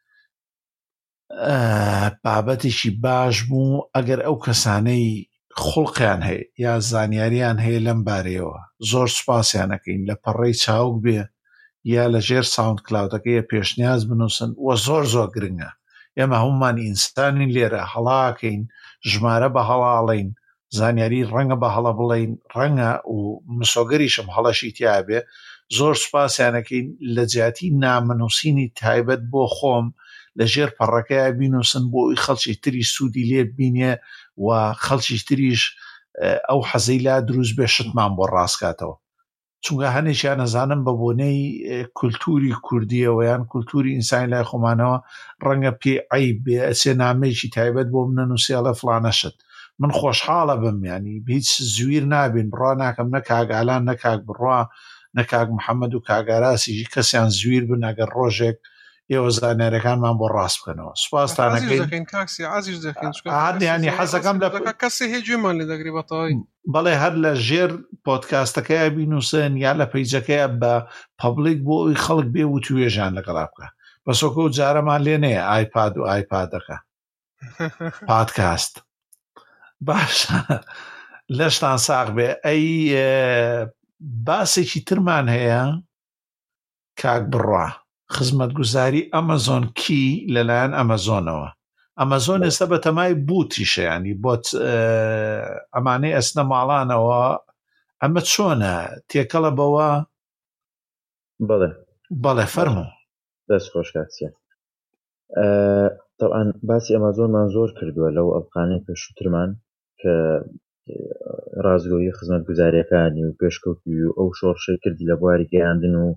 Speaker 1: بابەتێکی باش بوو ئەگەر ئەو کەسانەی خوڵقیان هەیە یا زانیاریان هەیە لەم بارەیەوە زۆر سوپاسیانەکەین لە پەڕەی چاوک بێ یا لە ژێر ساوند کلااودەکەی پێشنیاز بنووسن وە زۆر زۆر گرنگە ئێمە هەمومان ئینسانین لێرە هەڵاکەین ژمارە بە هەڵاڵین زانیاری ڕەنگە بە هەڵە بڵین ڕەنگە و مسۆگەریشم هەڵەشی تیابێ زۆر سوپاسیانەکەین لە جیاتی نامنووسینی تایبەت بۆ خۆم لە ژێر پەڕەکەیە بینوسن بۆی خەڵکی تری سوودی لێ بینێ و خەڵکی تریش ئەو حەزەی لا دروست بێ شتمان بۆ ڕاستکاتەوە چونکە هەنێکیان نەزانم بە بۆنەی کولتوری کوردیەوە یان کولتوری ئینسانی لای خۆمانەوە ڕەنگە پێ عەیب بێ ئەچێ نامەیەکی تایبەت بۆ منەنووسێڵە فڵانەشت من خۆشحاڵە بم ینی هیچ زویر نابین بڕوا ناکەم نە کاگالان نە کاک بڕوا نە کاک محەممەد و کاگاراسی کەسیان زویر بن ئەگەر ڕۆژێک ئێوە زانیاریەکانمان بۆ ڕاست بکەنەوە سوپاسدانەکەین
Speaker 2: کاکسی عزیز دەکەین
Speaker 1: ینی حەزەکەم لە
Speaker 2: کەسی هەیە گوێمان لێ دەگری بەتەواوی
Speaker 1: بەڵێ هەر لە ژێر پۆدکاستەکەیە بینوسن یا لە پەیجەکەیە بە پەبلیک بۆ ئەوی خەڵک بێ و توێژیان لەگەڵا بکە بەسۆکە و جارەمان لێ نەیە ئایپاد و ئایپادەکە پادکاست باشە لەشتان ساغ بێ ئەی باسێکی ترمان هەیە کاک بڕوا خزمەتگوزاری ئەمەزۆن کی لەلایەن ئەمەزۆنەوە ئەمەزۆن ئێستا بە تەمای بوتیشە ینی بۆت ئەمانەی ئەسنە ماڵانەوە ئەمە چۆنە تێکەڵە بەوە بەڵێ فەرموو
Speaker 3: دەست خۆش کاتچە طبعاً باسی ئەمەزۆنمان زۆر کردووە لەو ئەڵقانەی پێشووترمان کە ڕازگۆیی خزمەتگوزاریەکانی و پێشکەوتی و ئەو شۆڕشەی کردی لە بواری گەیاندن و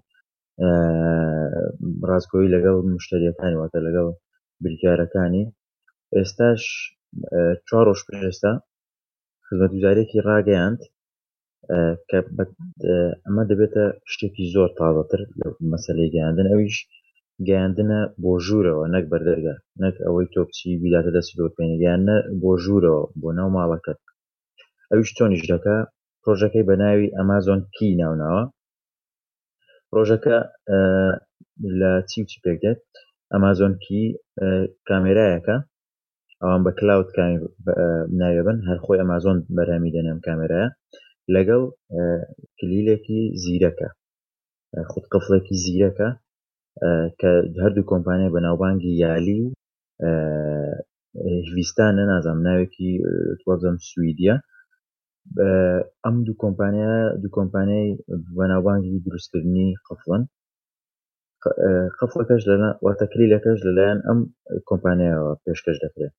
Speaker 3: ڕازگۆیی لەگەڵ مشتریەکانی واتە لەگەڵ بریکارەکانی ئێستاش 4 ڕۆژ پێشتا خزمەتگوزاریەکی ڕاگەیاند کە ئەمە دەبێتە شتێکی زۆر تازەتر لە مەسەلەی گەیاندن ئەویش گەیاندنە بۆ ژوورەوە نەک بەردەرگا نەک ئەوەی تۆ بچی بیداتە دەستی دۆپێنی گەیاندنە بۆ ژوورەوە بۆ ناو ماڵەکەت ئەویش چۆنیش دەکا پرۆژەکەی بە ناوی ئەمازۆن کی ناوناوە پرۆژەکە لە چی و چی پێک دێت ئەمازۆن کی کامێرایەکە ئەوان بە کلااود ناوێبن هەر خۆی ئەمازۆن بەرامی دێنێم کامێرایە لەگەڵ کلیلێکی زیرەکە خودقفڵێکی زیرەکە کە هەردوو کۆمپانیای بەناوبانگی یالی و هیویستانە نازانم ناوێکی وەبزەم سویدیە ئەم دوو کۆمپانیای بەناوبانگی دروستکردنی قفڵن قفڵەکەش واتە کلیلەکەش لەلایەن ئەم کۆمپانیایەوە پێشکەش دەکرێت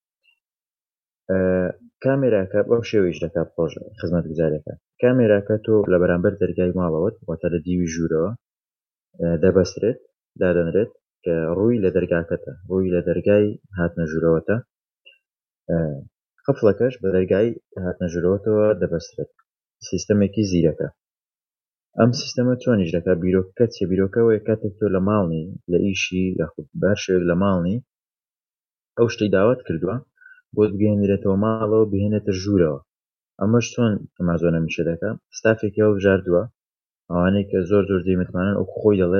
Speaker 3: کامێراکە بەو شێوەیەش دەکات پرۆژە خزمەتگوزاریەکە کامێراکە تۆ لە بەرامبەر دەرگای ماڵەوەت واتە لە دیوی ژوورەوە دەبەسترێت دادەنرێت کە ڕووی لە دەرگاکەتە ڕووی لە دەرگای هاتنە ژوورەوەتە قفڵەکەش بە دەرگای هاتنە ژوورەوەتەوە دەبەسترێت سیستەمێکی زیرەکە ئەم سیستەمە چۆنیش دەکات بیرۆکەکە چێ بیرۆکەوەی کاتێک تۆ لە ماڵنی لە ئیشی یاخود بەر شوێک لە ماڵنی ئەو شتەی داوات کردووە بۆت بگەێنرێتەوە ماڵەوە بهێنێتە ژوورەوە ئەمەش چۆن ئەمازۆنە میشە دەکە ستافێکی ئەو بژاردووە ئەوانەی کە زۆر دەیمتمانن ئەو خۆی دەڵێ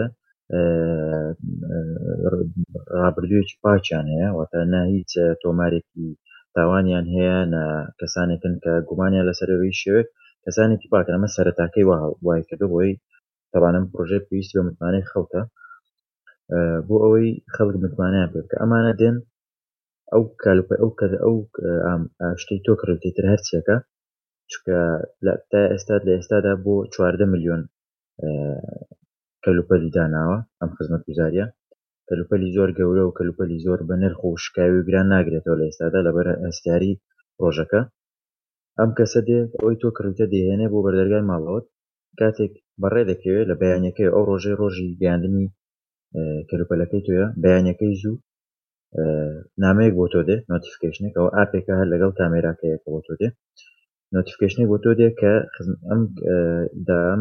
Speaker 3: ڕابردوویەکی پاچیان هەیە واتە نا هیچ تۆمارێکی تاوانیان هەیە نە کەسانێکن کە گومانیان لەسەرەوەی شێوێت کەسانێکی پاکن ئەمە سەرەتاکەی وای کردو بۆی تەوانم پرۆژێ پێویستی بە متمانەی خەڵکە بۆ ئەوەی خەڵک متمانیان پێ بکە ئەمانە دێن ئەو ئەو شتەی تۆ کڕێتتر هەرچێکە چکە تا ئێستادا بۆ 14 ملیۆن کەلوپەلی داناوە ئەم خزمەتگوزاریە کەلوپەلی زۆر گەورە و کەلوپەلی زۆر بە نرخ و شکاوی و گران ناگرێتەوە لە ئێستادا لەبەر هەستیاری ڕۆژەکە ئەم کەسە دێ ئەوەی تۆ کڕیتە دێهێنێ بۆ بەردەرگای ماڵەوەت کاتێک بەڕێ دەکەوێت لە بەیانەکەی ئەو ڕۆژی گەیاندنی کەلوپەلەکەی تۆیە بەیانەکەی زوو نامەیەک بۆ تۆ دێ نۆتیفیکیشنێک ئەو ئاپێکە هەر لەگەڵ کامێراکەیەکە بۆ تۆ دێ نۆتیفیکیشنێک بۆ تۆ دێ کە ئەم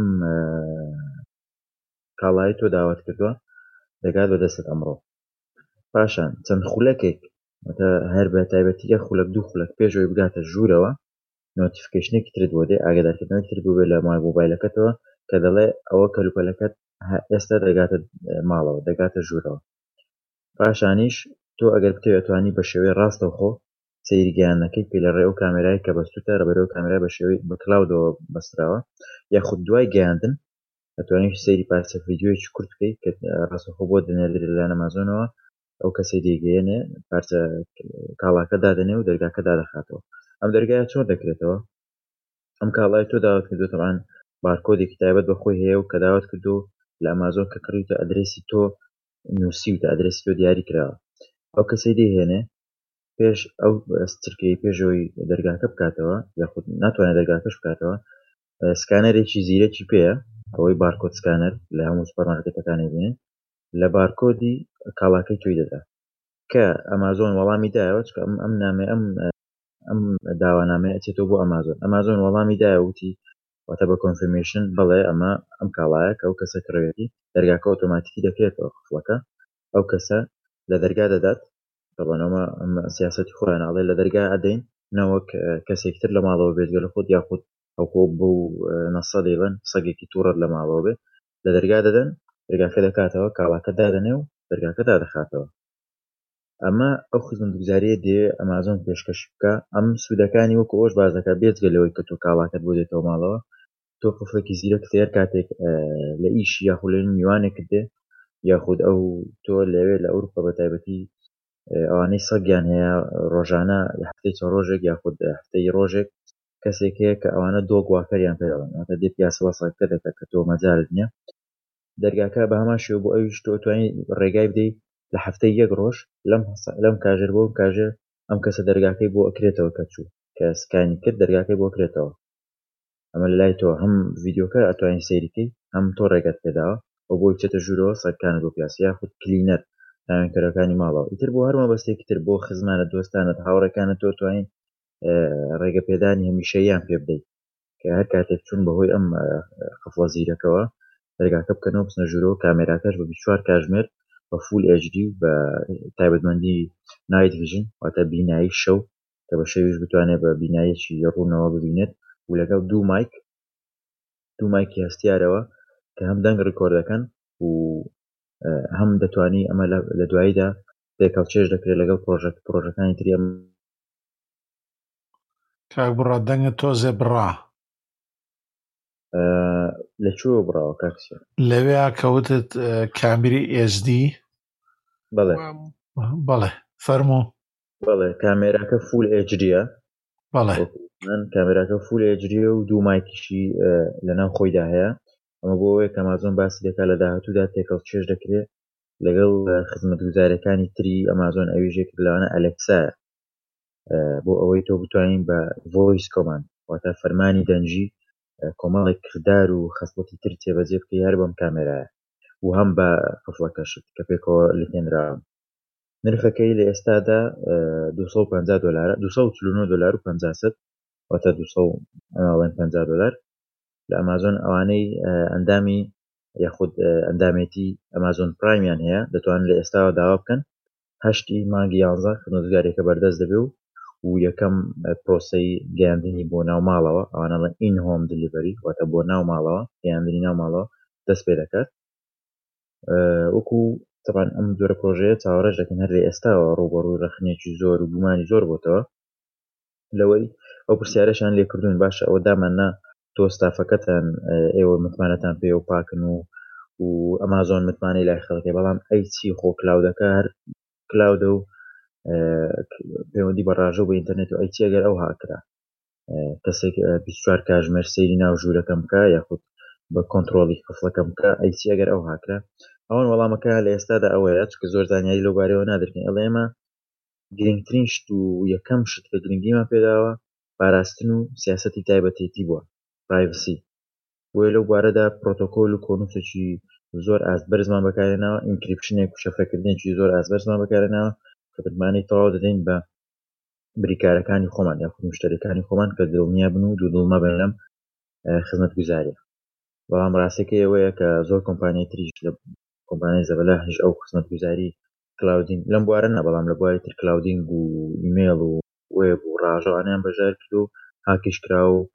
Speaker 3: کاڵایی تۆ داوات کردووە دەگات بە دەستت ئەمڕۆ پاشان چەند خولەکێک هەر بە تایبەتیە خولەک دوو خولەک پێشەوەی بگاتە ژوورەوە نۆتیفیکیشنێکی ترت بۆ دێ ئاگادارکردنەوەی تر بوو بێت لە مۆبایلەکەتەوە کە دەڵێ ئەوە کەلوپەلەکەت ئێستا دەگاتە ماڵەوە دەگاتە ژوورەوە پاشانیش تۆ ئەگەر بتەوێت توانی بە شێوەی ڕاستەوخۆ سەیرگیانەکەی پێ لە ڕێ ئەو کامێرای کە بەستوتە ڕەبەرەوە کامێرای بە شێوەی بە کلااودەوە بەستراوە یاخود دوای گەیاندن ئەتوانیت سەیری پارچە ڤیدیۆیەکی کورت بکەیت کە ڕاستەوخۆ بۆ دەنێرێت لەلایەن ئەمازۆنەوە ئەو کەسەی دەیگەیەنێ پارچە کاڵاکە دادەنێ و دەرگاکە دادەخاتەوە ئەم دەرگایە چۆن دەکرێتەوە ئەم کاڵای تۆ داوات کردو تەمان بارکۆدێکی تایبەت بەخۆی هەیە و کە داوات کردو لە ئەمازۆن کە کڕیتە ئەدرێسی تۆ نووسیوتە ئەدرێسی تۆ دیاری کراوە ئەو کەسەی دەیهێنێ پێش ئەو سترکەی پێشەوەی دەرگاکە بکاتەوە یاخود ناتوانێت دەرگاکەش بکاتەوە سکانەرێکی زیرەکی پێیە ئەوەی بارکۆد سکانەر لە هەموو سوپەرمارکێتەکانی بینێن لە بارکۆدی کاڵاکەی تۆی دەدا کە ئەمازۆن وەڵامی دایەوە چکە ئەم نامێ ئەم داوانامەیە ئەچێتەوە بۆ ئەمازۆن وەڵامی دایە وتی واتە بە کۆنفرمیشن بڵێ ئەمە ئەم کاڵایە کە ئەو کەسە کڕێتی دەرگاکە ئۆتۆماتیکی دەکرێتەوە قفڵەکە ئەو کەسە لە دەرگا دەدات طبعاً ئەمە سیاسەتی خۆیاناڵێ لە دەرگا ئەدەین نەوەک کەسێکتر لە ماڵەوە بێت گەل خۆت یاخود ئەوکۆ بۆ نەسە دەیڵێن سەگێکی تووڕەت لە ماڵەوە بێت لە دەرگا دەدەن دەرگاکە دەکاتەوە کاڵاکە دادەنێ و دەرگاکە دادەخاتەوە ئەمە ئەو خزمەتگوزاریە دێ ئەمازۆن پێشکەش بکە ئەم سوودەکانی وەکو ئەوش باز دەکات بێجگەلەوەی کە تۆ کاڵاکەت بۆ دێتەوە ماڵەوە تۆ قفڵێکی زیرە کتێر کاتێک لە ئیشی یاخود لە میوانێکت دێ یاخود ئەو تۆ لەوێ لە ئەوروپا بە تایبەتی ئەوانەی سەگیان هەیە ڕۆژانە لە هەفتەی چەند ڕۆژێک یاخود هەفتەی ڕۆژێک کەسێک هەیە کە ئەوانە دۆگ واکەریان پێ دەڵێن ئەواتە دێت یاسەوە سەگەکە دەکات کە تۆ مەجالت نییە دەرگاکە بە هەمان شێوە بۆ ئەویش تۆ توانی ڕێگای بدەیت لە هەفتەی یەک ڕۆژ لەم کاژێر بۆ کاژێر ئەم کەسە دەرگاکەی بۆ ئەکرێتەوە کە چوو کە سکانی کرد دەرگاکەی بۆ کرێتەوە ئەمە لە لای تۆ هەم ڤیدیۆکە ئەتوانین سەیریکەی هەم تۆ ڕێگەت پێداوە بۆ بۆی بچێتە ژوورەوە سەگەکانت بۆ پیاسی یاخود کلینەر ناوێنکەرەکانی ماڵەوە ئیتر بۆ هەر مەبەستێکی تر بۆ خزمانە دۆستانت هاوڕێکانت تۆ توانین ڕێگە پێدانی هەمیشەییان پێ بدەیت کە هەر کاتێک چوون بەهۆی ئەم قفڵە زیرەکەوە دەرگاکە بکەنەوە بچنە ژوورەوە کامێراکەش بە 24 کاتژمێر بە فول HD و بە تایبەتمەندی نایت ڤیژن واتە بینایی شەو کە بە شەویش بتوانێت بە بینایەکی ڕوونەوە ببینێت و لەگەڵ دوو مایکی هەستیارەوە کە هەم دەنگ ڕکۆرد دەکەن و هەم دەتوانی ئەمە لە دواییدا تێکەڵ چێژ دەکرێت لەگەڵ پرۆژەکانی تری.
Speaker 1: کاک بڕا دەنگت تۆزێ بڕا
Speaker 3: لەکوێوە بڕاوە کاکسیە
Speaker 1: لەوێ کەوتت کامێری SD بەڵێ فەرموو
Speaker 3: بەڵێ کامێراکە فول HDە
Speaker 1: بەڵێ
Speaker 3: من کامێراکە فول HD و دوو مایکیشی لەناو خۆیدا هەیە ئەمە بۆ ئەوەیە کە ئەمازۆن باسی دەکات لە داهاتوودا تێکەڵ چێژ دەکرێت لەگەڵ خزمەتگوزارەکانی تری ئەمازۆن ئەویژێک لەوانە ئەلێکسایە بۆ ئەوەی تۆ بتوانین بە ڤۆیس کۆماند واتە فەرمانی دەنجی کۆمەڵێک کردار و خەسڵەتی تر تێبەجێ بکە یار بەم کامێرایە و هەم بە قفڵەکەشت کە پێکەوە لێنراوە. نرخەکەی لە ئێستادا $250 $249.50 واتە $250 لە ئەمازۆن. ئەوانەی ئەندامی یاخود ئەندامێتی ئەمازۆن پرایمیان هەیە دەتوانن لە ئێستاوە داوا بکەن 8 مانگی 11 خزمەتگوزاریەکە بەردەست دەبێ و یەکەم پرۆسەی گەیاندنی بۆ ناو ماڵەوە ئەوانەڵە ئین هۆم دلیڤەری واتە بۆ ناو ماڵەوە گەیاندنی ناو ماڵەوە دەست پێ دەکات. وەکو طبعاً ئەم جۆرە پرۆژەیە چاوەڕێژ دەکەن هەر لە ئێستاوە ڕوبەڕووی ڕەخنێکی زۆر و گومانی زۆر بۆتەوە لەوەی ئەو پرسیارەشان لێکردوون باشە ئەوە داماننا تۆ ستافەکەتان ئێوە متمانەتان پێ و پاکن و ئەمازۆن متمانەی لای خەڵکی بەڵام ئەیچی خۆ کلااودەکە هەر کلااودە و پەیوەندی بە ڕاژە بە ئینتەرنێت و ئەیچی ئەگەر ئەو هاکرا کەسێک 24 کاتژمێر سەیری ناو ژوورەکەم بکە یاخود بە کۆنتترۆلی قفڵەکەم بکە ئەیچی ئەگەر ئەو هاکرا ئەوان وەڵامەکە لە ئێستادا ئەوەیە چکە زۆر زانیاری لەو بارەوە نادرکەین ئەڵێ ئێمە گرنگترین شت و یەکەم شت کە گرنگیمان پێداوە پاراستن و سیاسەتی تایبەتێتی بووە پرایڤسی وێ لەو بارەدا پرۆتۆکۆل و کۆنووسێکی زۆر ئاسبەرزمان بەکارێناوە ئینکریپشنێک و شەفرەکردنێکی زۆر ئاسبەرزمان بەکارێناوە کە بتمانەی تەواو دەدەین بە بریکارەکانی خۆمان یاخود مشتەریەکانی خۆمان کە دڵنیا بن و دوودڵمە بن لەم خزمەتگوزاریە. بەڵام ڕاستەکەی ئەوەیە کە زۆر کۆمپانیای تریش لە کۆمپانیای زەبەلا هیچ ئەو خزمەتگوزاری کلااودین لەم بوارە نە بەڵام لە بواری تر کلااودینگ و ئیمێل و وێب و ڕاژەوانیان بەژار کرد و هاکیش کرا و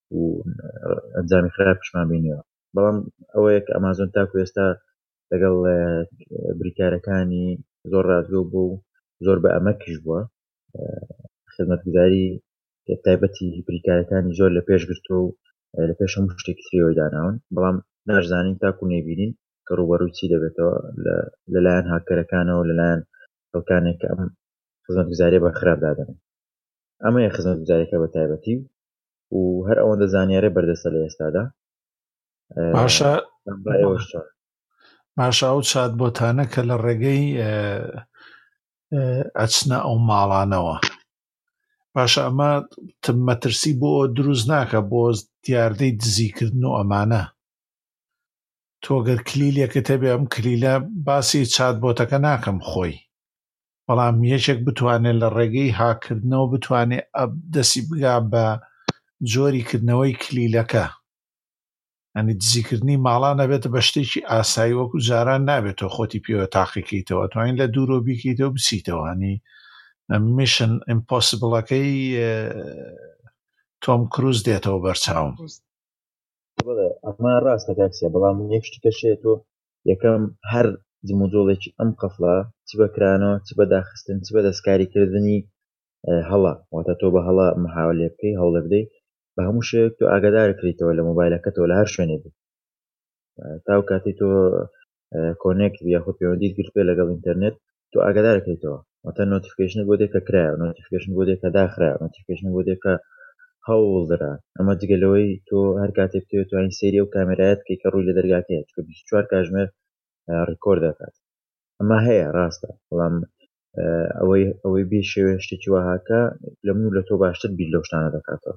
Speaker 3: ئەنجامی خراپ پیشمان بینیەوە. بەڵام ئەوەیە کە ئەمازۆن تاکو ئێستا لەگەڵ بریکارەکانی زۆر ڕازگۆ بوو و زۆر بە ئەمەکیش بووە خزمەتگوزاری تایبەتی بریکارەکانی زۆر لە پێش گرتو و لە پێش هەموو شتێکی تریەوەی داناون بەڵام ناشزانین تاکو نێبینین کە ڕوبەڕووی چی دەبێتەوە لەلایەن هاکەرەکانەوە لەلایەن خەڵکانێک کە ئەم خزمەتگوزاریە بە خراپ دادەن. ئەمەیە خزمەتگوزاریەکە بە تایبەتی و هەر ئەوەندە زانیارە بەردەستە لە ئێستادا.
Speaker 1: باشە ئەو چات بۆتانە کە لە ڕێگەی ئەچنە ئەو ماڵانەوە باشە ئەمە مەترسی بۆ دروست ناکە بۆ دیاردەی دزیکردن و ئەمانە تۆگەر کلیلێکت هەبێ ئەم کلیلە باسی چات بۆتەکە ناکەم خۆی بەڵام یەکێک بتوانێت لە ڕێگەی هاکردنەوە بتوانێت دەستی بگا بە جۆریکردنەوەی کلیلەکە ئەنی دزیکردنی ماڵان نەبێتە بە شتێکی ئاسایی وەکو جاران نابێتەوە خۆتی پێوە تاقیکەیتەوە توانین لە دوورۆ بیکەیتەوە بچیتەوە هەنی میشن ئیمپۆسیبڵەکەی تۆم کروز دێتەوە بەرچاوم.
Speaker 3: ئەمە ڕاستە کاکسیە بەڵام یەک شتێکەشەیە تۆ یەکەم هەر جموجۆڵێکی ئەم قەفڵە چ بەکرانەوە چ بە داخستن چ بە دەستکاریکردنی هەڵە واتە تۆ بە هەڵە محاولێ بکەی هەوڵە بدەی بە هەموو شێک تۆ ئاگادارکریتەوە لە مۆبایلەکەتەوە لە هەر شوێنێ بێت تاو کاتی تۆ کۆنێکت یاخود پەیوەندیت گرت پێ لەگەڵ ئینتەرنێت تۆ ئاگادارکەیتەوە واتە نۆتیفیکیشنت بۆ دێک کە کرایە نۆتیفیکیشن بۆ دێک کە داخرا نۆتیفیکیشن بۆ دێک کە هەوڵدرا ئەمە جگەلەوەی تۆ هەر کاتێک توێت توانین سێری و کامێرایەت کە ڕووی لە دەرگاکەیە چکە 24 کاتژمێر ڕیکۆرد دەکات ئەمە هەیە ڕاستە بەڵام ئەوەی بێ شێوێ شتێکی وهاکە لە من و لە تۆ باشتر بیر لەو شتانە دەکاتەوە.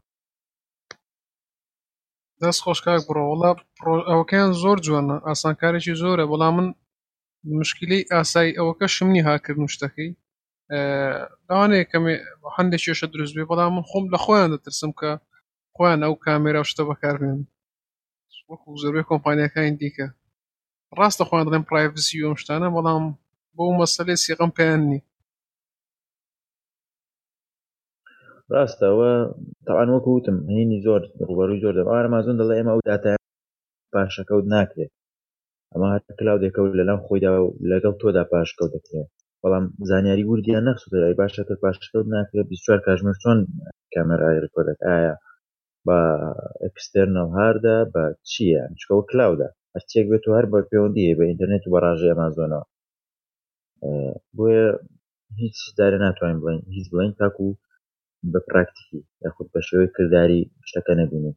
Speaker 2: دەست خۆش کاک بڕۆ وەڵا ئەوەکەیان زۆر جوانە ئاسانکارێکی زۆرە بەڵام من مشکلەی ئاسایی ئەوەکە شمنی هاکردن شتەکەی لەوانەیە کەمێ هەندێکیشە دروست بێ بەڵام من خۆم لە خۆیان دەترسم کە خۆیان ئەو کامێرا و شتە بەکاربێن وەکو زۆربەی کۆمپانیەکانی دیکە ڕاستە خۆیان دەڵێن پرایڤسی و ئەم شتانە بەڵام بۆ مەسەلەی سیغەم پێیان نی.
Speaker 3: ڕاستەوە تاوان وەکوتم هینی زۆر ڕوبەڕووی زۆر دەبێت ئامازۆن دەڵێ ئێمە ئەو داتای پاشەکەوت ناکرێت ئەمە هەر کلااودێکەوت لەلام خۆیدا لەگەڵ تۆدا پاشکەوت دەکرێت بەڵام زانیاری وردیان نەخسووتەی باشەکە پاشکەوت ناکرێت 24 کاتژمێر چۆن کامێرای ڕکۆردەک ئایا بە ئەکستێرنەڵ هاردا بە چییە چکەوە کلااودا هەرچێک بێت و هەر بە پەیوەندی بە ئینتەرنێت و بە ڕاژەی ئەمازۆنەوە بۆیە هیچ دارە ناتوانین بڵین هیچ بڵین تاکو بە پراکتیکی یاخود بە شێوەی کردداری شتەکە نەبینێت.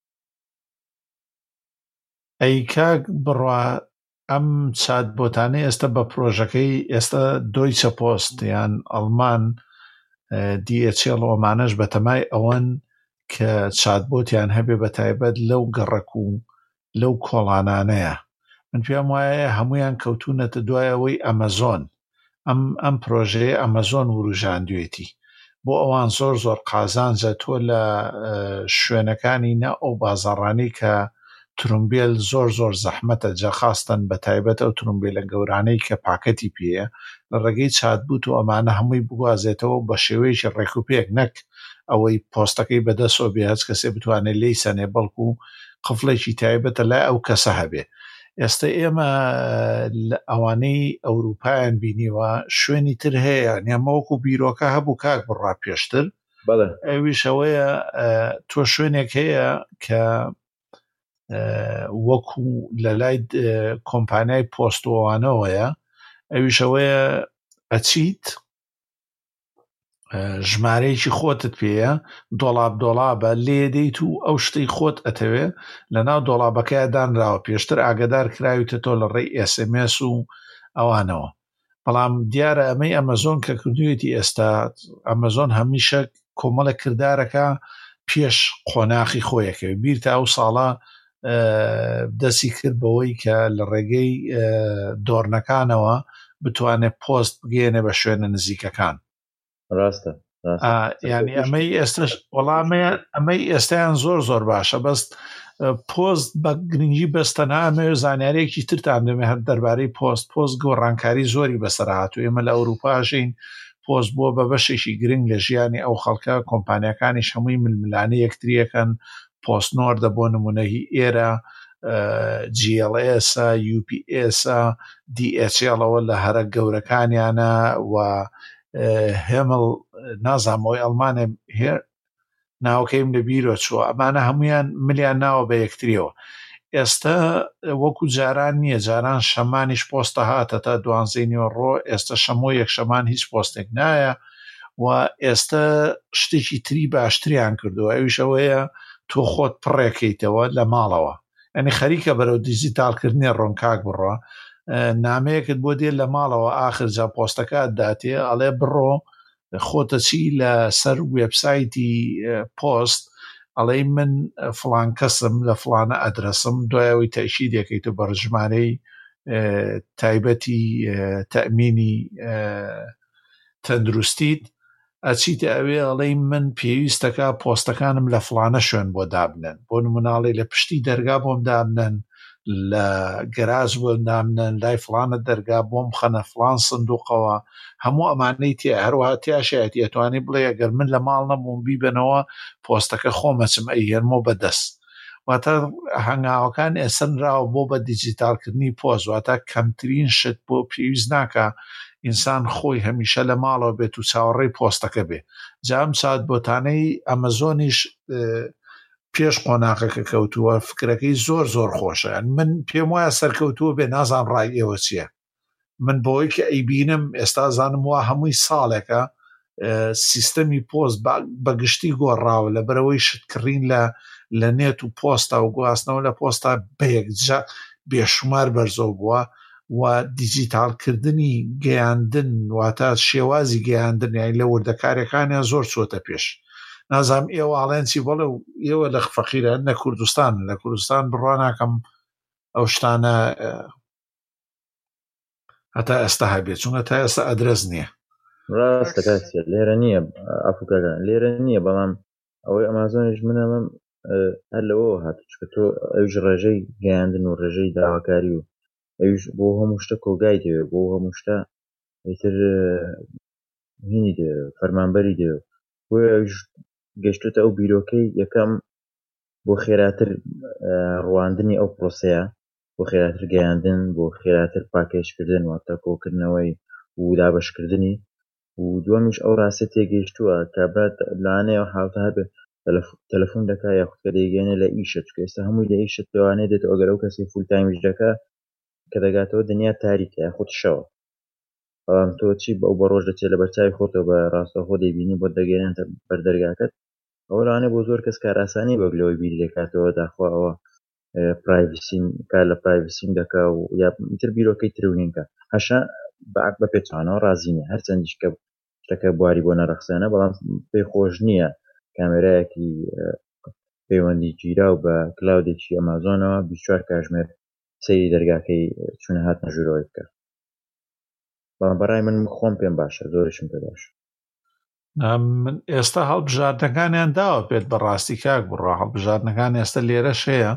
Speaker 1: ئەی کاک بڕوا ئەم چات بۆتانەی ئێستا بە پرۆژەکەی ئێستا دۆیچە پۆست یان ئەڵمان DHL ئەمانەش بە تەمای ئەوەن کە چات بۆتیان هەبێ بە تایبەت لەو گەڕک و لەو کۆڵانانەیە من پێم وایە هەمویان کەوتونەتە دوایەوەی ئەمەزۆن ئەم پرۆژەیە ئەمەزۆن وروژاندوێتی بۆ ئەوان زۆر زۆر قازانجە تۆ لە شوێنەکانی نە ئەو بازاڕانەی کە ترومبیل زۆر زۆر زەحمەتە جەخاستن بە تایبەت ئەو ترومبیلە گەورانەی کە پاکەتی پێیە لە ڕێگەی چات بوت و ئەمانە هەمووی بگوازێتەوە بە شێوەیەکی ڕێکوپێک نەک ئەوەی پۆستەکەی بەدەستەوە بێ هەچ کەسێ بتوانێت لی سەنێ بەڵکو و قفڵێکی تایبەتە لای ئەو کەسە هەبێ. ئێستا ئێمە ئەوانەی ئەوروپایان بینیوە شوێنی تر هەیە نێمەوەکو بیرۆکە هەبوو کاک بڕا پێشتر ئەویشەوەیە تۆ شوێنێک هەیە کە وەکو لە لای کۆمپانیای پۆستۆوانەوەیە ئەویشەوەیە ئەچیت ژمارەیەکی خۆتت پێیە دۆڵابە لێ دەیت و ئەو شتەی خۆت ئەتەوێ لە ناو دۆڵابەکەیە دانراوە پێشتر ئاگدار کراویتە تۆ لە ڕێی SMS و ئەوانەوە بەڵام دیارە ئەمەی ئەمەزۆن کە کردوێتی ئێستا ئەمەزۆن هەمیشە کۆمەڵە کردارەکە پێش قۆناخی خۆیەکەوێ بیرتە ئەو ساڵە دەستی کرد بەوەی کە لە ڕێگەی دۆڕنەکانەوە بتوانێت پۆست بگێنێ بە شوێنە نزیکەکان.
Speaker 3: ڕاستە
Speaker 1: ینی ئەمەی ئێستش وەڵامەیە ئەمەی ئێستایان زۆر زۆر باشە بەست پۆست بە گرنگی بەستەنا ئەمەوێ زانیارێکی ترتان دەمێ هەر دەربارەی پۆست گۆڕانکاری زۆری بەسەرهات و ئێمە لە ئەوروپاژین پۆست بۆ بە بەشێکی گرنگ لە ژیانی ئەو خەڵکە کۆمپانیەکانیش هەمووی ململانە یەکتریەکەن پۆستنۆر دەبۆ نمونەهی ئێرە GLS UPS DHLەوە لە هەرە گەورەکانیانە و هێمڵ نازامەوەی ئەڵمانە هێر ناوکەیم لە بیرۆ چووە ئەمانە هەمویان ملیان ناوە بە یەکتریەوە. ئێستا وەکو جاران نییە جاران شەمانیش پۆستە هاتە تا 12 ڕۆ ئێستا شەمۆ یەک شەمان هیچ پۆستێک نایە و ئێستا شتێکی تری باشتریان کردووە ئەویشەوەیە تۆ خۆت پڕێکەیتەوە لە ماڵەوە ئەنی خەریکە بەرەو دیجیتالکردنی ڕۆنکاک بڕۆ نامەیەکت بۆ دێ لە ماڵەوە ئاخر جا پۆستەکە داتێ ئەڵێ بڕۆ خۆتە چی لە سەر وێبسایتی پۆست ئەڵێ من فڵان کەسم لە فڵانە ئەدرسم دوایەوەی تەشید دەکەیتە بەڕژمارەی تایبەتی تەمینی تەندروستیت ئەچیتە ئەوێ ئەڵێ من پێویستەکە پۆستەکانم لە فڵانە شوێن بۆ دابنن بۆ نموناڵی لە پشتی دەرگا بۆم دابنن لە گەراژ بۆ دامنن لای فڵانە دەرگا بۆم خەنە فڵان سندوقەوە هەموو ئەمانەی تێ هەروەها تیاشایەتی ئەتوانی بڵێ ئەگەر من لە ماڵ نەبووم بیبنەوە پۆستەکە خۆمەچم ئەیهێنمەوە بەدەست واتە هەنگاوەکان ئێسنراوە بۆ بە دیجیتالکردنی پۆست واتە کەمترین شت بۆ پێویست ناکە ئینسان خۆی هەمیشە لە ماڵەوە بێت و چاوەڕێی پۆستەکە بێ جام چات بۆتانەی ئەمەزۆنیش پێش قۆناغەکە کەوتووە فکرەکەی زۆر زۆر خۆشە من پێم وایە سەرکەوتووە بێ نازان ڕای ئێوە چییە من بۆی کە ئەیبینم ئێستا زانم وە هەمووی ساڵێکە سیستەمی پۆست بەگشتی گۆڕاوە لە بەرەوەی شتکڕین لە نێت و پۆستا و گواستنەوە لە پۆستا بەیەکجا بێشمار بەرزەو بووە و دیجیتالکردنی گەیاندن واتە شێوازی گەیاندن یانی لە وردەکاریەکانیان زۆر چۆتە پێش نازام ئێوە ئاڵێنسی بەڵێ و ئێوە لە فەقیرە لە کوردستان بڕوا ناکەم ئەو شتانە هەتا ئێستا هەبێت چونکە تا ئێستا ئەدرەس نییە
Speaker 3: ڕاستە کاسیە لێرە نییە ئەفوکەکان لێرە نییە بەڵام ئەوەی ئەمازۆنیش منەڵم هەر لەوە هات چکە تۆ ئەوش ڕێژەی گەیاندن و ڕێژەی داواکاری و ئەوش بۆ هەموو شتە کۆگای دەوێت بۆ هەموو شتە ئیتر هینی دێ فەرمانبەری دێ بۆیە گەشتوتە ئەو بیرۆکەی یەکەم بۆ خێراتر ڕواندنی ئەو پرۆسەیە، بۆ خێراتر گەیاندن، بۆ خێراتر پاکێشکردن واتە کۆکردنەوەی و دابەشکردنی و دووەمیش ئەو ڕاستە تێگەیشتووە کە برات لەوانەیە ئەو حاڵتە هەبێ تەلەفۆن دەکا یاخود کە دەیگەێنێ لە ئیشت چکە ئێستا هەمووی لە ئیشت لەوانەیە دێتەوە ئەگەر ئەو کەسی فول تایمیش دەکا کە دەگاتەوە دنیا تاریکە یاخود شەوە، بەڵام تۆ چی ئەو بە ڕۆژ دەچێت لە بەرچاوی خۆتەوە بە ڕاستەوخۆ دەیبینی بۆ دەگەێنێتە بەردەرگاکەت. ئەوە لەوانەیە بۆ زۆر کەس کاراسانی بەگلەوەی بیری دەکاتەوە داخوا ئەوە پرایڤسیم کار لە پرایڤسیم دەکا و یا ئیتر بیرۆکەی ترونینکە هەشا بە پێچوانەوە ڕازینە هەرچەندیش کە شتەکە بواری بۆ نەرەخسانە، بەڵام پێی خۆش نییە کامێرایەکی پەیوەندی گیرا و بە کلااودێکی ئەمازۆنەوە 24 کاتژمێر سەیری دەرگاکەی چوونە هات نەژوورەوەی بکە. بەڵام بەڕای من خۆم پێم باشە، زۆرشم پێ باشە.
Speaker 1: من ئێستا هەڵبژاردنەکانیان داوە پێت بەڕاستی کاک بڕۆ هەڵبژاردنەکان ئێستا لێرەش هەیە،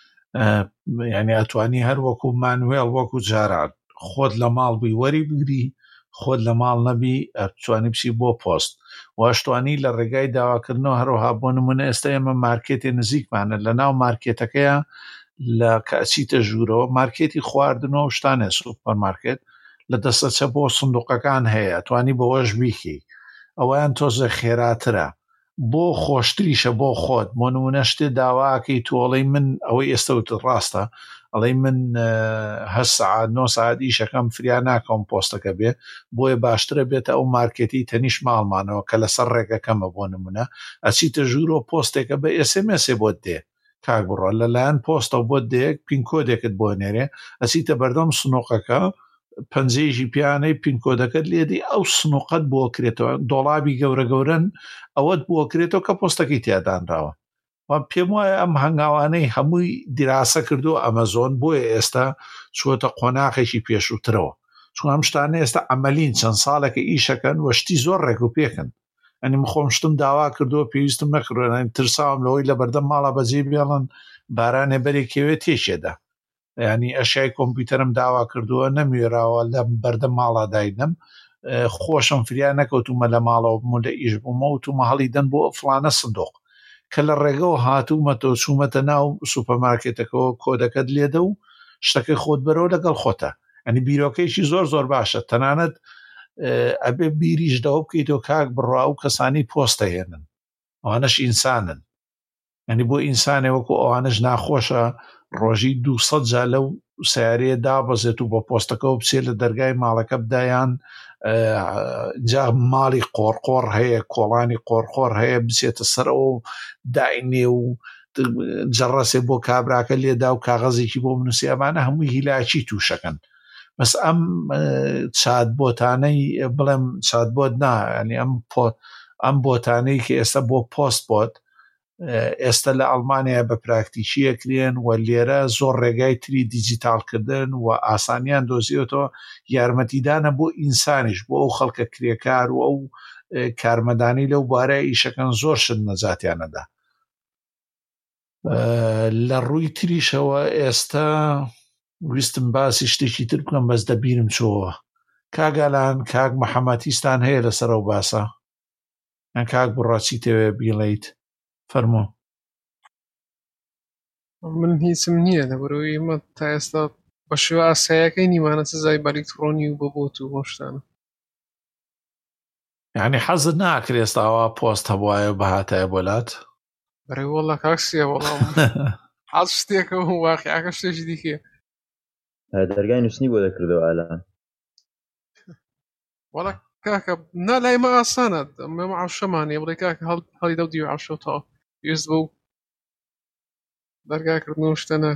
Speaker 1: یعنی ئەتوانی هەر وەکو مانوێڵ وەکو جاران خۆت لە ماڵ بووی وەری بگری، خۆت لە ماڵ نەبی ئەتوانی بچی بۆ پۆست واشتوانی لە ڕێگای داواکردنەوە هەروەها بۆ نمونە ئێستا ئێمە مارکێتی نزیکمانە لە ناو مارکێتەکەیە لە کەچیتە ژوورەوە مارکێتی خواردنەوە شتانێ سوپەرمارکێت لە دەستەچە بۆ سندوقەکان هەیە توانی بەوەش بیکی ئەویان تۆزە خێراترە بۆ خۆشتریشە بۆ خۆت بۆ نمونە شتێ داواکەی تۆڵی من ئەوەی ئێستەوت ڕاستە ئەڵێ من 8 ساعات 9 ساعت ئیشەکەم فریا ناکەم پۆستەکە بێ بۆیە باشترە بێتە ئەو مارکێتی تەنیش ماڵمانەوە کە لەسەر ڕێگەکەمە بۆ نمونە ئەچیتە ژوورەوە پۆستێکە بە ئێسێمێسێ بۆت دێ کاک بڕۆ لەلایەن پۆستە بۆ دێک پینکۆدێکت بۆ نێرێ ئەچیتە بەردەم سنووقەکە پەنجەیەکی پیانەی پینکۆدەکەت لێدی ئەو سنووقەت بۆ کرێتەوە دۆڵابی گەورە گەورن ئەوەت بۆ کرێتەوە کە پۆستەکەی تیادانراوە پێم وایە ئەم هەنگاوانەی هەمووی دیراسە کردو ئەمەزۆن بۆیە ئێستا چوەتە قۆناغێکی پێشووترەوە چون ئەم شتانە ئێستا ئەمەلین چەند ساڵێکە ئیشەکەن وەشتی زۆر ڕێک و پێکن ئەنی خۆم شتم داوا کردووە پێویستم نەکردوێن ترساوم لەوەی لە بەردەم ماڵە بەجێ بێڵن بارانێ بەرێکەوێت تێشێدا ینی ئەشای کۆمپیوتەرم داوا کردووە نەمێراوە لە بەردەم ماڵا دایدم خۆشم فریا نەکەوتومە لە ماڵەوە بمە لە ئیش بوومە و تومە هەڵی دەن بۆ فلانە سندۆق کە لە ڕێگەەوە هاتوومەتۆ چوومەتە ناو سوپەرمارکێتەکەەوە کۆدەکەت لێدە و شتەکەی خۆت بەرەوە لەگەڵ خۆتە ئەنی بیرۆکەیشی زۆر زۆر باشە تەنانەت ئەبێ بیریشدەوە بکەیتەوە کاک بڕوا و کەسانی پۆستە هێنن ئەوانەش ئینسانن ئەنی بۆ ئینسانێ وەکو ئەوانش ناخۆشە ڕۆژی 200 جا لەو سیارەیە دابەزێت و بە پۆستەکەەوە بچێت لە دەرگای ماڵەکە بدایان جا ماڵی قۆرقۆڕ هەیە کۆڵانی قۆرقۆڕ هەیە بچێتە سەرەوە و داینێ و جەڕەسێ بۆ کابراکە لێدا و کاغەزێکی بۆ بنووسی ئەمانە هەمووی هیلاکی تووشەکەن بەس ئەم چات بۆتانەی بڵێم چات بۆت ینی ئەم بۆتانەی کە ئێستا بۆ پۆست بۆت ئێستا لە ئەڵمانیا بە پراکتیکیەکرێن و لێرە زۆر ڕێگای تری دیجیتالکردن و ئاسانیان دۆزیێتەوە یارمەتیدانە بۆ ئینسانیش بۆ ئەو خەڵکە کرێکار و ئەو کارمەدانی لەو بارەی ئیشەکەن زۆر شت نەجاتیانەدا لە ڕووی تریشەوە ئێستا ویستم باسی شتێکی تر بکەم بەس دەبیرم چۆوە کاگالان کاک مەحەمەتیستان هەیە لەسەر ئەو باسە ئەن کاک بڕاچیتەوێ بیڵیت فەرمۆ
Speaker 2: من هیچم نییە لەبەرەوەی ئێمە تا ئێستا بە شێوە ئاساییەکەی نیمانە سزای ئەلێکترۆنی و بەبۆت و بۆ شتانە
Speaker 1: یعنی حەزت ناکرێ ئێستاوا پۆست هەبوایە بەهاتایە بۆلات
Speaker 2: بەڕێ وەڵا کاکسیە وەڵام حەز شتێکە و واقعیەکە شتێکی دیکە
Speaker 3: دەرگای نووسنی بۆ دەکردەوە ئالان
Speaker 2: وەڵا کاکە نا لای مە ئاسانە ئەمە عەوشەمانێ بڵێ کاکە هەڵی دەو دیوە عەوشەوتەوە پێویست بە و دەرگاکردنەوە شتەنە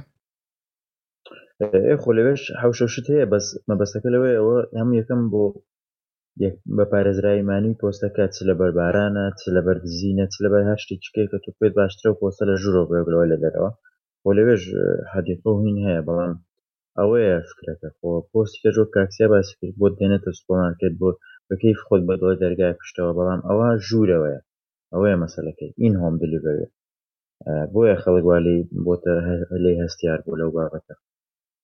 Speaker 3: خۆ لەوێش حەوشەشت هەیە بەس مەبەستەکە لەوەی ئەوە هەموو یەکەم بۆ بە پارێزراییمانی پۆستەکە چ لە بەربارانە چ لە بەردزینە چ لە بەر هەر شتێکیکەی کە تو پێت باشترە و پۆستە لە ژوورەوە بێگرەوە لە دەرەوە بۆ لەوێژ حەدیقە و هین هەیە بەڵام ئەوەیە فکرەکە خۆ پۆستی کە جۆ کاکسیا باسی کرد بۆ دێنێتە سوپەرمارکێت بۆ بەکەیف خۆت بەدڵە دەرگای پشتەوە بەڵام ئەوە ژوورەوەیە ئەوەیە مەسەلەکەی ئین هۆم دلیڤەری بۆیە خەڵک والی بۆتە لێی هەستیار بۆ لەو بابەتە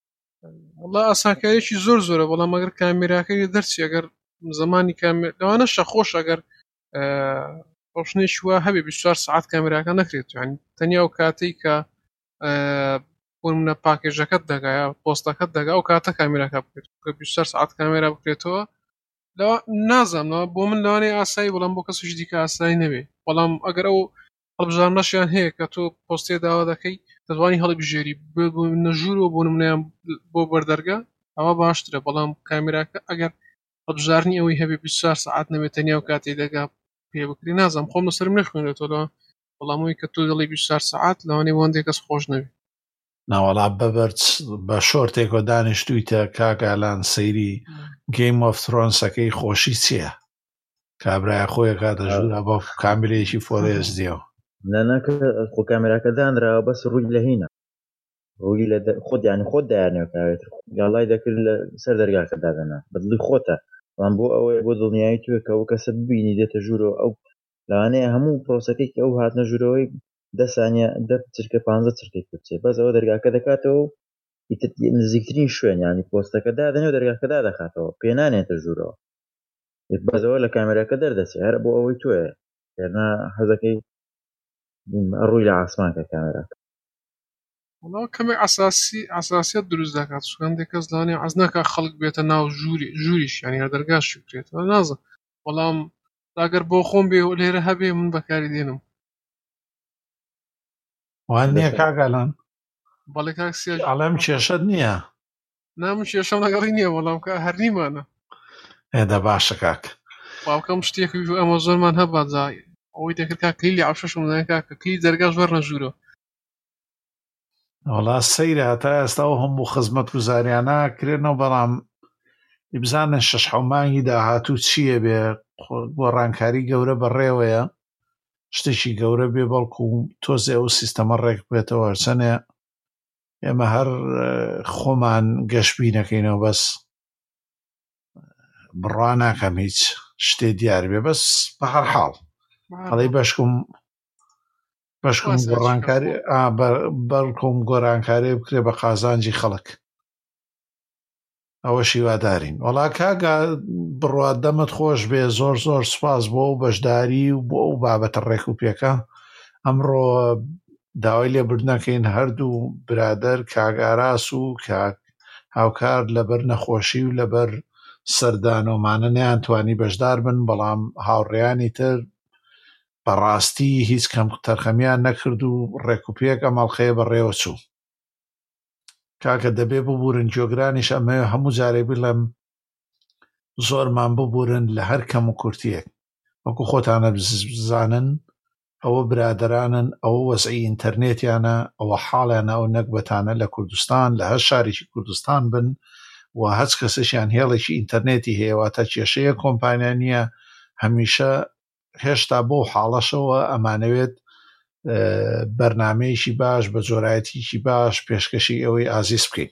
Speaker 2: والله ئاسانکاریەکی زۆرە بەڵام ئەگەر کامێراکەی دەرچی ئەگەر زمانی لەوانە شەخۆش ئەگەر ڕۆشنێکی وا هەبێ 24 ساعت کامێراکە نەکرێت یعنی تەنیا و کاتەی کە بۆ نمونە پاکێژەکەت دەگایە پۆستەکەت دەگا و کاتە کامێراکە بکرێت کە 24 ساعت کامێرا بکرێتەوە لەوە نازانەوە بۆ من لەوانەیە ئاسایی بەڵام بۆ کەسێکی دیکە ئاسایی نەبێ بەڵام ئەگەر ئەو هەڵبژارنەشیان هەیە کە تۆ پۆستێ داوا دەکەی دەتوانی هەڵبژێری نەژوورەوە بۆ نمونەیان بۆ بەردەرگا ئەوە باشترە بەڵام کامێراکە ئەگەر هەڵبژارنی ئەوەی هەبێ 24 ساعت نەبێت تەنیا و کاتێ دەگا پێ بکری نازانم خۆم لەسەرم نەخوێنێتەوە بەڵامەوەی کە تۆ دەڵی 24 ساعت لەوانەیە وەندێک کەس خۆش نەبێت
Speaker 1: ناوەڵا بەبەرچ بە شۆرتێکۆ دانیشتوویتە کاگالان سەیری گەیم ئۆف ترۆنسەکەی خۆشی چییە؟ کابرای خۆیە کاتە ژوورە بە کاملەیەکی فۆرێز دیەوە
Speaker 3: نەناکە خۆ کامێراکە دانراوە بەس ڕووی لە هینە ڕووی لە خۆت یانی خۆت دایانێوە کاوێتر یاڵای دەکرد لە سەر دەرگاکە دادەنا بەدڵی خۆتە بەڵام بۆ ئەوەیە بۆ دڵنیایی توێ کە ئەو کەسە ببینی دێتە ژوورەوە ئەو لەوانەیە هەموو پرۆسەکەی ئەو هاتنە ژوورەوەی 10 ثانیە 10 چرکە 15 چرکەی بچێت بەس ئەوە دەرگاکە دەکاتەوە نزیکترین شوێن ینی پۆستەکە دادەنێ و دەرگاکەدا دەخاتەوە پێنانێتە ژوورەوە بەزەوە لە کامێراکە دەردەچێت هەر بۆ ئەوەی توێ هێرنا حەزەکەی ڕووی لە ئاسمانکە کامێراکە
Speaker 2: وڵاو کەمێک ئاساسیەت دروست دەکات سوێندێک کەس لەوانەیە حەز ناکات خەڵک بێتە ناو ژووریش یعنی هەر دەرگاشی بکرێتەوە نازم بەڵام ئەگەر بۆ خۆم بێ لێرە هەبێ من بەکاری دێنم
Speaker 1: وان نییە کاگالان
Speaker 2: بەڵێ کاکسیا
Speaker 1: ئەڵێم کێشەت نییە
Speaker 2: نامن کێشەم لەگەڵی نییە بەڵام کە هەر نیمانە
Speaker 1: ئێدە باشە کاک
Speaker 2: باوکەم شتێکی ئەمە زۆرمان هەبات جای ئەوەی دەکرد کا کلیلی عەفشەشم دەکا کاکە کلی دەرگاش وەرنە ژوورەوە
Speaker 1: وڵا سەیرە هەتا ئێستا و هەموو خزمەت گوزاریانە کرێنەوە بەڵام بزانن 6 مانگی داهاتوو چییە بێ گۆڕانکاری گەورە بەڕێوەیە شتێکی گەورە بێ بەڵکو تۆزێ ئەو سیستەمە ڕێک بێتەوە هەرچەنێ ئێمە هەر خۆمان گەشتبی نەکەینەوە بەس بڕوا ناکەم هیچ شتێ دیار بێ بەس بە هەر حاڵ هەڵی بەشکم گۆڕانکاری بەڵکم گۆڕانکاری بکرێ بە قازانجی خەڵک ئەوە شیوادارین وەڵا کاگا بڕوا دەمت خۆش بێ زۆر زۆر سوپاس بۆ و بەشداری و بۆ ئەو بابەتە ڕێک و پێکە ئەمڕۆ داوای لێبردنەکەین هەردوو برادەر کاگاراس و هاوکار لەبەر نەخۆشی و لەبەر سەردانۆمانە نەیانتوانی بەشدار بن بەڵام هاوڕێیانی تر بەڕاستی هیچ کەم تەرخەمیان نەکرد و ڕێکوپێک ئەمەڵخەیە بەڕێوە چوو کاکە دەبێ ببورن جۆگرانیش ئەمە هەموو جارێ بڵێم زۆرمان ببورن لە هەر کەم و کورتیەک وەکو خۆتانە بزانن ئەوە برادرانن ئەوە وەزعی ئینتەرنێتیانە ئەوە حاڵیانە ئەو نەکبەتانە لە کوردستان لە هەر شارێکی کوردستان بن و هەچ کەسێکیان هێڵێکی ئینتەرنێتی هەیەواتە کێشەیە کۆمپانیانیە هەمیشە هێشتا بۆ حاڵەشەوە ئەمانەوێت بەرنامەیەکی باش بە جۆرایەتیکی باش پێشکەشی ئەوەی ئازیز بکەین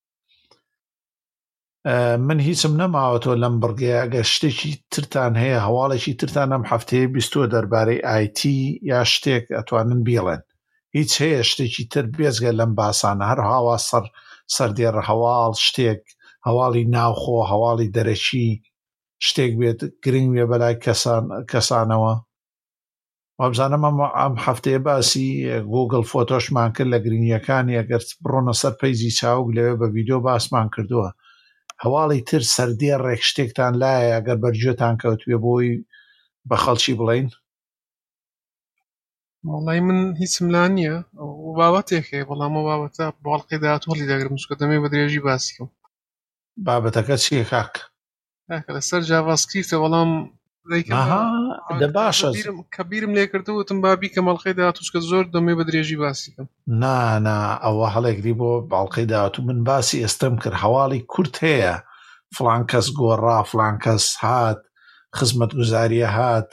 Speaker 1: من هیچم نەماوەتەوە لەم بڕگەیە ئەگەر شتێکی ترتان هەیە هەواڵێکی ترتان ئەم هەفتەیە بیستووە دەربارەی IT یا شتێک ئەتوانن بیڵێن هیچ هەیە شتێکی تر بێزگە لەم باسانە هەر هاوا سەردێڕە هەواڵ شتێک هەواڵی ناوخۆ هەواڵی دەرەکی شتێک بێت گرنگ بێ بەلای کەسانەوە وابزانم ئەم هەفتەیە باسی گوگل فۆتۆشمان کرد لە گرنگیەکانی ئەگەر بڕۆنە سەر پەیزی چاوک لەوێ بە ڤیدیۆ باسمان کردووە هەواڵی تر سەردێڕێک شتێکتان لایە ئەگەر بەرگوێتان کەوتوێ بۆی بە خەڵکی بڵین
Speaker 2: وڵی من هیچم لا نییە بابەتێک هەیە بەڵام ئەو بابەتە باڵقی داهاتوەڵی دەگرم چکە دەمێ بە درێژی باسیکەم
Speaker 1: بابەتەکە چییە کاک
Speaker 2: لەسەر جاڤاسکریپتە بەڵام
Speaker 1: باشە
Speaker 2: کە بیرم لێ کردوتم بابی کە مەڵقەی داهاتووچکە زۆر دەمێ بە درێژی باسیکەم
Speaker 1: نا ئەوە هەڵێکری بۆ باڵقەی داهاتوو من باسی ئێستەم کرد هەواڵی کورت هەیە فڵان کەس گۆڕا فڵان کەس هات خزمەت گوزاریە هات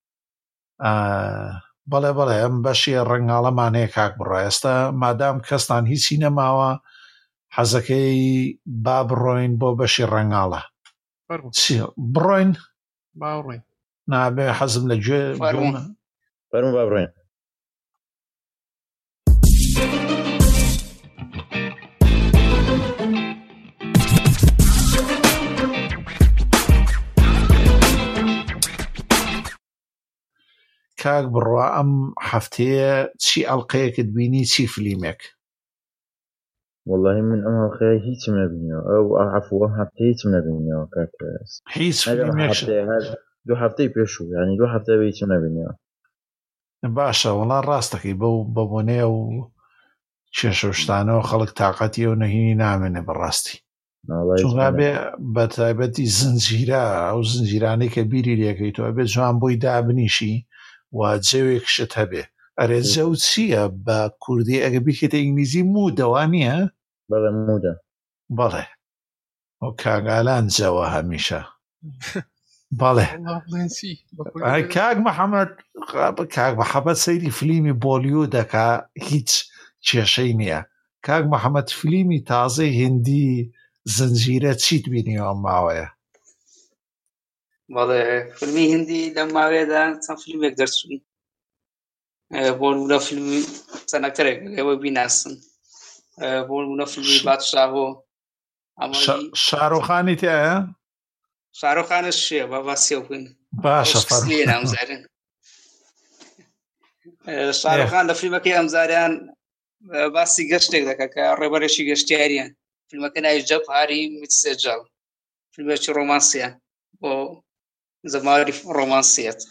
Speaker 1: بەڵێ ئەم بەشی ڕەنگاڵەمان هەیە کاک بڕای ئێستا مادام کەستان هیچی نەماوە حەزەکەی با بڕۆین بۆ بەشی ڕەنگاڵە بڕۆین
Speaker 2: باڕۆین
Speaker 1: نابێ حەزم لە گوێ
Speaker 3: فەرموو با بڕۆین
Speaker 1: کاک بڕوا ئەم هەفتەیە چی ئەڵلقەیەکت بینی چی فلیمێک؟
Speaker 3: والله من ئەم هەڵخەیە هیچم نەبینیەوە ئەو عەفوە هەفتەیە هیچم نەبینیەوە کاک
Speaker 1: هیچ فلیمێک
Speaker 3: دو هەفتەی پێشوو ینی دو هەفتەیە هیچم نەبینیەوە.
Speaker 1: باشە وەڵا ڕاستەکەی بەو بەبوونەیە و کێشەشتانەوە خەڵک تااقەتی و نەهینی نامێنێ بەڕاستی چونگا بێ بە تایبەتی زنجیرە ئەو زنجیرانەی کە بیری لێکەی تۆ بێت جوان بۆی دابنیشی و جەوێکشت هەبێ ئەرێ جەو چییە بە کوردی ئەگە بیکێتە ئینگلیزی مودەوا نییە؟
Speaker 3: بەڵێ مودە
Speaker 1: بەڵێ ئەو کاگالان جەوە هەمیشە بەڵێ کاک مەحەمەد سەیری فلیمی بۆلیۆ دەکا هیچ کێشەی نییە. کاک مەحەمەد فلیمی تازەی هندی زنجیرە چیت بینیەوە ماوەیە؟
Speaker 4: بەڵێ فیلمی هندی لەم ماوەیەدا چەند فیلمێک دەرچوون بۆ نمونە فیلمی چەندەکتەرێک ئێوە بیناسن بۆ نمونە فیلمی بادشاهۆ
Speaker 1: شارۆخانی تایە؟
Speaker 4: شارۆخانش شێ بە باسی بووین
Speaker 1: باشە
Speaker 4: ئەمزارن شارۆخان لە فیلمەکەی ئەمزاریان باسی گەشتێک دەکە کە ڕێبەرێکی گەشتیاریان فیلمەکە ناوی جەبهاری میتسێجاڵ فیلمێکی ڕۆمانسیە بۆ زەماری ڕۆمانسیەت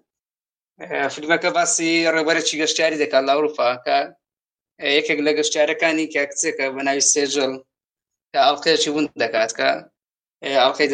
Speaker 4: فیلمەکە باسی ڕێبەرێکی گەشتیاری دەکات لە ئەوروپا کە یەکێک لە گەشتیارەکانی کە کچێکە بە ناوی سێجڵ کە ئەڵقەیەکی ون دەکات کە ئەڵقەی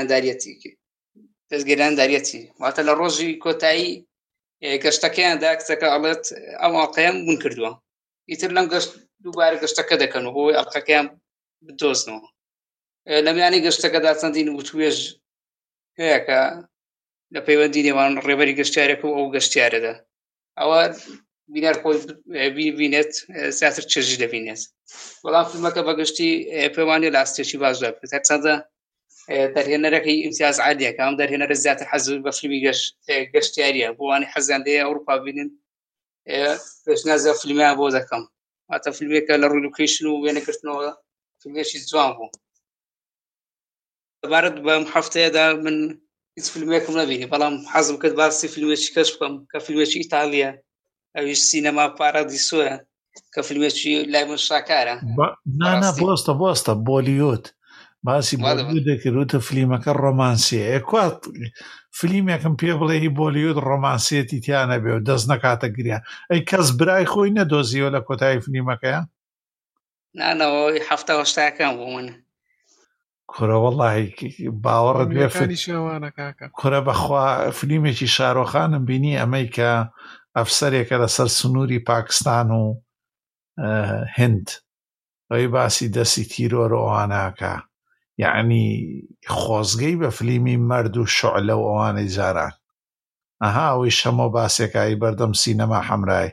Speaker 4: دەستگیرانداریەتی واتە لە ڕۆژی کۆتایی گەشتەکەیاندا کچەکە ئەڵێت ئەم ئەڵقەیەم ون کردووە ئیتر لەم گەشت دووبارە گەشتەکە دەکەن و بۆی ئەڵقەکەیان بدۆزنەوە لە میانی گەشتەکەدا چەندین وتوێژ هەیە کە لە پەیوەندی نێوان ڕێبەری گەشتیارێک و ئەو گەشتیارەدا ئەوە بینەر خۆی بینێت زیاتر چێژی دەبینێت بەڵام فیلمەکە بەگشتی پەیوانی لاستێکی باش دەبێت هەرچەندە دەرهێنەرەکەی ئیمتیاز عالیە کە ئەم دەرهێنەرە زیاتر حەزم بە فیلمی گەشتیاریە بۆ وانی حەزیان لێیە ئەوروپا بینن پێشنیازە فیلمیان بۆ دەکەم واتە فیلمێکە لە ڕووی لۆکیشن و وێنەگرتنەوە فیلمێکی جوان بوو لەبارەت بەم هەفتەیەدا من هیچ فیلمێکم نەبینی بەڵام حەزم کرد باسی فیلمێکی کەش بکەم کە فیلمێکی ئیتالیە ئەویش سینەما پارادیسۆیە کە فیلمێکی لای من شاکارە
Speaker 1: نانا بۆستە بۆلیۆت باسی بۆلیۆ دەکردوتە فیلمەکە ڕۆمانسیە ئێکوات فیلمێکم پێ بڵێ هی بۆلیۆت ڕۆمانسیەتی تیانە بێ و دەست نەکاتە گریان ئەی کەس برای خۆی نەدۆزیەوە لە کۆتایی فیلمەکەیە
Speaker 4: نانەوەی هەفتە هەشتاکان بۆ من
Speaker 1: کورە وەڵڵاهی باوەڕت بێ کورە بەخوا فیلمێکی شارۆخانم بینی ئەمەی کە ئەفسەرێکە لەسەر سنووری پاکستان و هند ئەوی باسی دەستی تیرۆرەواناکە یعنی خۆزگەی بە فیلمی مرد و شعلە و ئەوانەی جاران ئەها ئەوەی شەمە باسێکایی بەردەم سینەما حەمرای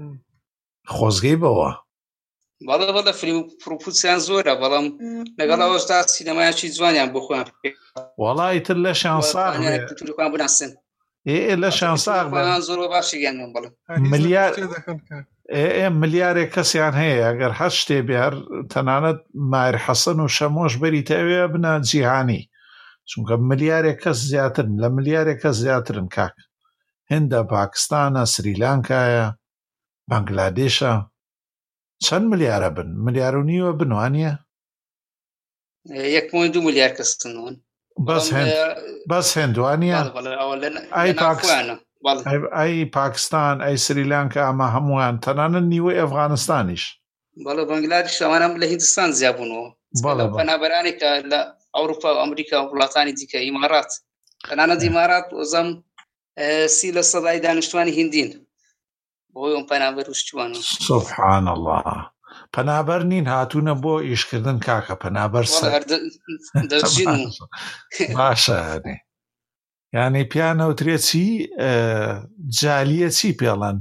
Speaker 1: خۆزگەی بەوە
Speaker 4: بەڵێ فیلم پرۆپوسیان زۆرە بەڵام لەگەڵ ئەوەشدا سینەمایەکی جوانیان بۆ خۆیان
Speaker 1: وەڵای تر لە شانساغ
Speaker 4: بناسن
Speaker 1: لە شانساغ
Speaker 4: زۆر باشیان بڵێ
Speaker 1: ملیارێک کەسیان هەیە ئەگەر هەر شتێ بێر تەنانەت مایر حەسەن و شەمۆش بەری تەوێ بنە جیهانی چونکە ملیارێک کەس زیاترن لە ملیارێک کەس زیاترن کاک هێندە پاکستانە سریلانکایە بەنگلادێشە چەند ملیارە بن ملیار و نیوە بنوانیە
Speaker 4: 1.2 ملیار کەسنەوەن
Speaker 1: بەس هێندوانیە ئەی پاکستان ئەی سریلانکە ئەمە هەمووان تەنانەت نیوەی ئەفغانستانیش
Speaker 4: بەڵێ بەنگلادێش ئەوانم لە هیندستان زیابوونەوە پەنابەرانێکە لە ئەوروپا و ئەمریکا و وڵاتانی دیکە ئیمارات تەنانەت ئیمارات وەزەم 30% دانیشتوانی هیندین بۆی ئەم پەنابەر وشتوانە
Speaker 1: سوبحان الله پەنابەر نین هاتوونە بۆ ئیشکردن کاکە پەنابەر باشە یعنی پیانەوترێ چی جالیە چی پێڵەن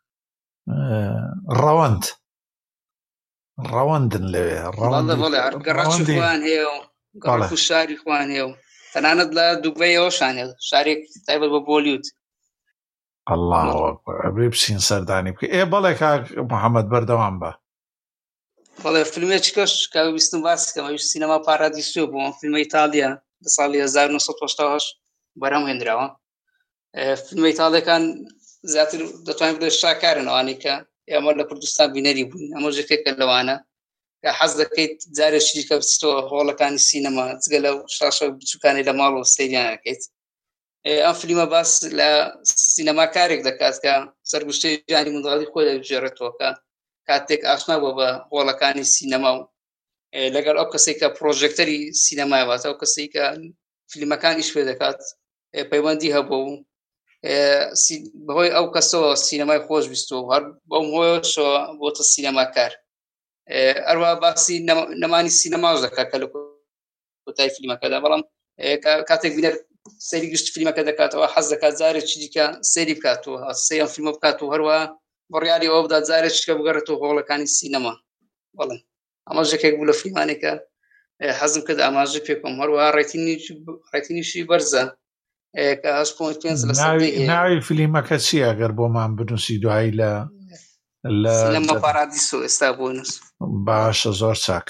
Speaker 1: ڕەوەندن لەوێ
Speaker 4: ڕەوەندیخوان هەیە و شاری خوان هەیە و تەنانەت لە دووبەیەوەشانێ شارێک تایبەت بە بۆلیوت
Speaker 1: الله ئەبێ بچین سەردانی بکە بەڵێ کاک محەممەد بەردەوام بە
Speaker 4: بەڵێ فیلمێکی کەش کە ویستم باسکەم ئەویش سینەما پارادیسۆ بۆ فیلمە ئیتالیا لە ساڵی 1970 بەرەم هێنراوە فیلمە ئیتاڵیەکان زیاتر دەتوانین بڵێ شاکارن ئەوانەی کە ئێمە لە کوردستان بینەری بووین ئەمە ژێکێکە لەوانە کە حەز دەکەیت جارێکی کە بچیتەوە هۆڵەکانی سینەما جگە لەو شاشە بچووکانی لە ماڵەوە سەیریان ئەکەیت ئەم فیلمە باس لە سینەماکارێک دەکات کە سەرگوشتەی ژیانی منداڵی خۆی دەبژێڕێتەوە کە کاتێک ئاشنا بووە بە هۆڵەکانی سینەما و لەگەڵ ئەو کەسێک کە پرۆژێکتەری سینەمایەواتە ئەو کەسێک کە فیلمەکان ئیش پێ دەکات پەیوەندی هەبوو و بەهۆی ئەو کەسەوە سینەمای خۆش بیستەوە هەر بەم هۆیەوەشەوە بۆتە سینەماکار ئەروە باسی نەمانی سینەماش دەکات کە لە کۆتایی فیلمەکەدا بەڵام کاتێک بینەر سەیری گشت فیلمەکە دەکاتەوە حەز دەکات جارێکی دیکە سەیری بکاتەوە سەی ئەم فیلمە بکاتەوە هەروە بڕیاری ئەوە بدات جارێکیکە بگەڕێتەوە هۆڵەکانی سینەما بەڵێ ئەمە ژێکێک بوو لە فیلمانێکە حەزم کرد ئاماژە پێ بکەم هەروە ڕایتینیشی بەرزە کە 8.5 لە
Speaker 1: ناوی فیلمەکە چی ئەگەر بۆمان بنووسی دوایی لە
Speaker 4: سینەما پارادیسۆ ئێستا بۆ نووس
Speaker 1: باشە زۆر چاک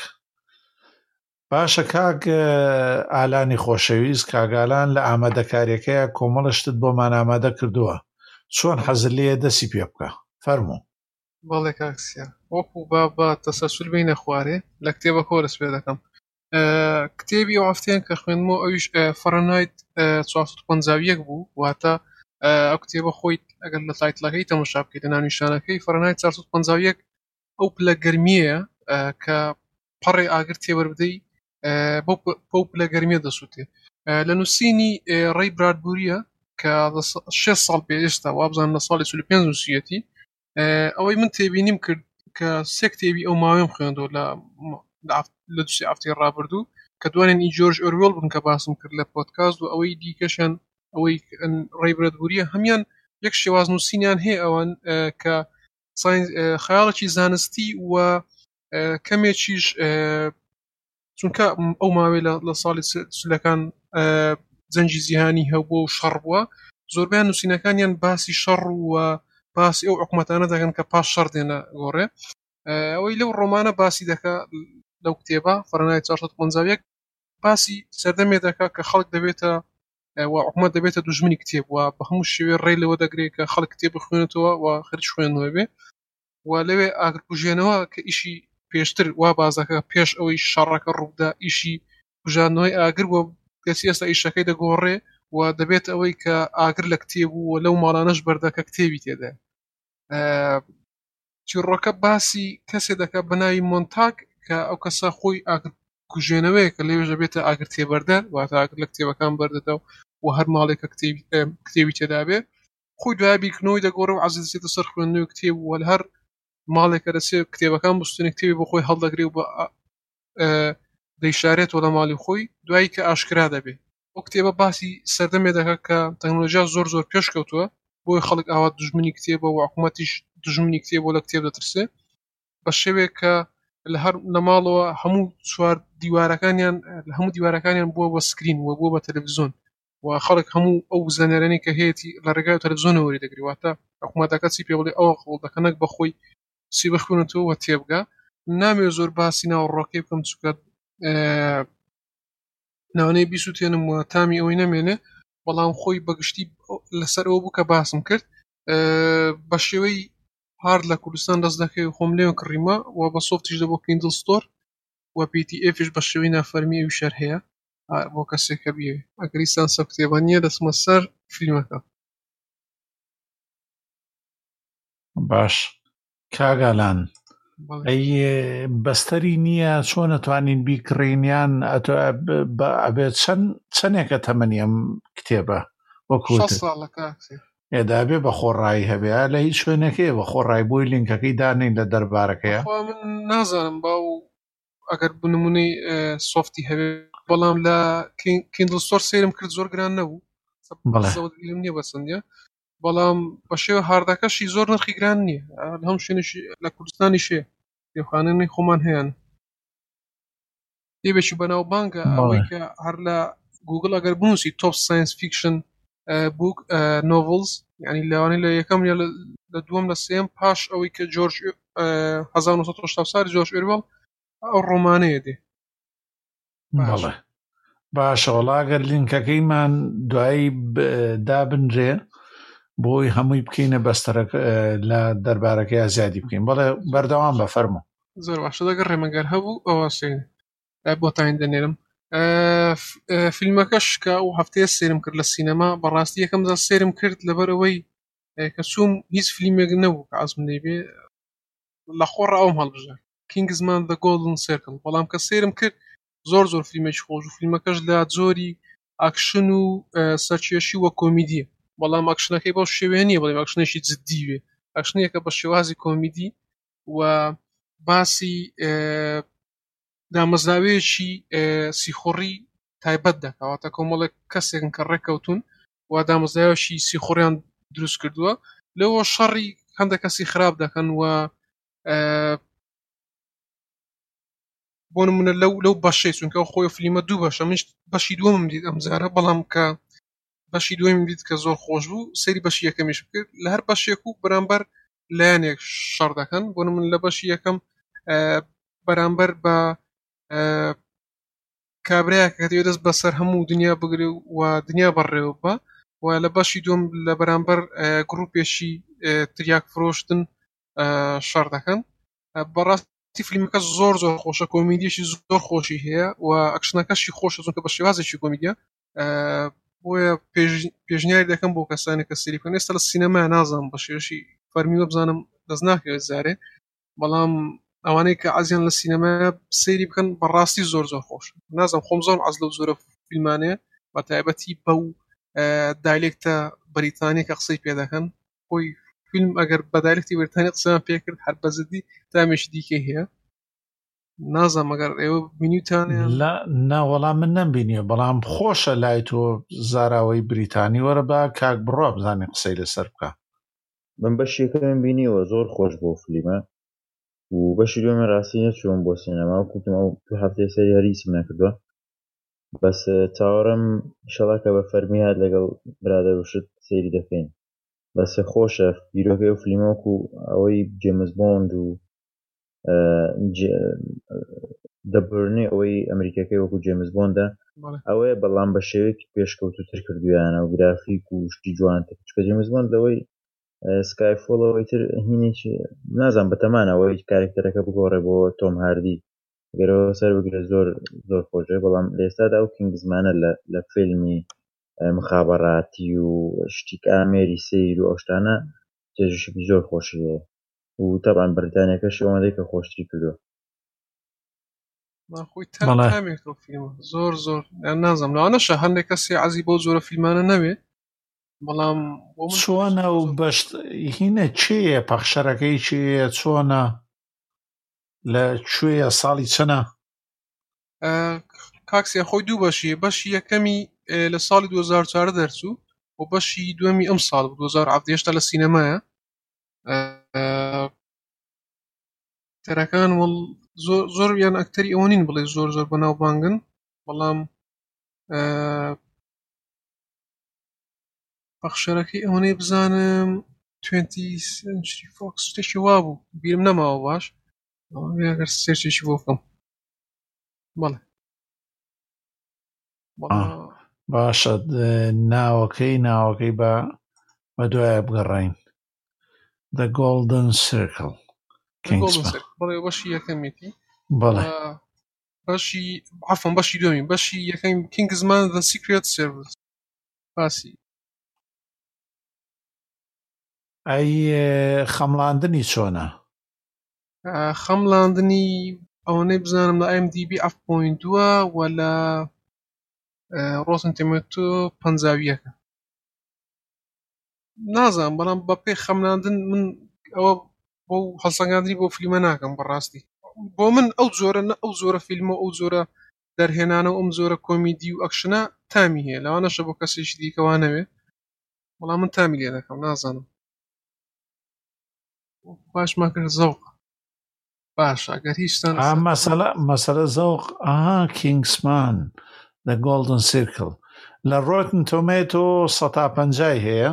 Speaker 1: باشە کاک ئالانی خۆشەویست کاگالان لە ئامادەکاریەکەیە کۆمەڵشتت بۆمان ئامادە کردووە چۆن حەزر لێ دەسی پێ بکە فەرموو
Speaker 2: بەڵێ کاکسیا وەکو بە تەسەسول بینە خوارێ لە کتێبە کۆرس پێ دەکەم کتێبی ئەو هەفتەیان کە خوێنمەوە ئەویش فەرەنایت 451 بوو واتە ئەو کتێبە خۆی ئەگەر لە تایتڵەکەی تەماشا بکەیت لە ناونیشانەکەی فەرەنایت 451 ئەو پلە گەرمیەیە کە پەڕێ ئاگر تێوەربدەی بەو پلە گەرمیە دەسووتێ لە نووسینی ڕێی برادبوریە کە 6 ساڵ پێشتا وابزان لە ساڵی 35 نووسیەتی ئەوەی من تێبینیم کرد کە سێ کتێبی ئەو ماوەم خوێندەوە لە دووسێ ئافتەی ڕابردوو کە دوانێن ئی جۆرج ئۆروێڵ بوون کە باسم کرد لە پۆدکاست و ئەوەی دیکەشان ئەوەی ڕێی برادبوریە هەمیان یەک شێواز نووسینیان هەیە ئەوان کە خەیاڵێکی زانستی و کەمێکیش چونکە ئەو ماوەی لە ساڵی سولەکان جەنجی جیهانی هەبووە و شەڕ بووە زۆربیان نووسینەکانیان باسی شەڕ و باسی ئەو حکومەتانە دەکەن کە پاش شەڕ دێنە گۆڕێ ئەوەی لەو ڕۆمانە باسی دەکا لەو کتێبە فەرەنایت 451 باسی سەردەمێ دەکا کە خەڵک دەبێتە و حکومەت دەبێتە دوژمنی کتێب و بە هەموو شێوێ ڕێی لەوە دەگرێت کە خەڵک کتێب بخوێنێتەوە و خرج خوێندنەوە بێ و لەوێ ئاگرکوژێنەوە کە ئیشی پێشتر وا بازەکە پێش ئەوەی شەڕەکە ڕوودا ئیشی کوژانەوەی ئاگر بۆ کەسی ئێستا ئیشەکەی دەگۆڕێ و دەبێت ئەوەی کە ئاگر لە کتێب و لەو ماڵانەش بەردەکە کتێبی تێدا چیڕۆکە باسی کەسێ دەکات بەناوی مۆنتاگ کە ئەو کەسە خۆی ئاگر کوژێنەوەیە کە لێوێ دەبێتە ئاگر تێبەردەر واتە ئاگر لە کتێبەکان بەردەدەو و هەر ماڵێکە کتێبی تێدا بێ خۆی دوای بیرکردنەوەی دەگۆڕێ و عەزیز دەچێتە سەر خوێندنەوەی کتێب و لە هەر ماڵێکە دەچێت کتێبەکان بستێنێ کتێبی بۆ خۆی هەڵدەگرێ و بە دەیشارێتەوە لە ماڵی خۆی دوایی کە ئاشکرا دەبێ ئەو کتێبە باسی سەردەمێ دەکات کە تەکنۆلۆژیا زۆر پێش کەوتووە بۆی خەڵک ئاوا دژمنی کتێبە و حکومەتیش دژمنی کتێبە لە کتێب دەترسێ بە شێوێک کە لە هەر لە ماڵەوە هەموو چوار دیوارەکانیان بووە بە سکرین و بووە بە تەلەڤیزۆن و خەڵک هەموو ئەو زانیارانەی کە هەیەی لە ڕێگای تەلەڤیزۆنەوە وەری دەگری واتە حکومەتەکە چی پێ بڵێ ئەوە قوڵدەکەنەک بەخۆی سی بخوێنێتەوە و تێبگا نامێ زۆر باسی ناوەڕۆکەی بکەم چونکە ناوانەی بیسووتێنم و تامی ئەوەی نەمێنێ بەڵام خۆی بەگشتی لەسەر ئەوە بوو کە باسم کرد بە شێوەی هارد لە کوردستان دەست دەکەی خۆم لێوە کڕیمە و بە سۆفتیش دەبۆ کیندل ستۆر و PTFش بە شێوەی نافەرمی ئەوی شەر هەیە بۆ کەسێکە بیێ ئەگەریستان سە کتێبە نییە دەسمە سەر فیلمەکە
Speaker 1: باش کاگالان ئەی بەستەری نییە چۆن نەتوانین بیکڕینیان ئەبێت چەندێکە تەمەنی ئەم کتێبە وەکوت ئێدابێ بە خۆڕایی هەبێ لە هیچ شوێنەکەی بە خۆڕای بۆی لینکەکەی دانین لە دەربارەکەیە
Speaker 2: من نازانم باو ئەگەر بنمونەی سۆفتی هەبێ بەڵام لە کیندل ستۆر سێرم کرد زۆر گران نەبوو نییە بەسەندە بەڵام بە شێوە هاردەکەشی زۆر نرخی گران نییە هەم شوێنشی لە کوردستانی شێ کتێبخانەی خۆمان هەیەن کتێبێکی بەناوبانگە ئەوەی کە هەر لە گوگل ئەگەر بنووسی تۆپ ساینس فیکشن بوک نۆڤڵز یعنی لەوانەی لە یەکەم یا لە دووەم لە سێم پاش ئەوەی کە جۆرج 1970 ساڵی جۆرج ئۆروێڵ ئەو ڕۆمانەیە دێ
Speaker 1: باشە وەڵا ئەگەر لینکەکەیمان دوایی دابنرێ بۆی هەمووی بکەینە بەستەرەکە لە دەربارەکەی زیادی بکەین. بەڵێ بەردەوام بەفەرموو.
Speaker 2: زۆر باشە دەگەر ڕێمەگەر هەبوو ئەوە سێن بۆتان دەنێرم. فیلمەکەش کە ئەو هەفتەیە سێرم کرد لە سینەما، بەڕاستی یەکەم جار سێرم کرد لەبەرەوەی کە چووم هیچ فیلمێک نەبوو کە ئازم دەیبێ لە خۆڕ ئەوم هەڵبژار کینگزمان The Golden Circle. بەڵام کە سێرم کرد زۆر فیلمێکی خۆش و فیلمەکەش لە جۆری ئاکشن و سەرکێشی وە کۆمیدیە. بەڵام ئاکشنەکەی بەو شێوەیە نییە، بەڵام ئاکشنێکی جددی وێ، ئاکشنەیەکە بە شێوازی کۆمیدی و باسی دامەزراوەیەکی سیخۆڕی تایبەت دەکەواتە کۆمەڵێک کەسێکن کە ڕێککەوتون و دامەزراوەشی سیخۆڕیان دروست کردووە، لەوە شەڕی هەندێک کەسی خراپ دەکەن و بۆ نمونە لەو بەشەی چونکە خۆی فیلمە دوو بەشە، من بەشی دووەمم دیت ئەمجارە، بەڵام کە بەشی دووەمم دیت کە زۆر خۆش بوو، سەیری بەشی یەکەمیش بکرد. لە هەر بەشێک و بەرامبەر لایەنێک شەڕ دەکەن. بۆ نمونە لە بەشی یەکەم بەرامبەر بە کابرایەک کە دەوێت دەست بەسەر هەموو دنیا بگرێ و دنیا بەڕێوە بە، و لە بەشی دووەم لە بەرامبەر گروپێکی تریاک فرۆشتن شەڕ دەکەن. بەڕاستی فیلمەکە زۆر خۆشە، کۆمیدیەشی زۆر خۆشی هەیە و ئەکشنەکەشی خۆشە چونکە بە شێوازێکی کۆمیدیە. بۆیە پێشنیاری دەکەم بۆ کەسانی کە سەیری بکەن. ئێستا لە سینەما نازانم بە شێوەشی فەرمیوە بزانم دەست ناکەوێت زارێ، بەڵام ئەوانەی کە عەزیان لە سینەما سەیری بکەن بەڕاستی زۆر خۆش. نازانم خۆم زۆر عەز لەو زۆرە فیلمانەیە بە تایبەتی بەو دایلێکتە بەریتانی کە قسەی پێ دەکەن. خۆی فیلم ئەگەر بە دایلێکتی بەریتانی قسەیان پێ کرد هەر بەزدی تامێکی دیکەی هەیە. نازانم ئەگەر ئێوە بینیوتانیان.
Speaker 1: نا وەڵام من نەمبینیە، بەڵام خۆشە لای تۆ زاراوەی بریتانی وەرە بە کاک بڕۆ بزانێ قسەی لەسەر بکە.
Speaker 3: من بەشی یەکەم بینیوە زۆر خۆش بۆ فیلمە و بەشی دووەمە ڕاستی نەچووم بۆ سینەما و کوتم ئەو تو هەفتەی سەری هەریسم نەکردووە. بەس چاوەڕم ئینشەڵا کە بە فەرمی هات لەگەڵ برادەروشت سەیری دەکەین. بەس خۆشە بیرۆکەی و فیلمەوەکو ئەوەی جێمز بۆند و دەبرنی ئەوەی ئەمریکەکەی وەکو جێمز بۆندە ئەوەیە، بەڵام بە شێوەیەکی پێشکەوتوتر کردویانە و گرافیک و شتی جوانتر. چکە جێمز بۆند لەوەی سکایفۆڵەوەی تر هینێکی نازان بەتەمانە ئەوەی کارێکتەرەکە بگۆڕێ بۆ تۆم هاردی گەرەوە سەر بگرێت زۆر خۆشە. بەڵام لێستادا ئەو کینگزمانە لە فیلمی مخابەڕاتی و شتی ئامێری سەیر و ئەوشتانە جێژشێکی زۆر خۆشی هەیە و تەبعاً بریتانیەکەش ئەوەندەی کە خۆشتری کردووە.
Speaker 2: خۆی تامێکەوە فیلمە زۆر نازانم لەوانەشە هەندێک کەسی عەزی بۆ زۆرە فیلمانە نەوێ، بەڵام
Speaker 1: چۆنە و بەشت هینە چێیە پەخشەرەکەی چێیە چۆنە لە کوێیە ساڵی چەنە؟
Speaker 2: کاکسیان خۆی دوو بەشیە. بەشی یەکەمی لە ساڵی 2004 دەرچوو و بەشی دووەمی ئەم ساڵ 2017 لە سینەمایە. تەرەکان زۆر یان ئەکتەری ئەوە نین بڵێ زۆر بەناوبانگن، بەڵام پەخشەرەکەی ئەوەنەی بزانم 20th Century Fox شتێکی وا بوو بیرم نەماوە باش، ئەگەر سێرچێکی بۆ بکەم. بەڵێ
Speaker 1: باشە ناوەکەی بە دوایە بگەڕین. The Golden Circle
Speaker 2: بەڵێ بەشی یەکەمیتی.
Speaker 1: بەڵێ
Speaker 2: بەشی دووەمی بەشی یەکەم کینگزمان The Secret Service. باسی
Speaker 1: ئەی خەمڵاندنی چۆنە؟
Speaker 2: خەمڵاندنی ئەوەنەی بزانم لە IMDb 7.2 و لە Rotten Tomatoes 50. نازانم بەڵام بە پێی خەمڵاندن من ئەوە بۆ هەڵسەنگاندنی بۆ فیلمە ناکەم. بەڕاستی بۆ من ئەو زۆرە فیلمە ئەو زۆرە دەرهێنانە و ئەم زۆرە کۆمیدی و ئەکشنە تامی هەیە، لەوانەشە بۆ کەسێکی دیکەوانەوێ، بەڵام من تامی لێ دەکەم. نازانم باش ماکرد زەوق باش ئەگەر هیچتان
Speaker 1: مەسەلە زەوق. کینگزمان The Golden Circle لە Rotten Tomatoes 150 هەیە،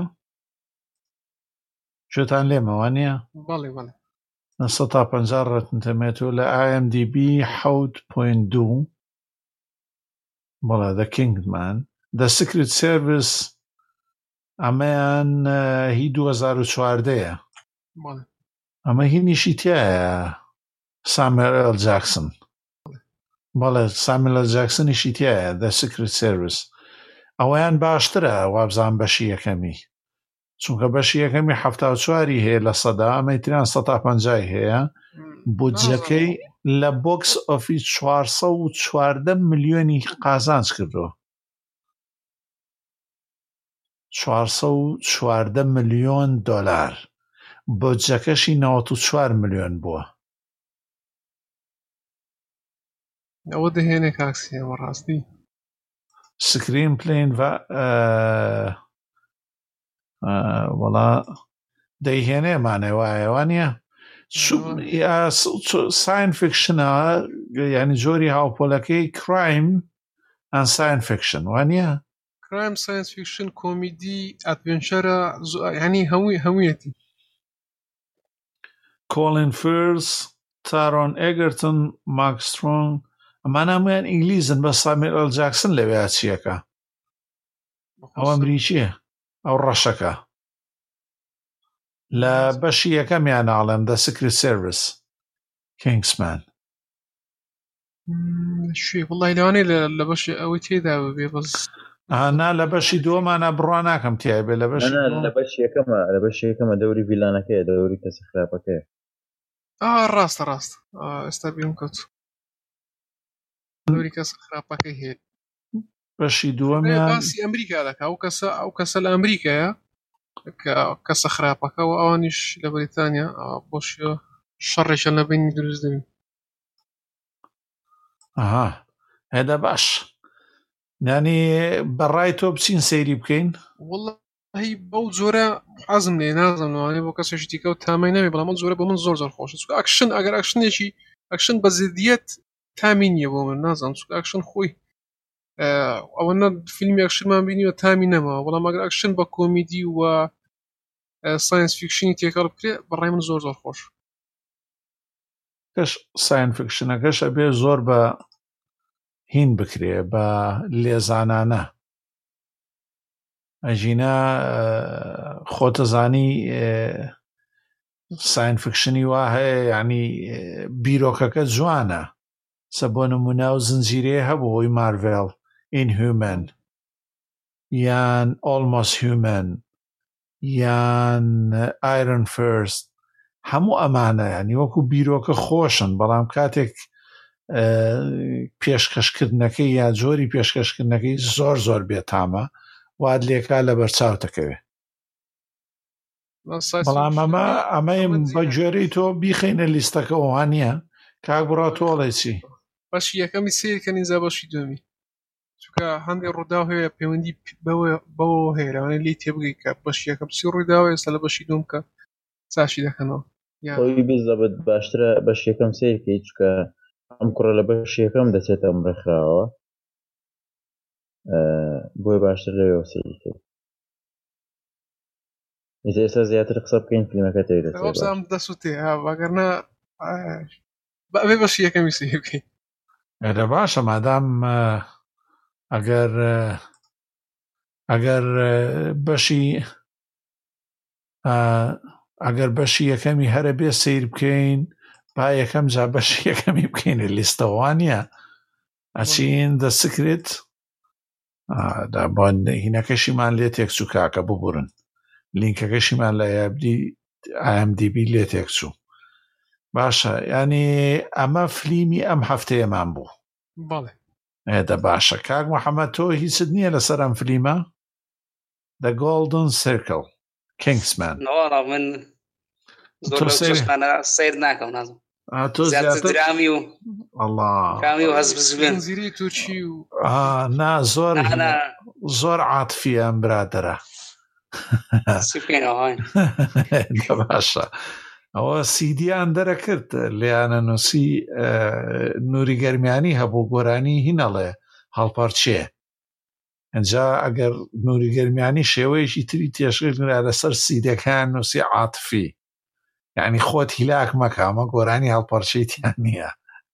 Speaker 1: شتان لێمەوە نییە؟
Speaker 2: بەڵێ
Speaker 1: 150 Rotten Tomatoes لە IMDb 7.2. بەڵێ The Kingman The Secret Service ئەمەیان هی 2014
Speaker 2: بەڵێ
Speaker 1: ئەمە هی نیشی تایە ساموێل جاکسن بەڵێ ساموێل جاکسنیشی تایە The Secret Service ئەوەیان باشترە وابزان بەشی یەکەمی چونکە بەشی یەکەمی 74 هەیە لە سەدا ئەمەی تریان 150 هەیە بودجەکەی لە بۆکس ئۆفیس 414 ملیۆنی قازانج کردەوە 414 ملیۆن دۆلار بودجەکەشی 94 ملیۆن بووە
Speaker 2: ئەوە دەهێنێ کاکسی ئەوە ڕاستی
Speaker 1: سکرین پلین وەڵا دەیهێنێمانێ وایەوە نیە ساین فیکشنە ینی جۆری هاوپۆلەکەی کرایم ئەن ساین فیکشن وانە
Speaker 2: کرایم ساینس فیکشن کۆمیدی ئەدڤێنچەرە ینی هەموویەتی
Speaker 1: کۆلین فێرس تارۆن ئێگرتن ماک سترۆنگ ئەمان هەمویان ئینگلیزن بە ساموێل جاکسن لەوێ چیەکە ئەو ئەمریکیە ئەو ڕەشەکە لە بەشی یەکەمیان ناڵێم The Secret Service Kingsman
Speaker 2: شوێ وڵی لەوانەیە لە بەش ئەوەی تێدا بێ بەس
Speaker 1: نا لە بەشی دووەمانە بڕوا ناکەم تیا بێ لە
Speaker 3: بەش یەکەمە دەوری ڤیلانەکەیە دەوری کەسە خراپەکەیە
Speaker 2: ڕاستە ئێستا بیم کەوت دەوری کەسە خراپەکەی هەیە
Speaker 1: بەشی دووەمیان
Speaker 2: باسی ئەمریکا دەکا ئەو کەسە لە ئەمریکایە کەسە خراپەکە و ئەوانیش لە بریتانیا بۆشیە شەڕێکە لە بینی دروست دەبین
Speaker 1: هێدا باش نانی بەڕای تۆ بچین سەیری بکەین
Speaker 2: وڵی بەو جۆرە حەزم لێ نازانوانێ بۆ کەسێکی دیکە و تامای نەبێ بەڵام ئەم جۆرە بۆ من زۆر خۆشە چونکە ئەکشن ئەگەر ئەکشنێکی ئەکشن بە زیدیەت تامی نییە بۆ من نازانم چونکە ئەکشن خۆی ئەوەنە فیلمی ئەکشنمان بینیوە تامی نەماوە بەڵام ئەگەر ئەکشن بە کۆمیدی و ساینس فیکشنی تێکەڵ بکرێ بەڕای من زۆر خۆش
Speaker 1: کەش ساین فیکشنەکەش ئەبێ زۆر بە هین بکرێ بە لێزانانە ئەژینە خۆتەزانی ساین فیکشنی وا هەیە ینی بیرۆکەکە جوانە سە بۆ نمونە و زنجیرەیە هەبوو هۆی مارڤێڵ ئینهومەن یان ئۆلمۆست هیومەن یان ئایرن فێرست هەموو ئەمانە ینی وەکو بیرۆکە خۆشن بەڵام کاتێک پێشکەشکردنەکەی یا جۆری پێشکەشکردنەکەی زۆر بێتامە واد لێکا لە بەرچاو دەکەوێت بەڵام ئەمەیم بە گوێرەی تۆ بیخینە لیستەکە وانە کاک بڕا تۆڵێ چی
Speaker 2: بەشی یەکەمی سیرکە نیزا بەشی دومی چونکە هەندێک ڕووداو هەیە پەیوەندی بەوە هەیەوانە لی تێبگەی کە بەشی یەکەم سی ڕوویداوە ئێستا لە بەشی دوم کە چاشی دەکەنەوە
Speaker 3: خۆی بیزەبێت باشترە بەش یەکەم سیرکەی چکە ئەم کوڕە لە بەش یەکەم دەچێتە ئەمڕێکراوە بۆی باشتر لەوێ سیرکەی ئێستا زیاتر قسە بکەین فیلمەکە
Speaker 2: تێدەچێت دەسووتێ ئەگەرنا بەبێ بەشی یەکەمی سیر بکەین
Speaker 1: ئەدە باشە مادام ئەگەر بەشی یەکەمی هەرە بێ سیر بکەین با یەکەم جا بەشی یەکەمی بکەینە لیستەوانە ئەچین The Secret هینەکەشیمان لێ تێکچوو کاکە ببورن لینکەکەشیمان لە IMDb لێ تێکچوو باشە ینی ئەمە فلیمی ئەم هەفتەیەمان بوو
Speaker 2: بەڵێ
Speaker 1: ئێدە باشە کاک محەممەد تۆ هیچت نییە لەسەر ئەم فلیمە The Golden Circle Kingsman
Speaker 4: من زۆر سیر ناکەم نازم درامی و کامی و هەزبزبێن
Speaker 2: زیری تووچی و
Speaker 1: نا زۆر عاتفی ئەم برادرە باشە ئەوە سیدیان دەرەکرد لیانە نووسی نووری گەرمیانی هەبوو گۆرانی هینەڵێ هەڵپەرچێ ئەجا ئەگەر نووری گەرمیانی شێوەیەکی تری تێشکردرا لەسەر سیدەکان نووسی عاتفی یعنی خۆت هیلاک مەکامە گۆرانی هەڵپەرچەیتیان نییە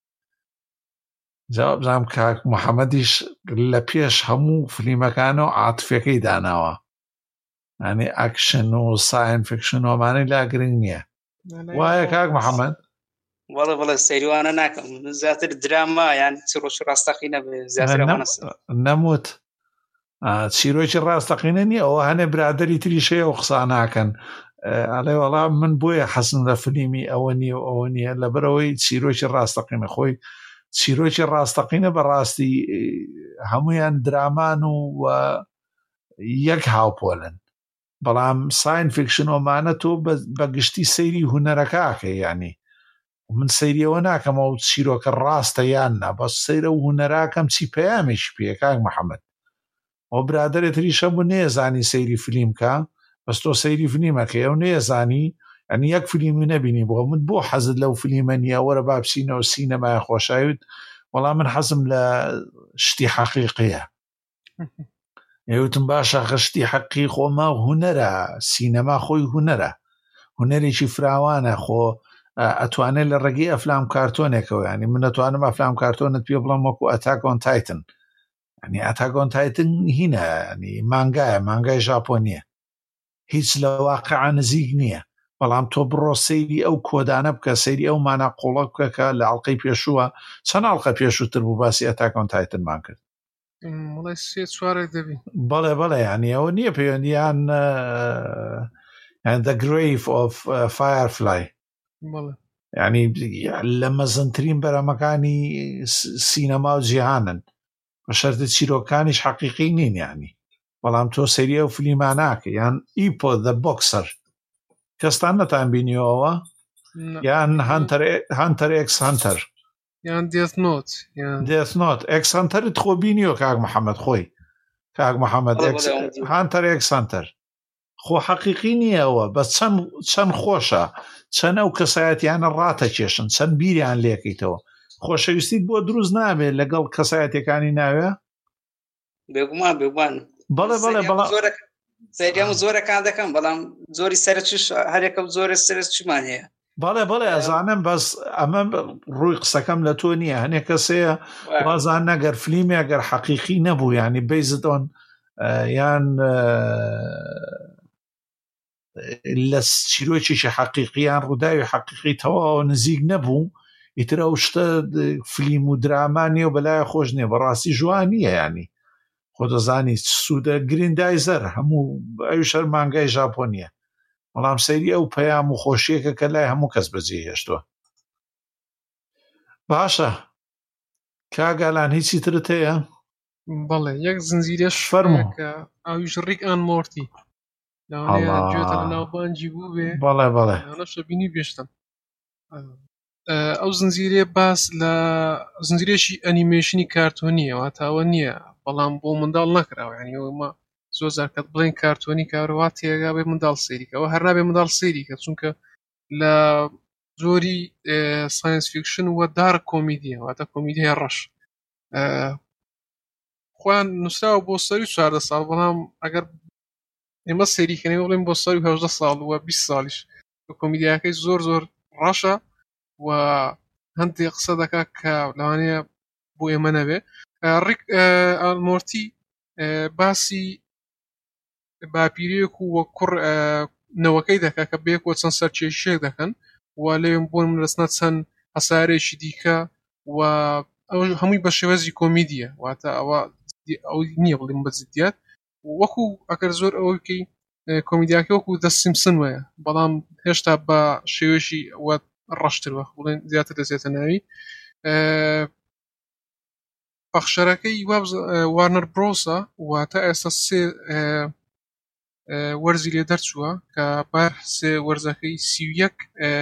Speaker 1: جا بزانام کاک محەممەدیش لە پێش هەموو فلیمەکانەوە عاتفەکەی داناوە يعني أكشن وساين فيكشن ومعنى لا قرنية وهيك هاك محمد
Speaker 4: والله السيري وانا ناكم زياتر الدراما يعني تروش راستقينا بزياتر وانا
Speaker 1: نموت تشيروش الراس تقينني او هنا برادري تري شيء وخصانا كان علي والله من بويا حسن فيلمي اوني الا بروي تشيروش الراس تقين اخوي تشيروش الراس تقين براستي هميان درامان و يكهاو بولن بلام ساين فيكشن ومعناته بقشتي سيري هنركاك يعني ومن سيري وناكم او تشيروك الراس تيانا بس سيري وهنراكم تشي بيامش بيكاك محمد و برادرێ تریشە بوو نێزانی سەیری فیلمکە بەس تۆ سەیری فیلمەکەی ئەو نێزانی ئەنی یەک فیلمی نەبینی بۆ من بۆ حەزت لەو فیلمە نییە وەرە با بچینەوە سینەمای خۆشاویت وەڵام من حەزم لە شتی حەقیقیە ئێوتم باشە شتی حەقی خۆمە هونەرە سینەما خۆی هونەرە هونەرێکی فراوانە خۆ ئەتوانێت لە ڕێگەی ئەفلام کارتۆنێکەوە ینی من ئەتوانم ئەفلام کارتۆنت پێ بڵم وەکو ئەتاک ئۆن تایتن يعني أتاك أون تايتن هنا يعني مانجا ژاپۆنیە هیچ لە واقعا نزیک نییە بەڵام تۆ بڕۆ سەیری ئەو کۆدانە بکە سەیری ئەو ماناقۆڵە بکە لە ئەڵلقەی پێشووە چەند ئەڵلقە پێشووتر بوو باسی ئەتاک ئۆن تایتنمان کرد بەڵێ یعنی ئەوە نییە پەیوەندیان The Grave of Firefly يعني لە مەزنترین بەرەمەکانی سینەما و جیهانن بەشەرتە چیرۆکانیش حەقیقی نین يعني بەڵام تۆ سەریە و فلیماناکە یان ئیپۆ The Boxer کەستان نەتان بینیەوە یان هانتەر ئێکس هانتەر
Speaker 2: یان Death Note
Speaker 1: ئێکس هانتەرت خۆ بینیەوە کاک محەممەد خۆی کاک محەممەد هانتەر ئێکس هانتەر خۆ حەقیقی نییەوە بە چەند خۆشە چەند ئەو کەسایەتیانە ڕاتە کێشن چەند بیریان لێکەیتەوە خۆشەویستیت بۆ دروست نابێت لەگەڵ کەسایەتەکانی ناوێ
Speaker 4: بێگومان
Speaker 1: بەڵێ
Speaker 4: سەریام زۆرەکان دەکەم بەڵام زۆری سەرچش هەرێکە زۆرە سەر چمان هەیە
Speaker 1: بەڵێ ئەزانم بەس ئەمە ڕووی قسەکەم لە تۆ نییە هەنێک کەسەیە وازان نەگەر فلیمێ ئەگەر حەقیقی نەبوو ینی بەیزتۆن یان لە چیرۆکیشی حەقیقییان ڕووداوی حەقیقی تەواو نزیک نەبوو ئیتر ئەو شتە فلیم و درامانیە و بەلای خۆش نییە بەڕاستی جوانیە ینی خۆ دەزانی سوودە گریندایزەر هەموو ئەو شەر مانگای ژاپۆنیە بەڵام سەیری ئەو پەیام و خۆشیەکە کە لای هەموو کەس بەجێ هێشتووە باشە کاگالان هیچی ترت هەیە
Speaker 2: بەڵێ یەک زنجیرەش فەرموو ئەویش ڕیک ئان مۆرتی گوێتە لە ناوبانجی بوو بێ
Speaker 1: بەڵێ
Speaker 2: نەشە بینی بێشتم ئەو زنجیرێ باس لە زنجیرێکی ئەنیمێشنی کارتۆنیەوە تاوە نییە بەڵام بۆ منداڵ نەکراوە ینی ئەومە زۆر زارکەت بڵێن کارتۆنی کارەوە تێگا بێ منداڵ سێریکەوە هەر نابێ منداڵ سێریکە چونکە لە زۆری ساینس فیکشن وە دارک کۆمیدیە واتە کۆمیدیای ڕەش خۆیان نووسراوە بۆ سەری 14 ساڵ بەڵام ئەگەر ئێمە سێریکەنەوە بڵێن بۆ سەری 18 ساڵ وە 20 ساڵیش کۆمیدیاکەی زۆر ڕەشە و هەندێک قسە دەکات کە لەوانەیە بۆ ئێمە نەبێ ڕیک ئالمۆرتی باسی باپیرێک و کوڕ نەوەکەی دەکات کە بێکەوە چەند سەرکێشیێک دەکەن و لێم بۆن منرسنە چەند هەسارێکی دیکە و ئەو هەمووی بە شێوەزی کۆمیدیە واتە ئەو نییە بڵێم بە جدیات وەکو ئەگەر زۆر ئەوەکەی کۆمیدیاکە وەکو دە سیمپسن وایە بەڵام هێشتا بە شێوەشی وە ڕەشترەوە بڵێن زیاتر دەچێتە ناوی پەخشەرەکەی وارنەر برۆسە واتە ئێستا سێ وەرزی لێ دەرچووە کە بەسێ وەرزەکەی 31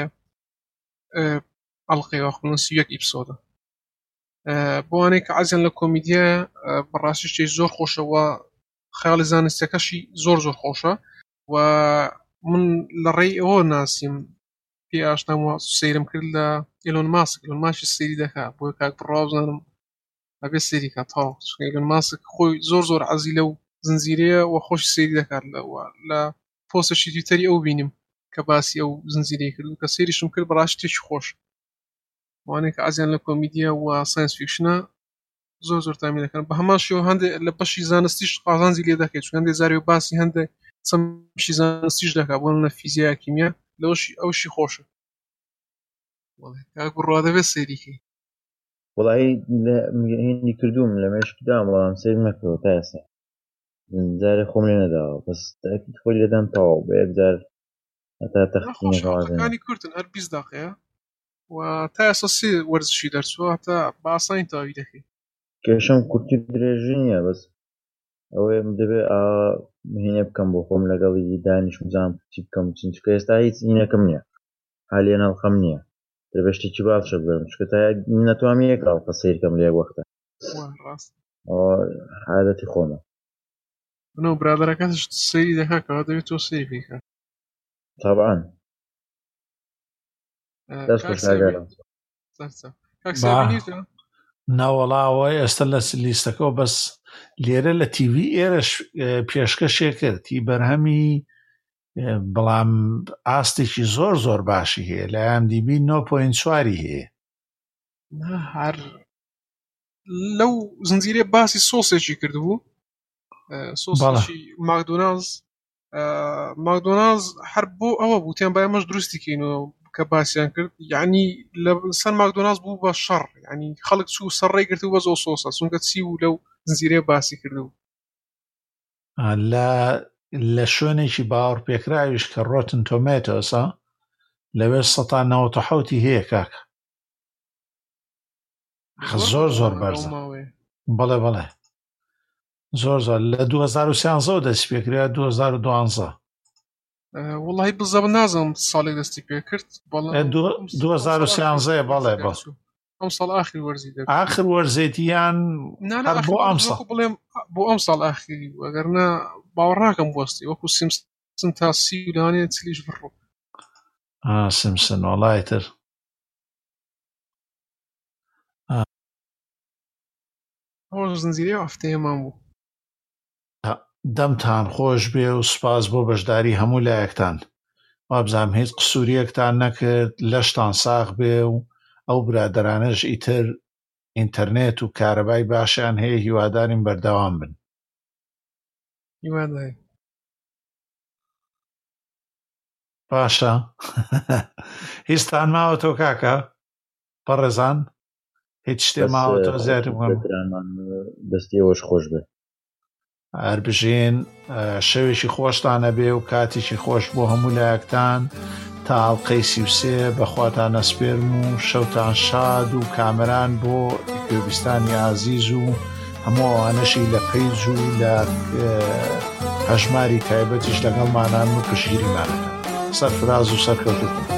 Speaker 2: ئەڵلقەی واخڵن 31 ئیپسۆدە بۆوانەی کە عەزیان لە کۆمیدیە بەڕاستی شتێکی زۆر خۆشەوە خەیاڵی زانستیەکەشی زۆر خۆشە و من لە ڕێی ئەوە ناسیم پێ ئاشنامەوە سەیرم کرد لە ئیلۆن ماسک ئیلۆن ماسک سەیری دەکات بۆ کاک بڕاو بزانم ئەبێ سەیری کات تاو چونکە ئیلۆن ماسک خۆی زۆر عەزی لەو زنجیرەیە و خۆش سەیری دەکات لە پۆستێکی تویتەری ئەو بینیم کە باسی ئەو زنجیرەی کرد و کە سەیریشم کرد بەڕاستی شتێکی خۆش وانەیە کە عەزیان لە کۆمیدیە و ساینس فیکشنە زۆر تامی دەکەن بە هەمان شێوە هەندێک لە بەشی زانستیش قازانجی لێ دەکەیت چون هەندێک زاری و باسی هەندێک چەمشی زانستیش دەکا بۆ لە فیزیا کیمیا لەوەشی ئەوشی خۆشە کاک بڕوا دەبێت سەیریکەی
Speaker 3: وڵایی هێندی کردوم لە مێشکدام وەڵام سیر نەکەوە تا ئێستا جارێ خۆم لێ نەداوە بەس تاکید خۆی لێدام تەواو بە یەکجار هەتا
Speaker 2: تەختینەکانی کورتن هەر 20 دقیقەیە و تا ئێستا سێ وەرزشی دەرچووە هەتا باسانی تاوی دەکەی
Speaker 3: کێشەم کورتی درێژی نییە بەس ئەوەیە دەبێت هینە بکەم بۆ خۆم لەگەڵی دانیش بزانم چی بکەم چونکە ئێستا هیچ هینەکەم نییە حالیان هەڵخەم نییە دەبێشتێکی باشە بگەم چونکە تا نەتوانم یەک ئاڵقە سیرکەم لە یەک وەختە عادەتی خۆمە
Speaker 2: منەوە برادەرەکەتش سەیری دەکا کەوا دەوێت تۆ سەیری بکە
Speaker 3: طبعاً دەست خۆشاگەرم
Speaker 1: ناوەڵاوە ئێستا لە لیستەکەەوە بەس لێرە لە تیڤ ئێرەش پێشکەشێ کرد هی بەرهەمی بەڵام ئاستێکی زۆر زۆر باشی هەیە لە IMDb 9.4 هەیە
Speaker 2: هەر لەو زنجیرێ باسی سۆسێکی کردبوو سۆسێکی ماکدۆنالز هەر بۆ ئەوە بوو تیان باەمەش دروستی کەینەوە کە باسییان کرد یعنی لە سەر ماکدۆنالز بوو بە شەڕ ینی خەڵک چوو سەرڕێی کرد و بە زۆ سۆسە چونکە چی و لەو زنجیرێ باسی کردبوو
Speaker 1: لە شوێنێکی باوەڕ پێکراویش کە ڕۆتن تۆمێتۆسە لەوێ 97 هەیە کاکە زۆر زۆر بەرزە بەڵێ بەڵێ زۆر زۆر لە 2013 دەست پێکرا 2012
Speaker 2: وڵی بزەب نازم ساڵێک دەستی پێ کرد
Speaker 1: 2013 بەڵێ بە
Speaker 2: ئەم ساڵ ئاخری وەرزی دەبێت
Speaker 1: ئاخر وەرزێتیان بۆ ئەم ساڵ
Speaker 2: بڵێم بۆ ئەم ساڵ ئاخری وەگەرنە باوەڕاکەم بۆستی وەکو سیمسن تا سی دانێ چلیش بڕۆ
Speaker 1: سیمسن وەڵای تر
Speaker 2: ئەوە زنجیرێ هەفتەیەمان بوو
Speaker 1: دەمتان خۆش بێ و سوپاس بۆ بەشداری هەموو لایەکتان وابزانم هیچ قسووریەکتان نەکرد لەشتان ساغ بێ و ئەو برادەرانەش ئیتر ئینتەرنێت و کارەبای باشیان هەیە هیوادارین بەردەوام بن
Speaker 2: هیواداری
Speaker 1: باشە هیچتان ماوەتەوە کاکە بەڕێزان هیچ شتێ ماوەتەوە زیاتر
Speaker 3: دەستیەوەش خۆش بێ
Speaker 1: هەر بژین شەوێکی خۆشتانە بێ و کاتێکی خۆش بۆ هەموو لایەکتان تا ئاڵلقەی 33 بەخواتان نەسپێرم و شەوتان شاد و کامەران بۆ کوێبیستانی عازیز و هەموو ئەوانەشی لە پەیج و لە هەژماری تایبەتیش لەگەڵمانان و پشگیریمانەکە سەرفراز و سەرکەوتوتون